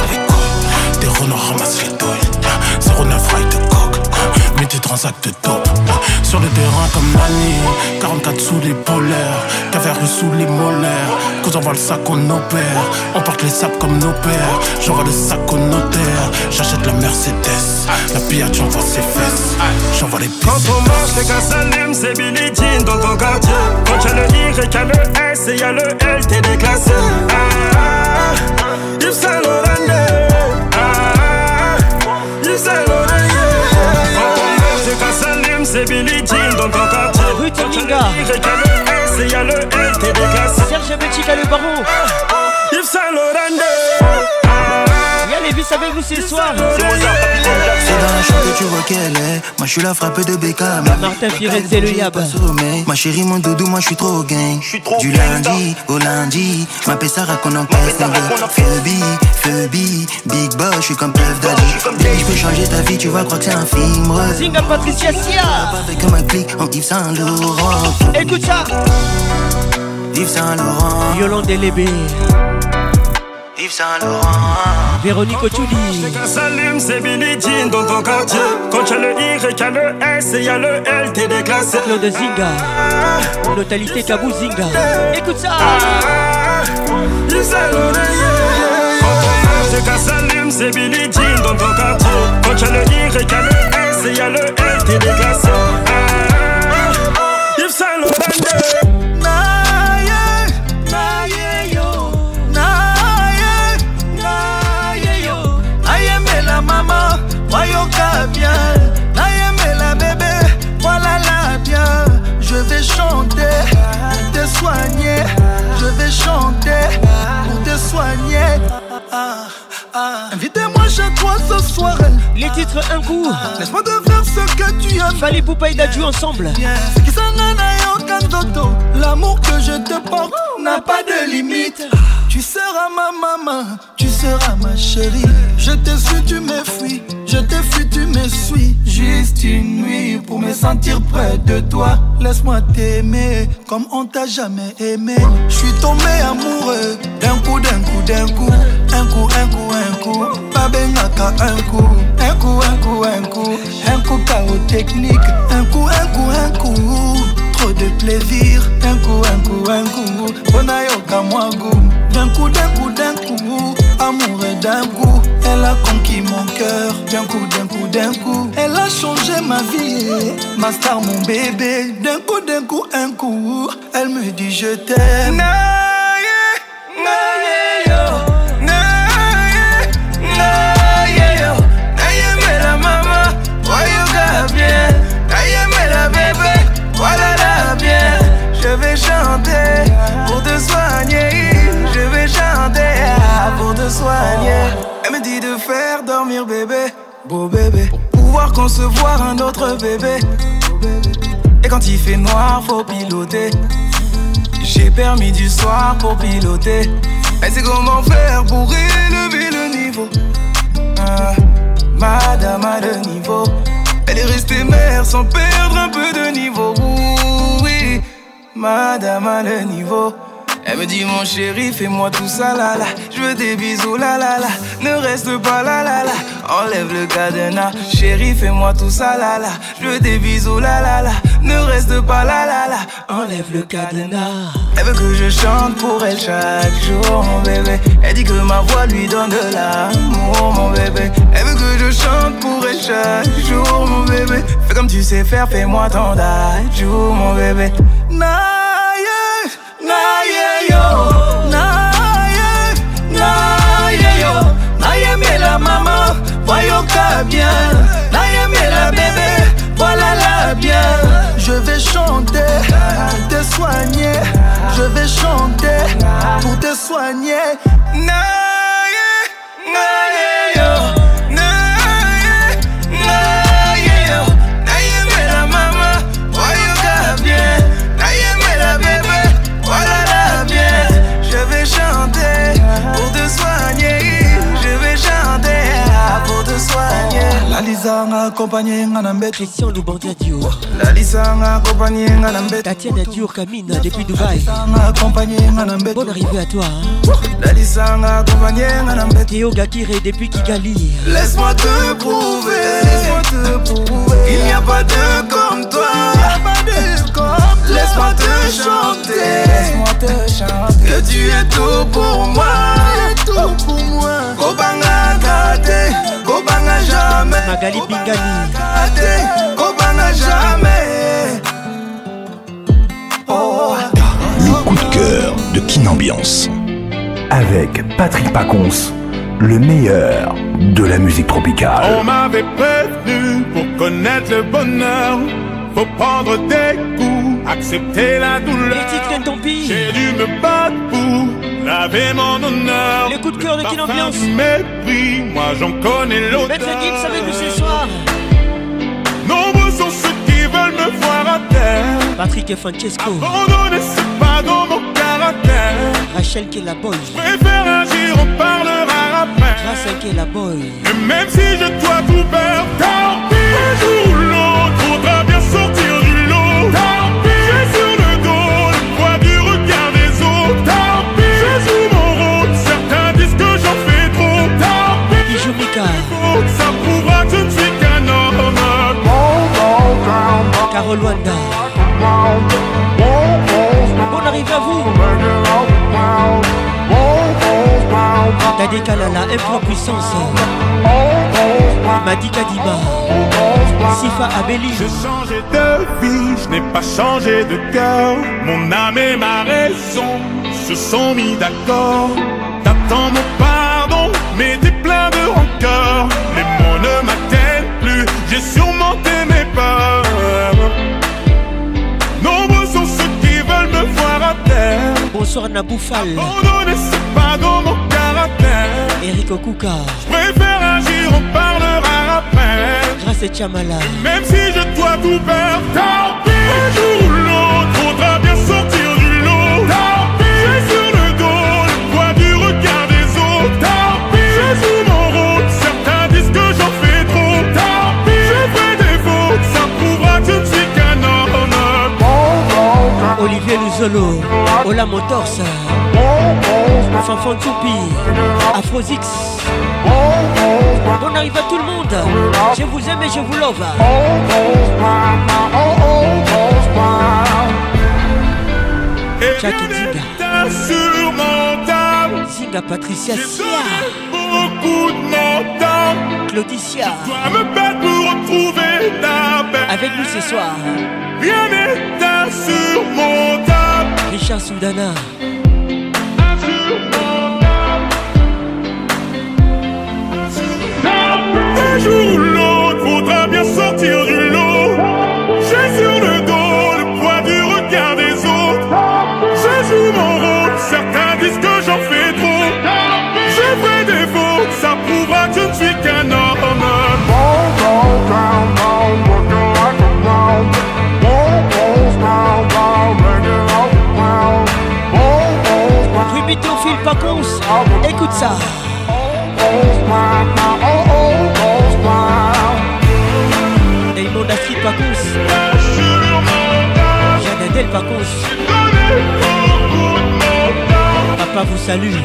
grands actes top. Sur le terrain comme Nani, quarante-quatre sous les polaires, Caverus sous les molaires. Quand on voit le sac on opère, on porte les sacs comme nos pères. J'envoie le sac au notaire, j'achète la Mercedes. La pillade j'envoie ses fesses, j'envoie les pistes. Quand on marche les gars s'allument, c'est Billie Jean dans ton quartier. Quand y'a le Y, y'a le S et y'a le L, t'es déclassé. Ah, ah, Yves Saint Laurent, ah, Yves Saint Laurent. Quand on marche les gars s'allument, c'est Billie Jean dans ton quartier. Rue Tominga, y'a le Y, y'a le S et y'a le L, t'es déclassé. Serge Belchica le baron, Yves Saint Laurent. Y'a les vis avec nous ce soir. C'est dans la chambre que tu vois qu'elle est. Moi je suis la frappe de Beckham. Martin Firenze le Yab. Ma chérie mon doudou, moi je suis trop gang. Du lundi au lundi, ma Pessara qu'on encaisse. Phoebe, Phoebe, Big Boss, je suis comme Puff Daddy. Baby je peux changer ta vie, tu vas croire que c'est un film. Zinga Patricia Sia. Avec ma clique en Yves Saint Laurent. Écoute ça. Yves Saint Laurent. Yolande Lébé. Yves Saint Laurent. Véronique Ochuli. Les gars s'allument, c'est Billie Jean dans ton quartier. Quand y'a le Y, y'a le S et y'a le L, t'es déclassé. Claude Zinga. Notalité Kabou Zinga. Écoute ça. Yves Saint Laurent. Quand on marche, les gars s'allument, c'est Billie Jean dans ton quartier. Quand y'a le Y, y'a le S et y'a le L, t'es déclassé. Yves Saint Laurent. Maman, voyons bien, Naïm la bébé, voilà la bien. Je vais chanter, te soigner. Je vais chanter pour te soigner. Ah, ah. Invitez-moi chez toi ce soir. Les titres un coup. Laisse-moi te faire ce que tu aimes. Fallait Poupa et Dadju ensemble. Ce qui s'en a aucun dodo. L'amour que je te porte n'a pas de limite. Tu seras ma maman, tu seras ma chérie. Je t'ai su, tu m'enfuis. Je t'ai fui, tu me suis. Juste une nuit pour me sentir près de toi. Laisse-moi t'aimer comme on t'a jamais aimé. Je suis tombé amoureux d'un coup, d'un coup, d'un coup. Un coup, un coup, un coup. Babengaka un coup. Un coup, un coup, un coup. Un coup chaos technique. Un coup, un coup, un coup. Trop de plaisir. Un coup, un coup, un coup. Bonayoka moi goût. D'un coup, d'un coup, d'un coup. Amoureux d'un coup. Elle a conquis mon cœur. D'un coup, d'un coup, d'un coup. Elle a changé ma vie. Ma star, mon bébé. D'un coup, d'un coup, un coup. Elle me dit je t'aime. Naye, naye, yo. Naye, naye, yo. Naye, mais la maman. Voyons bien. Naye, mais la bébé. Voilà la bien. Je vais chanter pour te soigner. Je vais chanter pour te soigner. Elle me dit de faire dormir bébé, beau bébé, pour pouvoir concevoir un autre bébé. Et quand il fait noir, faut piloter. J'ai permis du soir pour piloter. Elle sait comment faire pour élever le niveau. Ah, madame a le niveau. Elle est restée mère sans perdre un peu de niveau. Oui, madame a le niveau. Elle me dit mon chéri, fais-moi tout ça là là. Je veux des bisous là là là. Ne reste pas là là là. Enlève le cadenas. Chéri, fais-moi tout ça là là. Je veux des bisous là là là. Ne reste pas là là là. Enlève le cadenas. Elle veut que je chante pour elle chaque jour, mon bébé. Elle dit que ma voix lui donne de l'amour, mon bébé. Elle veut que je chante pour elle chaque jour, mon bébé. Fais comme tu sais faire, fais-moi ton dadju, mon bébé. Naïe, naïe, yo. Naïe, naïe, yo. Naïe, mais la maman, voyons qu'à bien. Naïe, mais la bébé, voilà la bien. Je vais chanter pour te soigner. Je vais chanter pour te soigner. Naïe, naïe, yo. Naïe, naïe, yo. Naïe, mais la maman, voyons qu'à bien. Naïe, mais la bébé, voilà la bien. Je vais chanter pour te soigner. Je vais chanter pour te soigner. La Lisa Lalisa nga accompagné nga na mbet. Christian Loubandia Dior. Lalisa nga accompagné nga na mbet. Tatiana Dior Camine depuis Dubaï. Lalisa nga accompagné nga na mbet. Bonne arrivée à toi. Lalisa nga accompagné nga na mbet. Théo Gakire depuis Kigali. Laisse-moi te prouver, laisse-moi te prouver. Il n'y a pas de comme toi. Il n'y a pas de comme. Laisse-moi te chanter, laisse-moi te chanter. Que tu es tout pour moi, tu es tout pour moi. Kobanga kate, Kobanga jamais. Magali Pingani. Kobanga jamais. Oh. Le coup de cœur de Kin Ambiance. Avec Patrick Pacons, le meilleur de la musique tropicale. On m'avait prévenu pour connaître le bonheur. Faut prendre des coups, accepter la douleur. Les titres tant pis. J'ai dû me battre pour laver mon honneur. Les coups de cœur de Kin Ambiance. Mépris, moi j'en connais l'odeur. Maître Gibbs avec nous ce soir. Nombreux sont ceux qui veulent me voir à terre. Patrick et Francesco. Abandonner c'est pas dans mon caractère. Rachel qui est la boy. Je préfère agir, on parlera après. Grâce qui est la boy. Et même si je dois tout perdre, tant pis. Un jour ou l'autre, faudra bien sortir du lot. Tant pis. J'ai sur le dos le poids du regard des autres. Tant pis. Je joue mon rôle, certains disent que j'en fais trop. Tant pis. Bijou Mika. Ça prouvera que je ne suis qu'un homme. Carole Wanda. Bonne arrivée à vous. Tadé Kalala, impuissance. Madi Kadiba. Sifa Abeli. J'ai changé de vie, je n'ai pas changé de cœur. Mon âme et ma raison se sont mis d'accord. T'attends mon pardon, mais t'es plein de rancœur. Les mots ne m'atteignent plus, j'ai surmonté mes peurs. Nombreux sont ceux qui veulent me voir à terre. Bonsoir Naboufal. Abandonner c'est pas dans mon caractère. Eric Okuka. Je préfère agir, on parlera après. Grâce à Chamala. Même si je dois tout perdre, tant pis. Un jour ou l'autre, faudra bien sortir du lot. Tant pis. J'ai sur le dos le poids du regard des autres. Tant pis. Je joue mon rôle, certains disent que j'en fais trop. Tant pis. Je fais des fautes, ça prouvera que je ne suis qu'un homme. Olivier Luzolo, Ola Motors, Fanfan Toupi, Afrozix. Bonne arrivée à tout le monde. Je vous aime et je vous love. Jack Zinga. Zinga Patricia Sia. Beaucoup de mon temps. Claudicia. Je dois me battre pour retrouver la paix. Avec nous ce soir. Rien n'est insurmontable. Richard Soudana. Un jour ou l'autre, faudra bien sortir du lot. J'ai sur le dos le poids du regard des autres. Je joue mon rôle, certains disent que j'en fais trop. Je fais des fautes, ça prouvera que je ne suis qu'un homme. Ruby Théophile Pacons, écoute ça. Damon Astrid Pacons, Jeanne Adèle Pacons. Papa vous salue.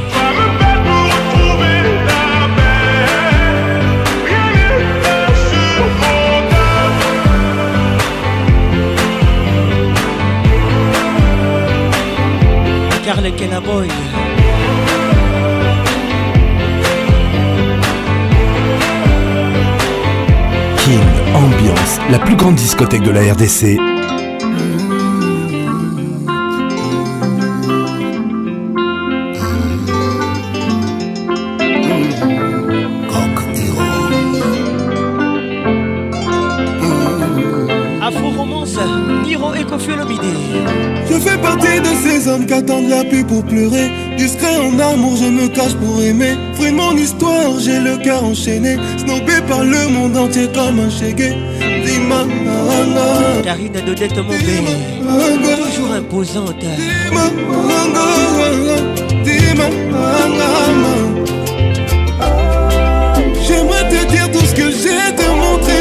Carle Kenaboy. Kin Ambiance, la plus grande discothèque de la R D C. Afro-romance, Hiro et Kofi Olomide. Je fais partie de ces hommes qui attendent la pluie pour pleurer. Discret en amour, je me cache pour aimer. Fruit de mon histoire, j'ai le cœur enchaîné. Snobé par le monde entier comme un chégué. Dima, Karine Dodette Mombé, toujours imposante. Dima, Dima, j'aimerais te dire tout ce que j'ai te montrer.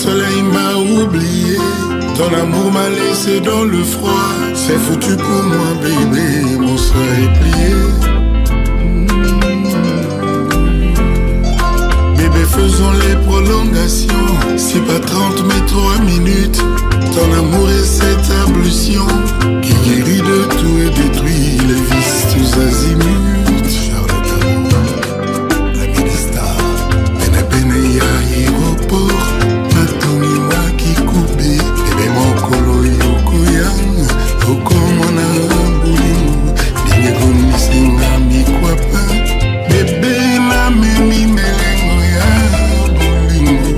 soleil m'a oublié, ton amour m'a laissé dans le froid. C'est foutu pour moi bébé, mon soir est plié. Bébé faisons les prolongations, c'est pas trente mais trois minutes. Ton amour est cette ablution qui guérit de tout et détruit les vices tous azimuts. Charlotte, la ministre, Pene Pene ya aéroport, Matoni wa kikubi, bébé mon kolo yokoyang, okomona bulimu, binge komisinga mikwapa, bébé na memi melengo ya bulimu.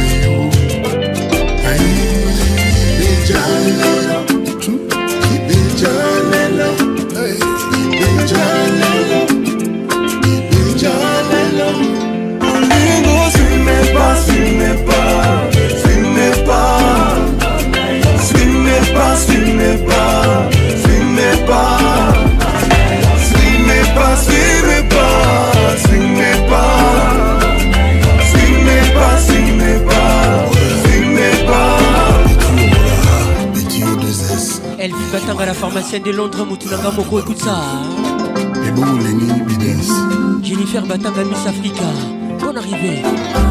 Elle vit Batanga, la pharmacienne de Londres, Moutounanga Moko, écoute ça. Et bon, Lenny Bidens. Jennifer Batanga, Miss Africa. Bonne arrivée.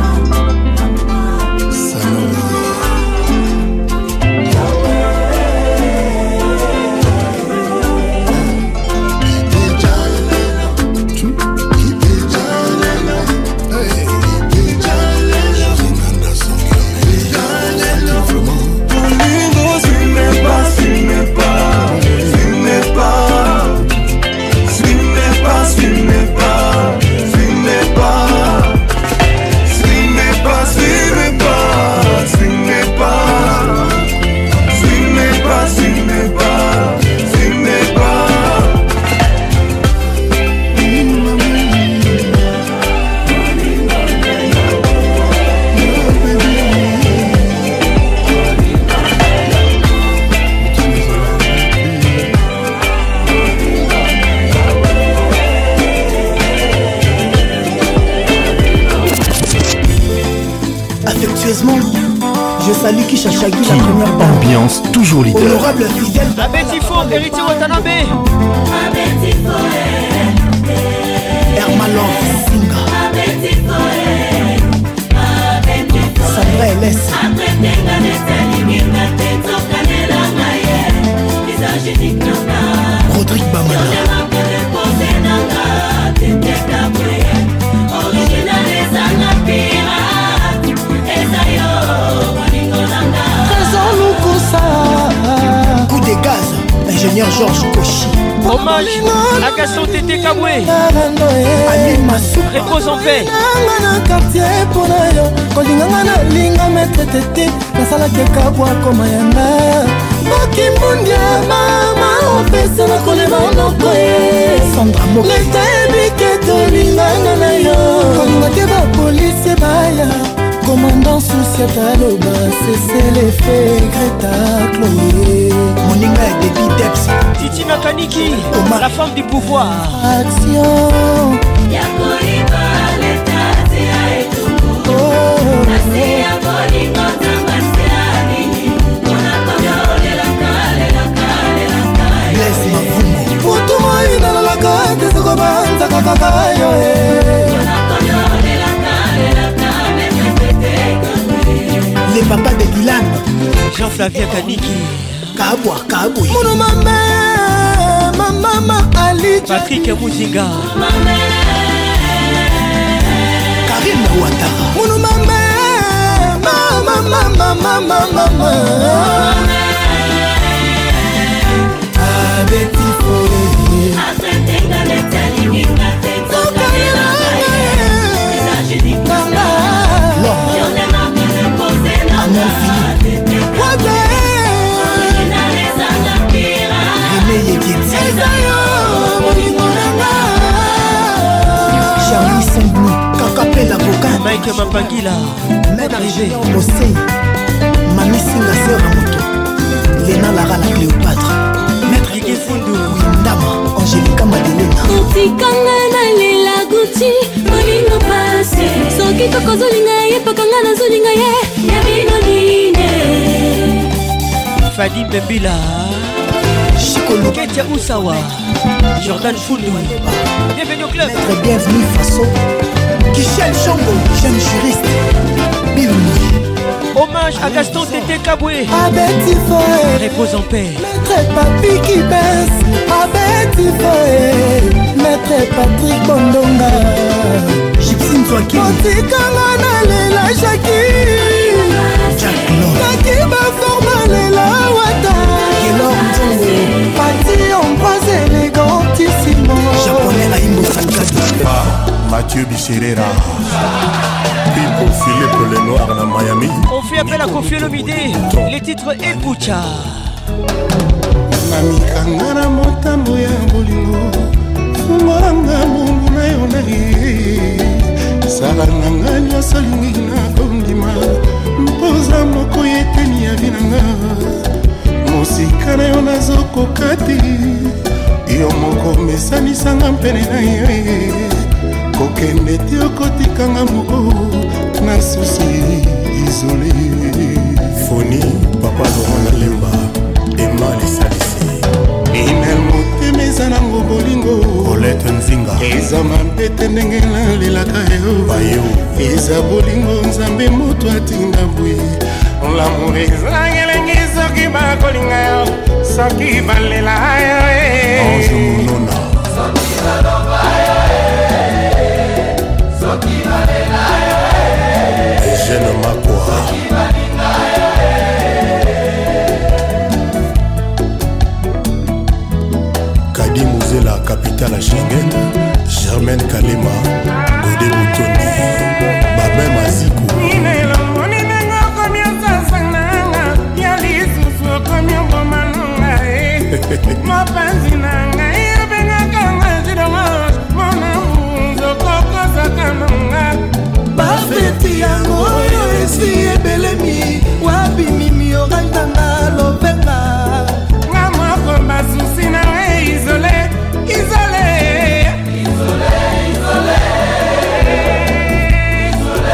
Je salue Kisha Shaggy, la première dame. Ambiance toujours leader. Honorable fidèle. Abetifo, héritier Watanabe. Hermalon Singa. Sandra Elès. Rodrigue Bamana. Coup de gaz, ingénieur Georges Kochi. Hommage à Gaston Tété Kaboué. Repose en paix. Sandra commandant souci taloba, c'est l'effet Greta Chloé. Moninga et Debbie Debs. Titi Makaniki, la femme du pouvoir. Action. Yakoriba, l'état, c'est à étouffer. Oh, c'est à voler quand t'as passé à l'île. On a collé la cale, la cale, la cale. Laisse ma foumo. Pour tout moi, il a la cale, c'est ce qu'on va, ça caca, yo, eh. On a collé la cale, la cale. Les papas de Dylan. Jean-Flavien Kaniki. Kabwa, Kabou. Mono mama, mama Ali. Patrick Mouzinga. Karim Ouattara. Mono mama, mama, mama, mama, mama. Abeti Fore. Charlie Saint-Denis, Kakapé l'avocat. Mike Mapangila, bonne arrivée. Mosei, Mami Singa Sera Moto, Léna Lara la Cléopâtre, Maître Guigui Fundu, Windama, Angélica Madelena. Otikanga na lela Gucci, molingo pasi. Soki tokozolinga ye, pakanga na zolinga ye, ya binoni. Fadi Mbembila, Ketia Oussawa, Jordan Foundou. Bienvenue au club. Maître bienvenue Faso, Michel Chambo, jeune juriste. Bill. Hommage à Gaston Tété Kaboué. Repose en paix. Maître Papi qui baisse. Abeti Foe. Maître Patrick Bondonga. Gypsine Zouaki. Motikanga na lela Jackie. Jackie ba forma lela wata. Gelor Nzongo. Pati en bras élégantissimo. Japonais na Imbo Sankado. Mathieu Bichirera. Pipo Philippe le Noir na Miami. On fait appel à Kofi Olomide. Les titres Epucha. Namikanga na motambo ya bolingo. Fungoranga mungu na yo na ye. Sala nanga nyonso lingi na kondima. Mpoza moko yeteni ya vinanga. Mosika na yo nazokoka te. Yo moko mesanisanga mpene na yo. Kokende te okotikanga moko na susi isolé. Foni papa Laurent Lemba Emma Lisalisi Inel motema eza nango bolingo Colette Nzinga eza mampete ndenge nalelaka yo bayo eza bolingo nzambe moto atinda bwe l'amour eza ngelengi soki bakolinga yo soki balela yo Ange Monona soki baloba yo soki balela yo Eugène Makwa soki balinga yo Kadi Mouzela capitale à Schengen Germaine Kalema Godé Boutoni Babin Mazikou Ninelo Ninengo komyo sasananga Yali susu komyo bomanunga Mapanzi nanga Yebenga kanga jidomos Mona munzo koko sakanunga Bafeti yango oyo esi ebelemi Wabi mimi orantanga lopenga Nga moko basusi na we isolé Isolé Isolé Isolé Isolé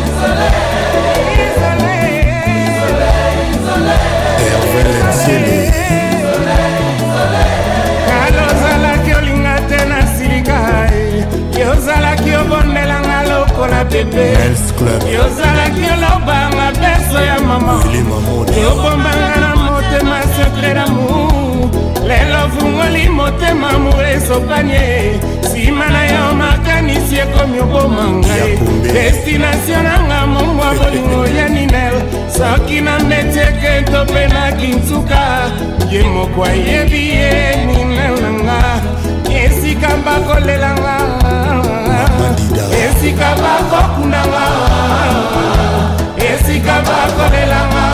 Isolé Isolé Isolé Hervé Lenzieli Isolé Isolé Kalozala kiolinga tena silika Yozala kiobondelanga lokola bebe Yozala kiolobanga beso ya mama Yobombanga na motema secret d'amour Lelo fungoli motema mure sopanye Sima na yo makanisi ekomi obomanga Destination nanga momwa bolingo ya ninel Soki na mbetieke tope na kinsuka Ye mokwa yebi ye ninel nanga Esika bakolelanga Esika bakokunanga Esika bakolelanga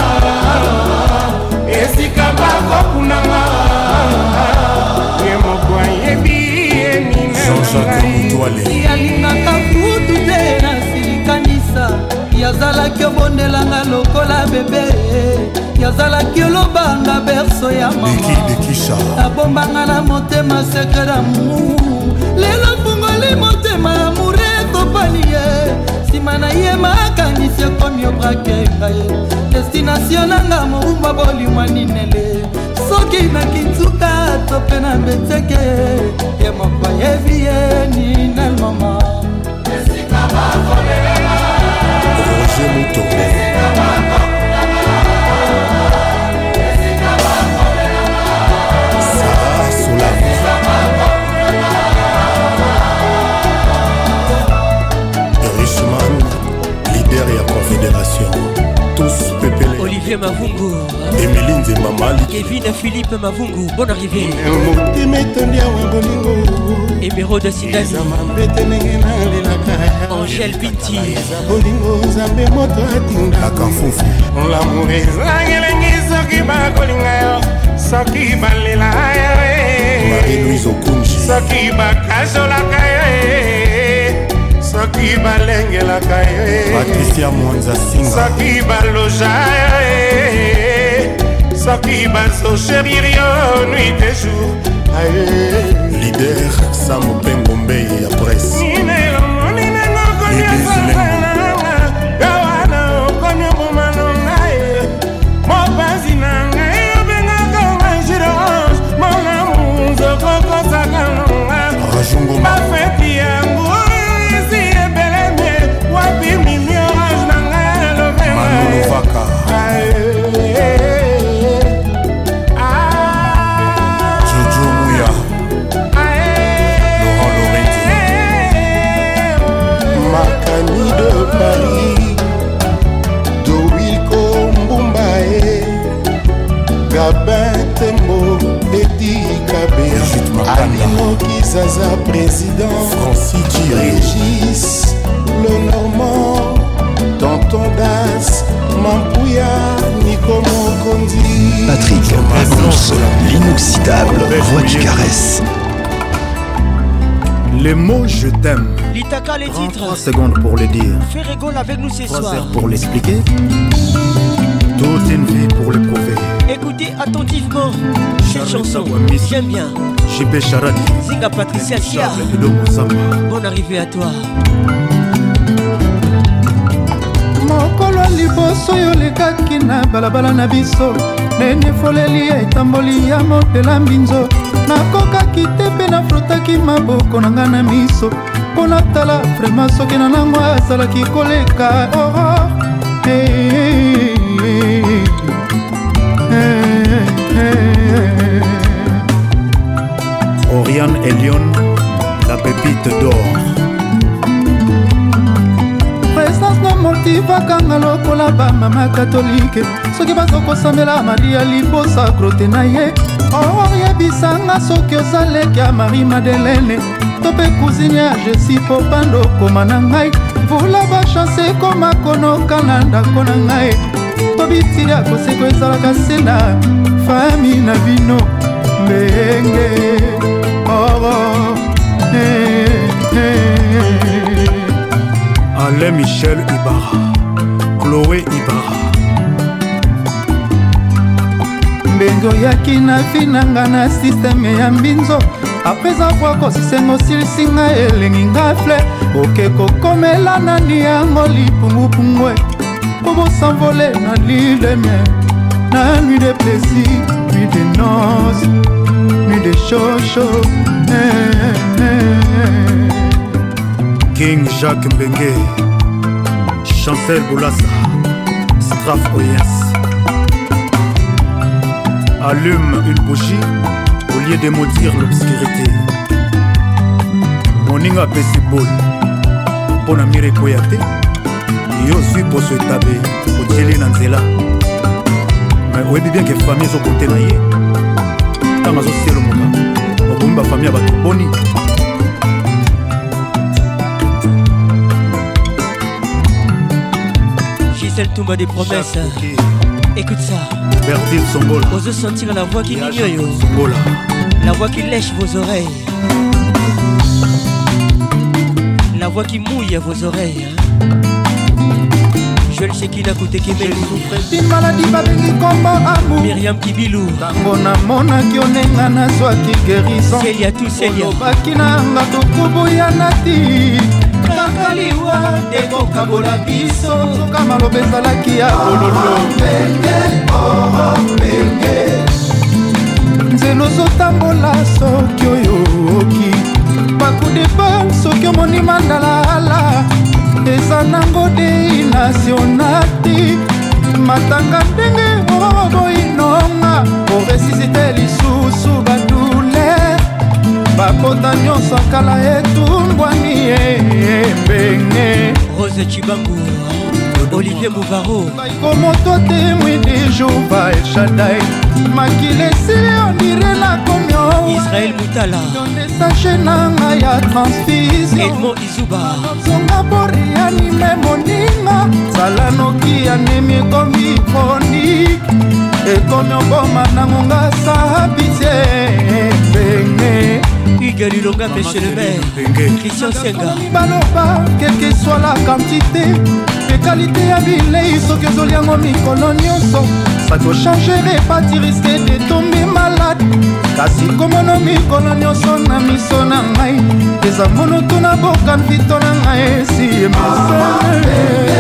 Esika bakokunanga Ye mokwa yebi ye ninel yalingaka kutu te na silikanisa yazalaki obondelanga lokola bebe yazalaki olobanga berso ya mama abombanga na motema sekre d'amour lelo fungoli motema amoure topani ye nsima na ye makanisi ekomi obrake ngai destination nanga moumba bolimwa ninele soki na kinsuka to mpe na mbeteke ye moko yebi ye ninel mama esika bakolelela Roger Mouton esika bakolelela esika bakolelela Sarah Solam Richman leader ya confédération tous pepele Olivier Mavungu Emily Nzemamali Kevin Philippe Mavungu bonne arrivée motema etondi awa bolingo Emeraude Sindani mambete ndenge nalelaka Angèle Binti bolingo nzambe moto atindaka mfufu l'amour eza ngelengi soki bakolinga yo soki balela yo Marie-Louise Okunji soki bakazolaka yo soki balengelaka yo Patricia Mwanza Singa soki baloja yo soki bazochérir yo nuit et jour leader Sam Pengo Mbei ya presse ninelo moninengo komiosaaanga gawana okomi obomanonga ye mopanzi nanga véritable voix qui caresse. Les mots je t'aime. L'Itaka, les titres. trois secondes pour le dire. Fais rigole avec nous ce soir. trois heures pour l'expliquer. Toute une vie pour le prouver. Écoutez attentivement cette chanson. J'aime bien. J P Charadi. Zinga Patricia Chia. Bonne arrivée à toi. mokolo liboso yo lekaki na balabala na biso nene foleli etamboli ya motela mbinzo nakokaki te mpe nafrotaki maboko na nga na miso mpo natala vraimen soki na nango azalaki koleka aurore hey, hey, hey, hey. Oriane Elion, la pépite d'or. présence na motivakanga lokola bamama katolike soki bazokosambela maria libosa grote na ye oyebisanga soki ozaleki ya marie madelene to mpe cousine ya jesi popando koma na ngai mvula bachanse ekoma konoka na ndako na ngai to bitili ya koseko ezalaka se na fami na bino mbenge oro hey, hey. Alain Michel Ibarra, Chloé Ibarra. Mbengo yaki na finanga na systeme ya mbinzo apres avoir kosisengo silisinga elengi nga fle oke kokomela nani yango lipungupungwe po bosanvole na lileme na nuit de plaisir, nuit de noces, nuit de chocho eh, eh, eh. King Jacques Mbengue, Chancel Boulassa, Straf Oyens. Allume une bougie au lieu de maudire l'obscurité. Moninga Pessibol, Ponamire Koyate, Yo suis pour se taber, au Tchélé Nanzela. Mais oui, bien que famille sont côté naïe. Tant que c'est le moka, au bomba famille à battre boni. Gisèle Toumba des promesses. Écoute ça. Bertil Songola. Osez sentir la voix qui n'ignore. Songola. La voix qui lèche vos oreilles. La voix qui mouille vos oreilles. Joël Shekina Koutekemeli. Une maladie babengi kombo amour. Myriam Kibilou. Tango namonaki onenga nazwaki guérison. Celia tout Celia. Olobaki nanga tokubuya nati. Kakaliwa ekokabola biso. Soka maloba ezalaki ya bololo. Nzela ozotambola soki oyoki. Bakudepa soki omoni mandalaala. eza nango dei nationati matanga ndenge oboinonga oresisite lisusu badule bakota nyonso kala etumbwani ebenge Rose Chibangu Olivier Mouvaro baikomoto témoin de Jova El Shaddai makile esili ondire na komio Israël Moutala yondesache nanga ya transfusion Edmond Izuba zonga borianime moninga zala noki anemi ekomi chronique ekomi oboma nango nga sabitie benge Hugues Lulonga Monsieur le maire Christian Senga baloba quelle que soit la quantité de qualité ya bilei soki ezoli yango mikolo nyonso ça doit changer pas tu risques de tomber malade kasi komono mikolo nyonso na miso na ngai eza mono tuna boka mpito na ngai esi emasele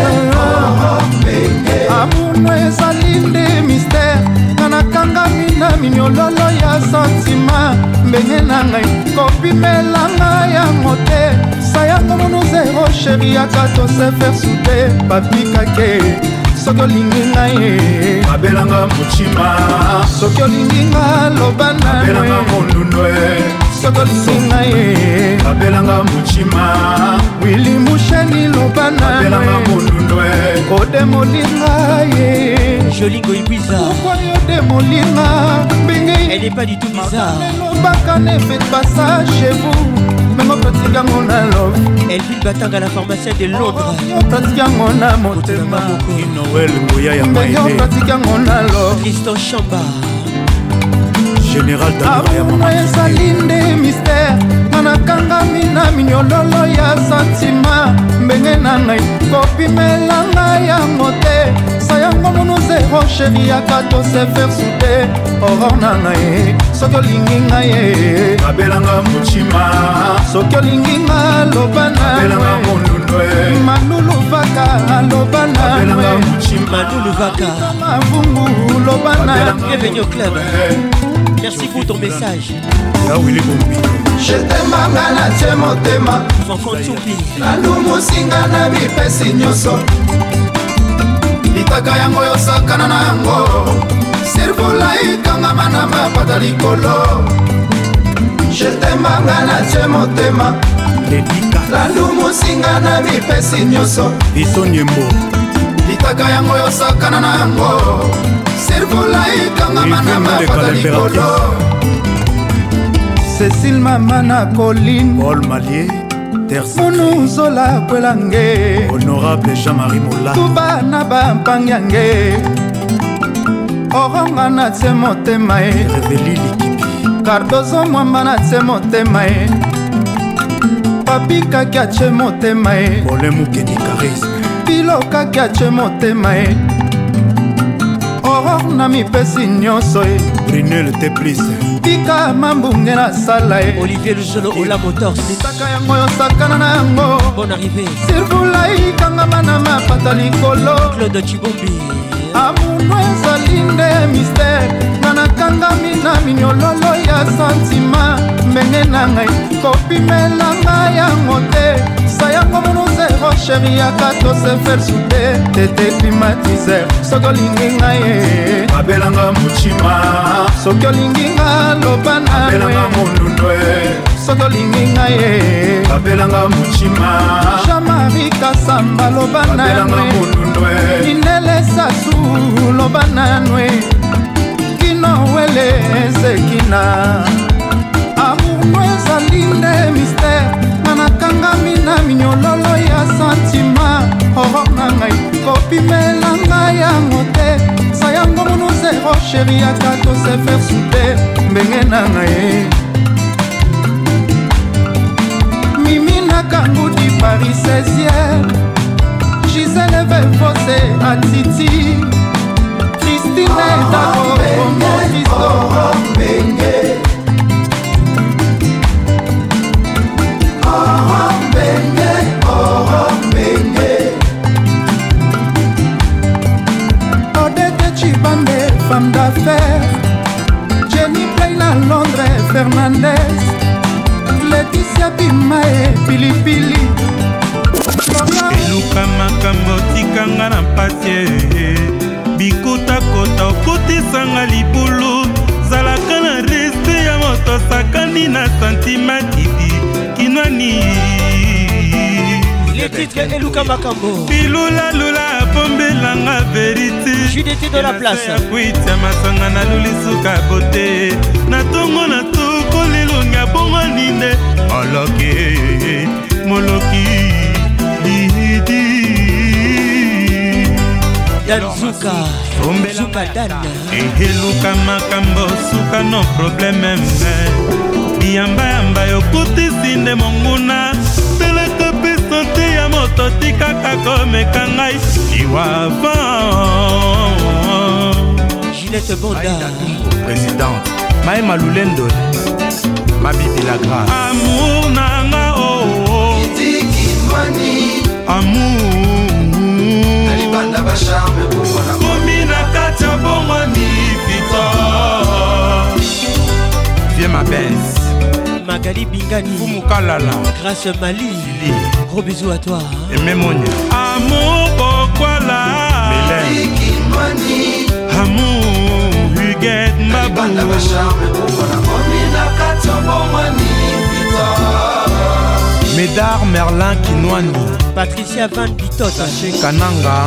amono ezali nde mystère kanakangami na minyololo ya sentima mbenge na ngai kopimela ngai yango te sa yango mono zero sheri aka tose faire soude papikake soki olingi ngai abelanga mochima soki olingi nga loba abelanga mondundwe soki olingi ngai abelanga mochima wili musheni loba abelanga mondundwe odemolinga ye Jolingo Ibiza pourquoi yodemolinga mbingi elle n'est pas du tout bizarre lobaka ne faites pas ça chez vous mengo pratique yango na love Elvin Batanga la pharmacienne de Londres pratique yango na motema Noël Ngoya ya mbenge pratique yango na love Tristan Chamba général amour ezali nde mystère nga nakangami na minyololo ya santima mbenge na ngai kopimela ngai yango te sayango mono zero sheri yaka tose faire soude oror na ngai soki olingi ngai ye babelanga motima soki olingi nga loba na babelanga mondundwe manulu vaka loba na babelanga motima manulu vaka mavungu loba na bienvenue au club. Merci pour ton message. Là où il est bombi. Je t'aime na tie motema. Fanfan Tsupi. Nalumosinga na bipesi nyonso. Litaka yango yosakana na yango. Servola ikangama na mapata likolo. Je t'aime na tie motema. Nalumosinga na bipesi nyonso. Biso nyembo. Litaka yango yosakana na yango. Servola ikangama na mapata likolo. Cécile Mamana Colline Paul Malier Monu Zola Kwelange Honorable Jean-Marie Mola Tuba na Bampanyange Oronga na tse motema e Reveli Likipi Cardozo Mwamba na tse motema e Papi Kakia tse motema e Ole Mukedi Charisme Pilo Kakia tse motema e Aurore na mipesi nyonso e Brunel Teplice Pika mambunge na sala e Olivier Luzolo Ola Motors Litaka yango yosakana na yango Bonne arrivée Sirvula ikangama na mapata likolo Claude Chibombi Amuno ezali nde mystère nga nakangami na minyololo ya santima mbenge na ngai kopimela ngai yango te sayango mono zero sheri yaka tose faire soude tete climatiser soki olingi ngai ye babelanga motima soki olingi nga loba na babelanga mondundwe soki olingi ngai ye babelanga motima Jean-Marie Kasamba loba na mondundwe Inele Sasu loba na nwe Kino wele ezekina Amour no ezali nde mystère nga nakangami na minyololo ya santima horor na ngai kopimela ngai yango te sayango mono zero sheri yaka tose faire soude mbenge na ngai Mimi Nakangudi Paris seizième Gisèle Vevose Atiti Christine Dako Bongo Christo Benge Benge Benge Odette Chibambe femme d'affaires Jenny Plaina Londres Fernandez Laetitia Bimae Pilipili eluka makambo tikanga na mpatie bikotakota okotisanga libulu zalaka na reste ya moto sakani na santima kidi kinwani les titres eluka makambo bilulalula pombelanga verite judete de la place kuitia masanga na lulisuka bote na tongo na toko lelonga bongo ninde moloki moloki Dan Zuka Zuka Dan eheluka makambo suka no probleme biyamba yamba yokutisi nde monguna teleka pe sante ya moto tikaka komeka ngai liwava Ginette Bonda présidente Maema Lulendo Mabibi la grâce amour nanga oh oh amour Nalibanda ba charme bongona komi na kati ya bongoni vita vie ma bese Magali Bingani Fumukalala Grâce Mali gros bisous à toi Aimé Monia amour Bokwala Mélène amour Huguette Mbabou Nalibanda ba charme bongona komi na kati ya bongoni vita Médard Merlin Kinwani Patricia Van Bitot Saché Kananga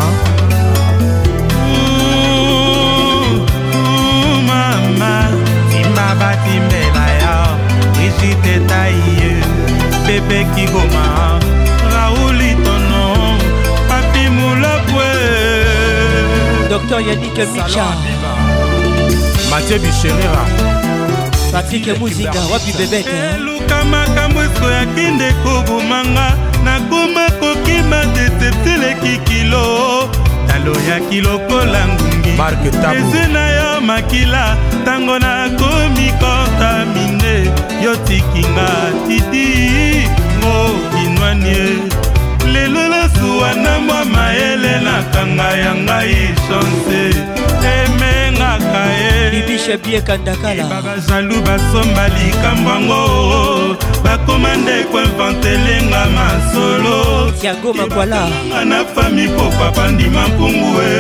Mama Tima Batimbela ya Brigitte Taïe Bébé Kigoma Raoul Itono Papi Moulapwe Docteur Yannick Micha Mathieu Bichérera Patrick Muzinga wapi bebete luka makambo esko ya kinde kobomanga nakoma kokima decepteleki kilo talo ya kilokola ngungi eze na yo makila ntango nakomi kontamine yo tikinga titi ngo kinwanie lelo losuwa na mwa mayele nakanga ya ngai chance emengaka ye libisha bie kandakala babajalu basomba likambo yango bakomande koinventelenga masolo tiago makwala na fami po papa ndima mpungu e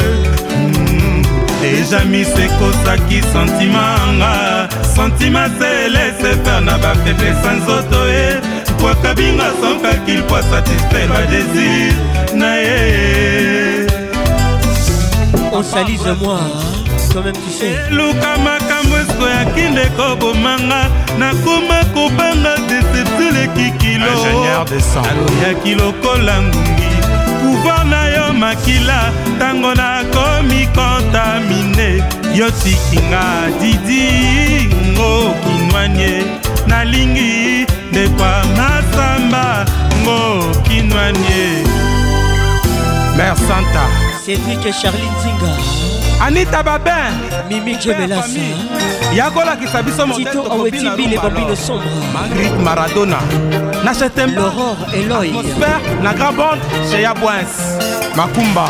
deja misekosaki sentima nga sentima se laisse faire na bafaiblesse nzoto e kwakabinga sans calcul pour satisfaire ma désir na ye on salise moi toi-même tu sais luka makambo esko ya kinde kobomanga nakoma kobanga decepteleki kilo ya kilokola ngungi pouvoir na yo makila ntango nakomi kontamine yo tikinga didi ngo kinwanie nalingi ndekwa masamba ngo kinwanie Mère Santa Cédric Charline Zinga Anita Babin Mimi Djemelasa Yagola Kisabiso Tito Aweti Bile Bambino Sombre Marguerite Maradona Nachetem L'aurore Eloy Atmosphère La grande bande chez Yabouens Makumba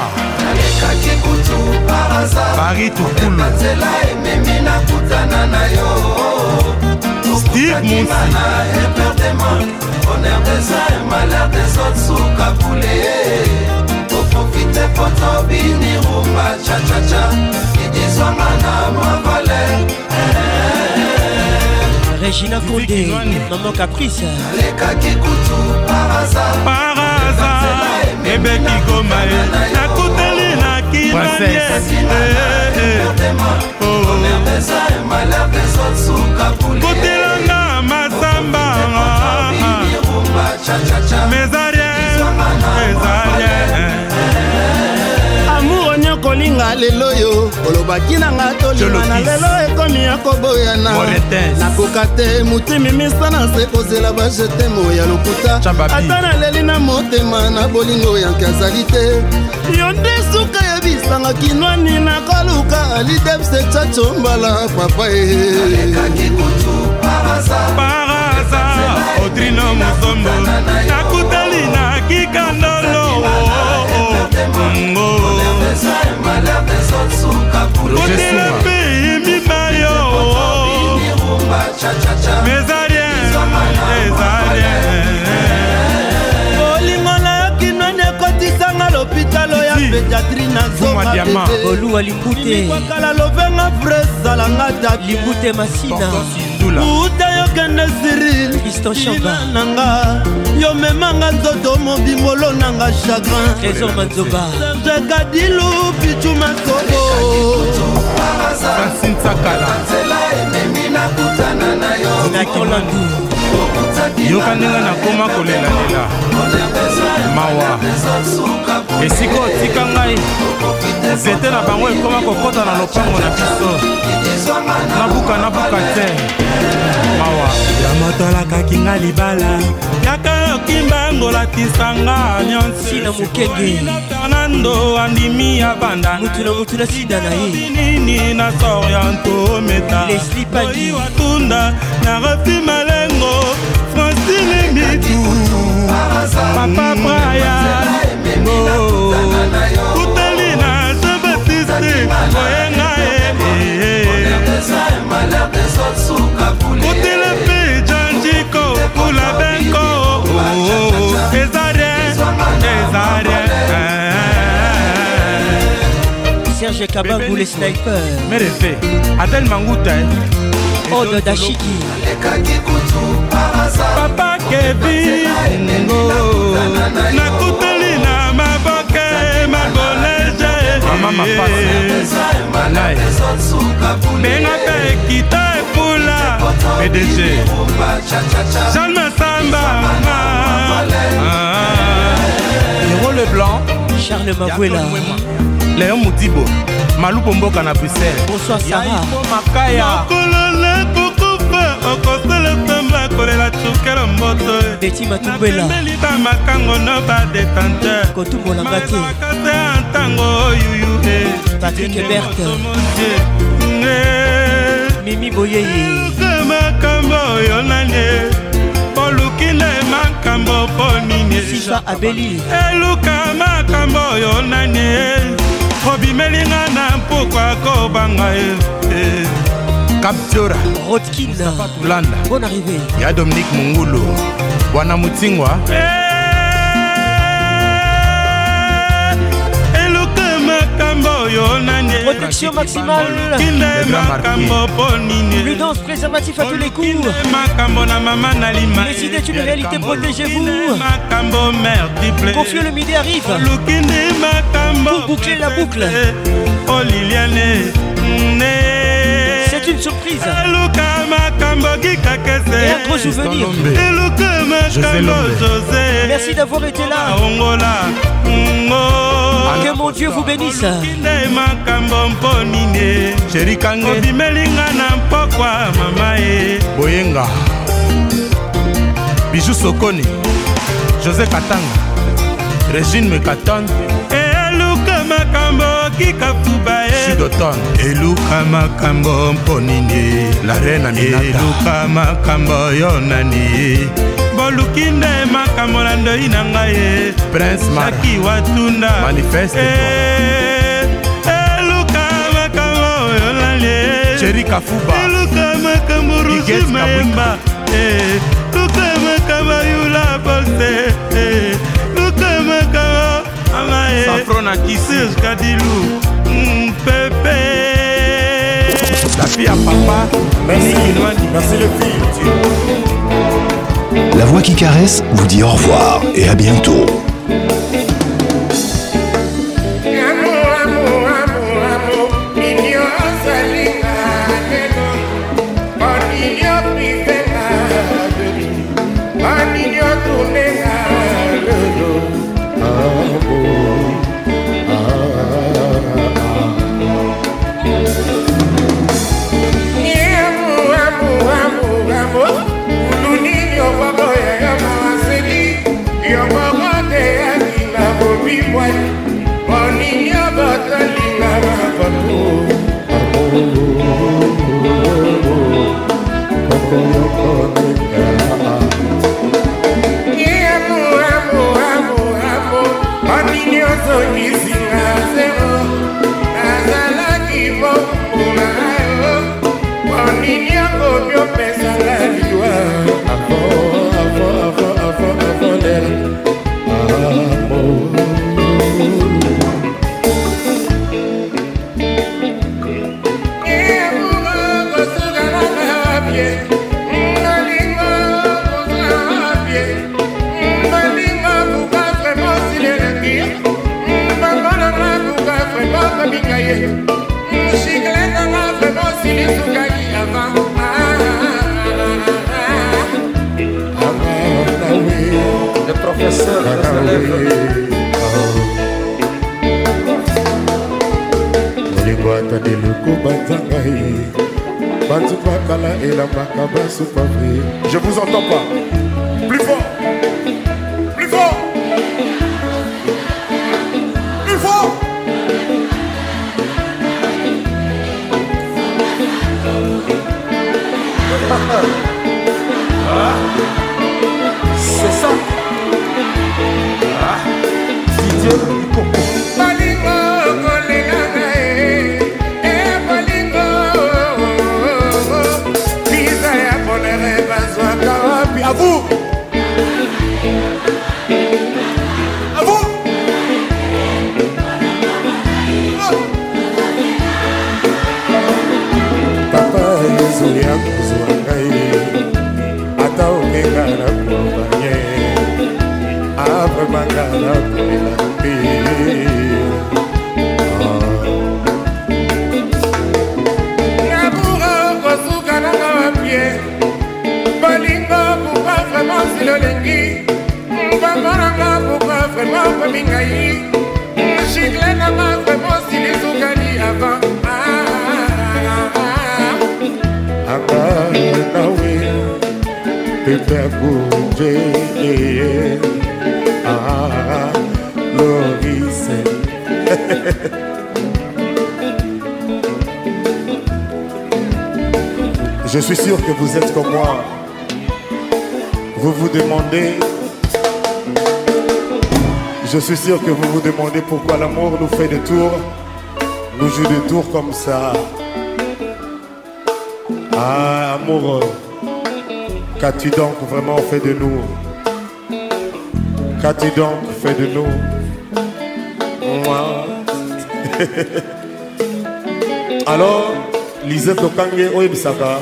Paris Tukulu Steve Mounsi Honneur des uns et malheur des autres sous Kaboulé. Pour profiter pour ton bini rumba cha cha cha. Qui disent Wangana moi valet. Regina Condé, Maman Caprice. Les Kakikutu par hasard. Par hasard. Ebeki Gomae. Nakuteli na Kinanye. Honneur des uns et malheur des autres sous Kaboulé. Kotelanga Masamba. Mes arrières, mes arrières. Amour nyokolinga lelo yo olobaki nanga tolingana lelo ekomi ya koboyana nakoka te motimi misana se kozela bajetemo ya lokuta ata naleli na motema na bolingo yanke azali te yo nde suka yebisanga kinwani nakoluka alidepse chacho mbala papa e Odrino Musombo nakutali na kikandolo kotela pe mibayo mes arrières mes arrières olingo na yo kinwani ekotisanga lopitalo ya pédiatrie na zonga oluwa limbute kwakala lovenga vresalanga dabi limbute masina uta yokende Cyril Tristan Chamba nanga yo memanga nzoto mobimolo nanga chagrin Trésor Manzoba Serge Kadilu Pichu Masobo Francine Sakala Nakolandu yokaninga nakoma kolelalela mawa esika otika ngai nzete na bango ekoma kokota na lopango na biso nabuka nabuka te mawa yamotolakaki nga libala yaka yokimbango latisanga nyonsi na mokenge fernando andimi ya banda mutu na mutu na sida na ye nini na sorianto meta Leslie Padi watunda na rafi malengo Francine Mitu Papa Brian Kutali na Jean-Baptiste Koyenga Kutele pe Janjiko Kula Benko Ezarien Ezarien Serge Kabangou les snipers Merefe Adel Manguta Ode Dashiki Papa Kevin nakutali na maboke maboleje mama mapasa malai benga pe kita epula P D G Jean Massamba Héros Leblanc Charles Mabuela Léon Moudibo Malou Bomboka na Bruxelles bonsoir Sarah Makaya koselesemba kolela cukelo mboto Betty Matumbela napembeli bamakango no badetante kotumbolanga te mazwaka te ntango oyuyu Patrick Ebert Mimi Boyeye makambo oyo nane oluki nde makambo mpo nini Sifa Abeli eluka makambo oyo nane obimelinga na mpokwa kobanga ye Captura Rodkin Tulanda Bonne arrivée ya Dominique Mungulu Bwana Mutsingwa eluka makambo oyo nane protection maximale kinde makambo mpo nini prudence préservatif à tous les coups makambo na mama nalima décidez une réalité protégez-vous makambo multiple confieux le midi arrive lukinde makambo pour boucler la boucle oh Liliane c'est une surprise eluka makambo kikakese et un gros souvenir eluka makambo José merci d'avoir été là ongola que mon Dieu vous bénisse kinde makambo mpo nini Chéri Kange obimelinga na mpokwa mama e Boyenga Bijou Sokoni José Katanga Régine Mekaton eluka makambo kikafuba e Sidoton eluka makambo mpo nini La reine Aminata eluka makambo yo nani boluki nde makambo na ndoi na ngai ye Prince Mara Jaki Watunda Manifeste eluka makambo oyo nani Chéri Kafuba eluka makambo Rusi Maemba eluka makambo Yula Bolse eluka makambo Amae Safrona Kisi Kadilu Pepe La fille à papa Merci Merci le fils La voix qui caresse vous dit au revoir et à bientôt. Le professeur Olingwata de luku batangai Bantu bakala elambaka basu pavri. Je vous entends pas. Plus fort. Plus fort. Plus fort. Ah, c'est ça. Ah, Didier Coco. Balingo, kolenga eh, eh balingo. Visa ya bonere bazwaka wapi? À vous. À vous. Papa Yesu ya kuzwa ngai ata okenga na kumbanye apre mangala kulela mpe Namoura kosuka nanga wapie Balingo pourquoi vraiment si l'olengi Mbamba nanga pourquoi vraiment komingai Chicle nanga vraiment si les soukani avant anga nawe Pépère Bourgé, ah, Loris. Je suis sûr que vous êtes comme moi. Vous vous demandez, je suis sûr que vous vous demandez pourquoi l'amour nous fait des tours, nous joue des tours comme ça. Ah, amoureux, qu'as-tu donc vraiment fait de nous? Qu'as-tu donc fait de nous? Moi. Alors, Lisette Okange Oebisaka.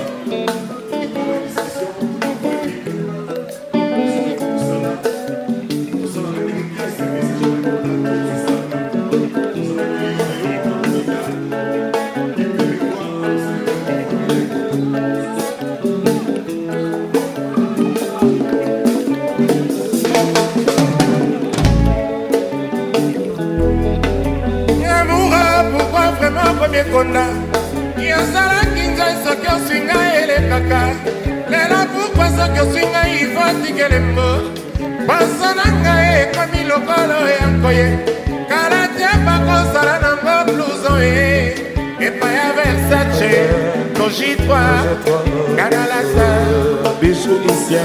Konda Yosala kinza soki osinga elekaka Lelo pourquoi soki osinga ifoti kelembo Baso na ngai ekomi lokolo ya nkoye Kala tia bakosala nango blouson ye Epa ya Versace Kojitwa Kanalasa Bijou Isia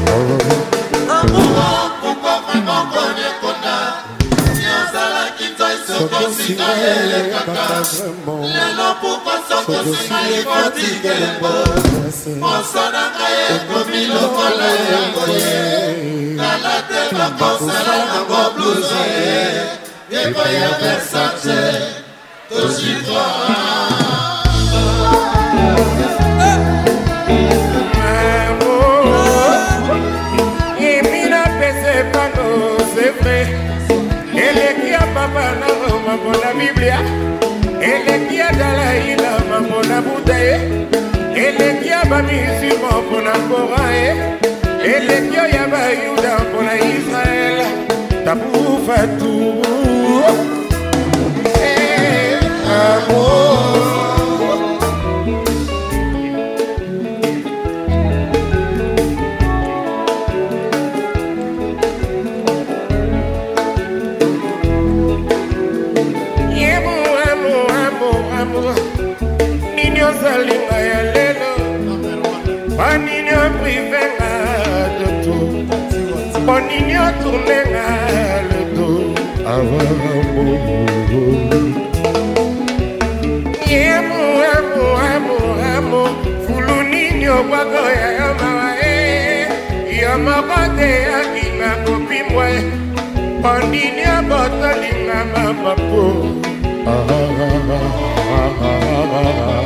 Amour pourquoi vraiment konye konda Yosala kinza soki osinga elekaka Lelo pourquoi soki osinga ifoti kelembo Baso na ngai ekomi lokolo ya nkoye Kala tia bakosala nango blouson ye Epa ya Versace Kojitwa Papa na mambo na Biblia Elekia dalai la mambo na Buddha Elekia ba musulman pona Coran Elekio ya ba Yuda pona Israël Tabu Fatou Eh amour Salinga ya lelo Paninyo privenga de tout Paninyo tournenga le dos Avamo Yemo, amo, amo, amo Fulu ninyo wako ya yamawa eh Yamakote ya kina kopimwe Paninyo botolinga mamapo Ah, ah, ah, ah, ah, ah.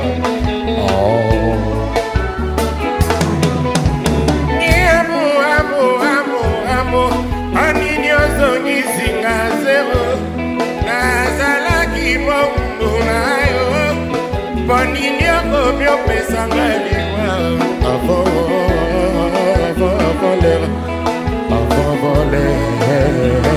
Amo, amo, amo, amo Anini ozongi singa zero Nazalaki mongo na yo Bonini okomi opesanga liwa Avant, avant, avant l'air Avant, avant l'air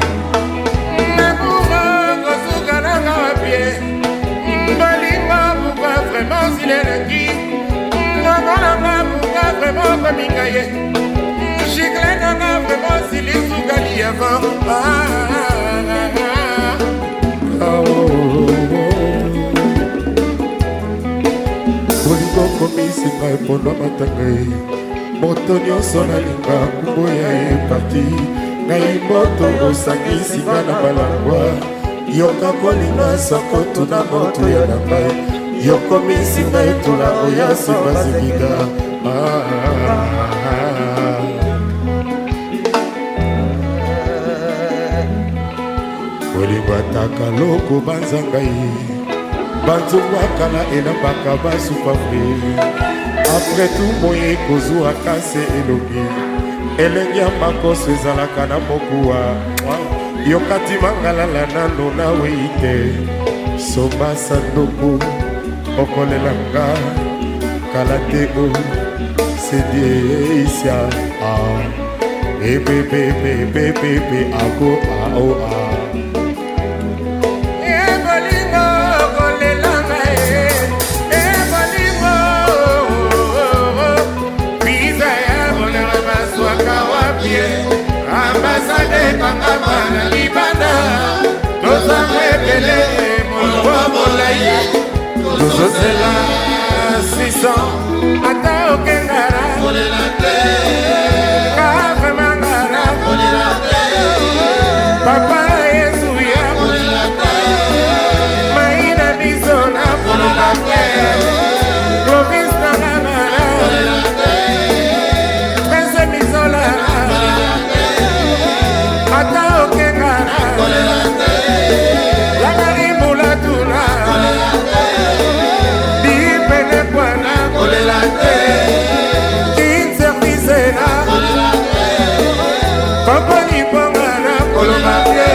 Vraiment s'il est lundi Maman n'a pas vraiment comme il gagne Chicle n'a pas vraiment s'il est sous gali avant Ah ah ah Olingo komisi ngai mpona matangai Moto nyonso nalinga nkombo ya ye parti Ngai moto osangisi nga na balangwa Yoka kolinga soko tuna moto ya na ngai Yokomisi ngai tula oya simba zibiga Olingo ataka loko banza ngai Banzungu akala elambaka basupa fri Après tout moye kozwa kase elongi Elenge ya makoso ezalaka na mokuwa Yokati mangalala nano na weite Soba sandoku Okolelanga Kalatego Sedie Isya Ah Bebe bebe bebe bebe Ago ah oh ah Ebolingo Okolelanga Ebolingo Pisa ya bola na libanda tozanga ebele molongwa molai tozozela sisa ata okengara kolela te kafemangara kolela te papa yesu ya kolela te maina bisona kolela te province na ngangara kolela te pese mizola kolela te ata okengara kolela te lakarimula tuna kolela te dipene kwana kolela te kinservisena kolela te kompani pongana koloma te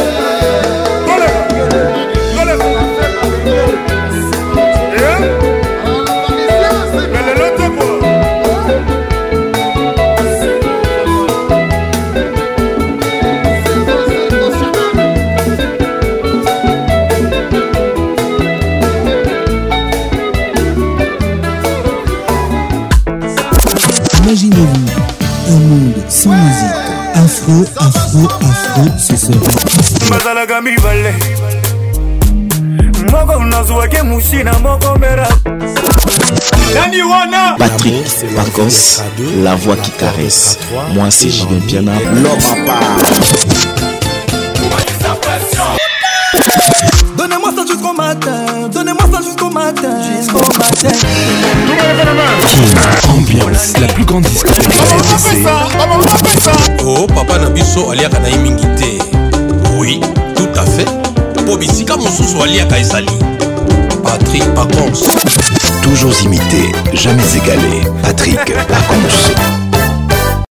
Imaginez-vous un monde sans musique. Afro, afro, afro, ce sera. mazalaka mibale moko nazwaki musina moko mera nani wana Patrick Pacos, la voix qui caresse. Moi c'est Julien Piana, l'homme à part. Donnez-moi ça jusqu'au matin, donnez-moi ça jusqu'au matin, jusqu'au matin. King Ambiance, la plus grande discothèque de la R D C. Oh papa Nabiso aliaka na imingité. Oui, tout à fait. Pobisika mosusu aliaka esali. Patrick Pacons. Toujours imité, jamais égalé. Patrick Pacons.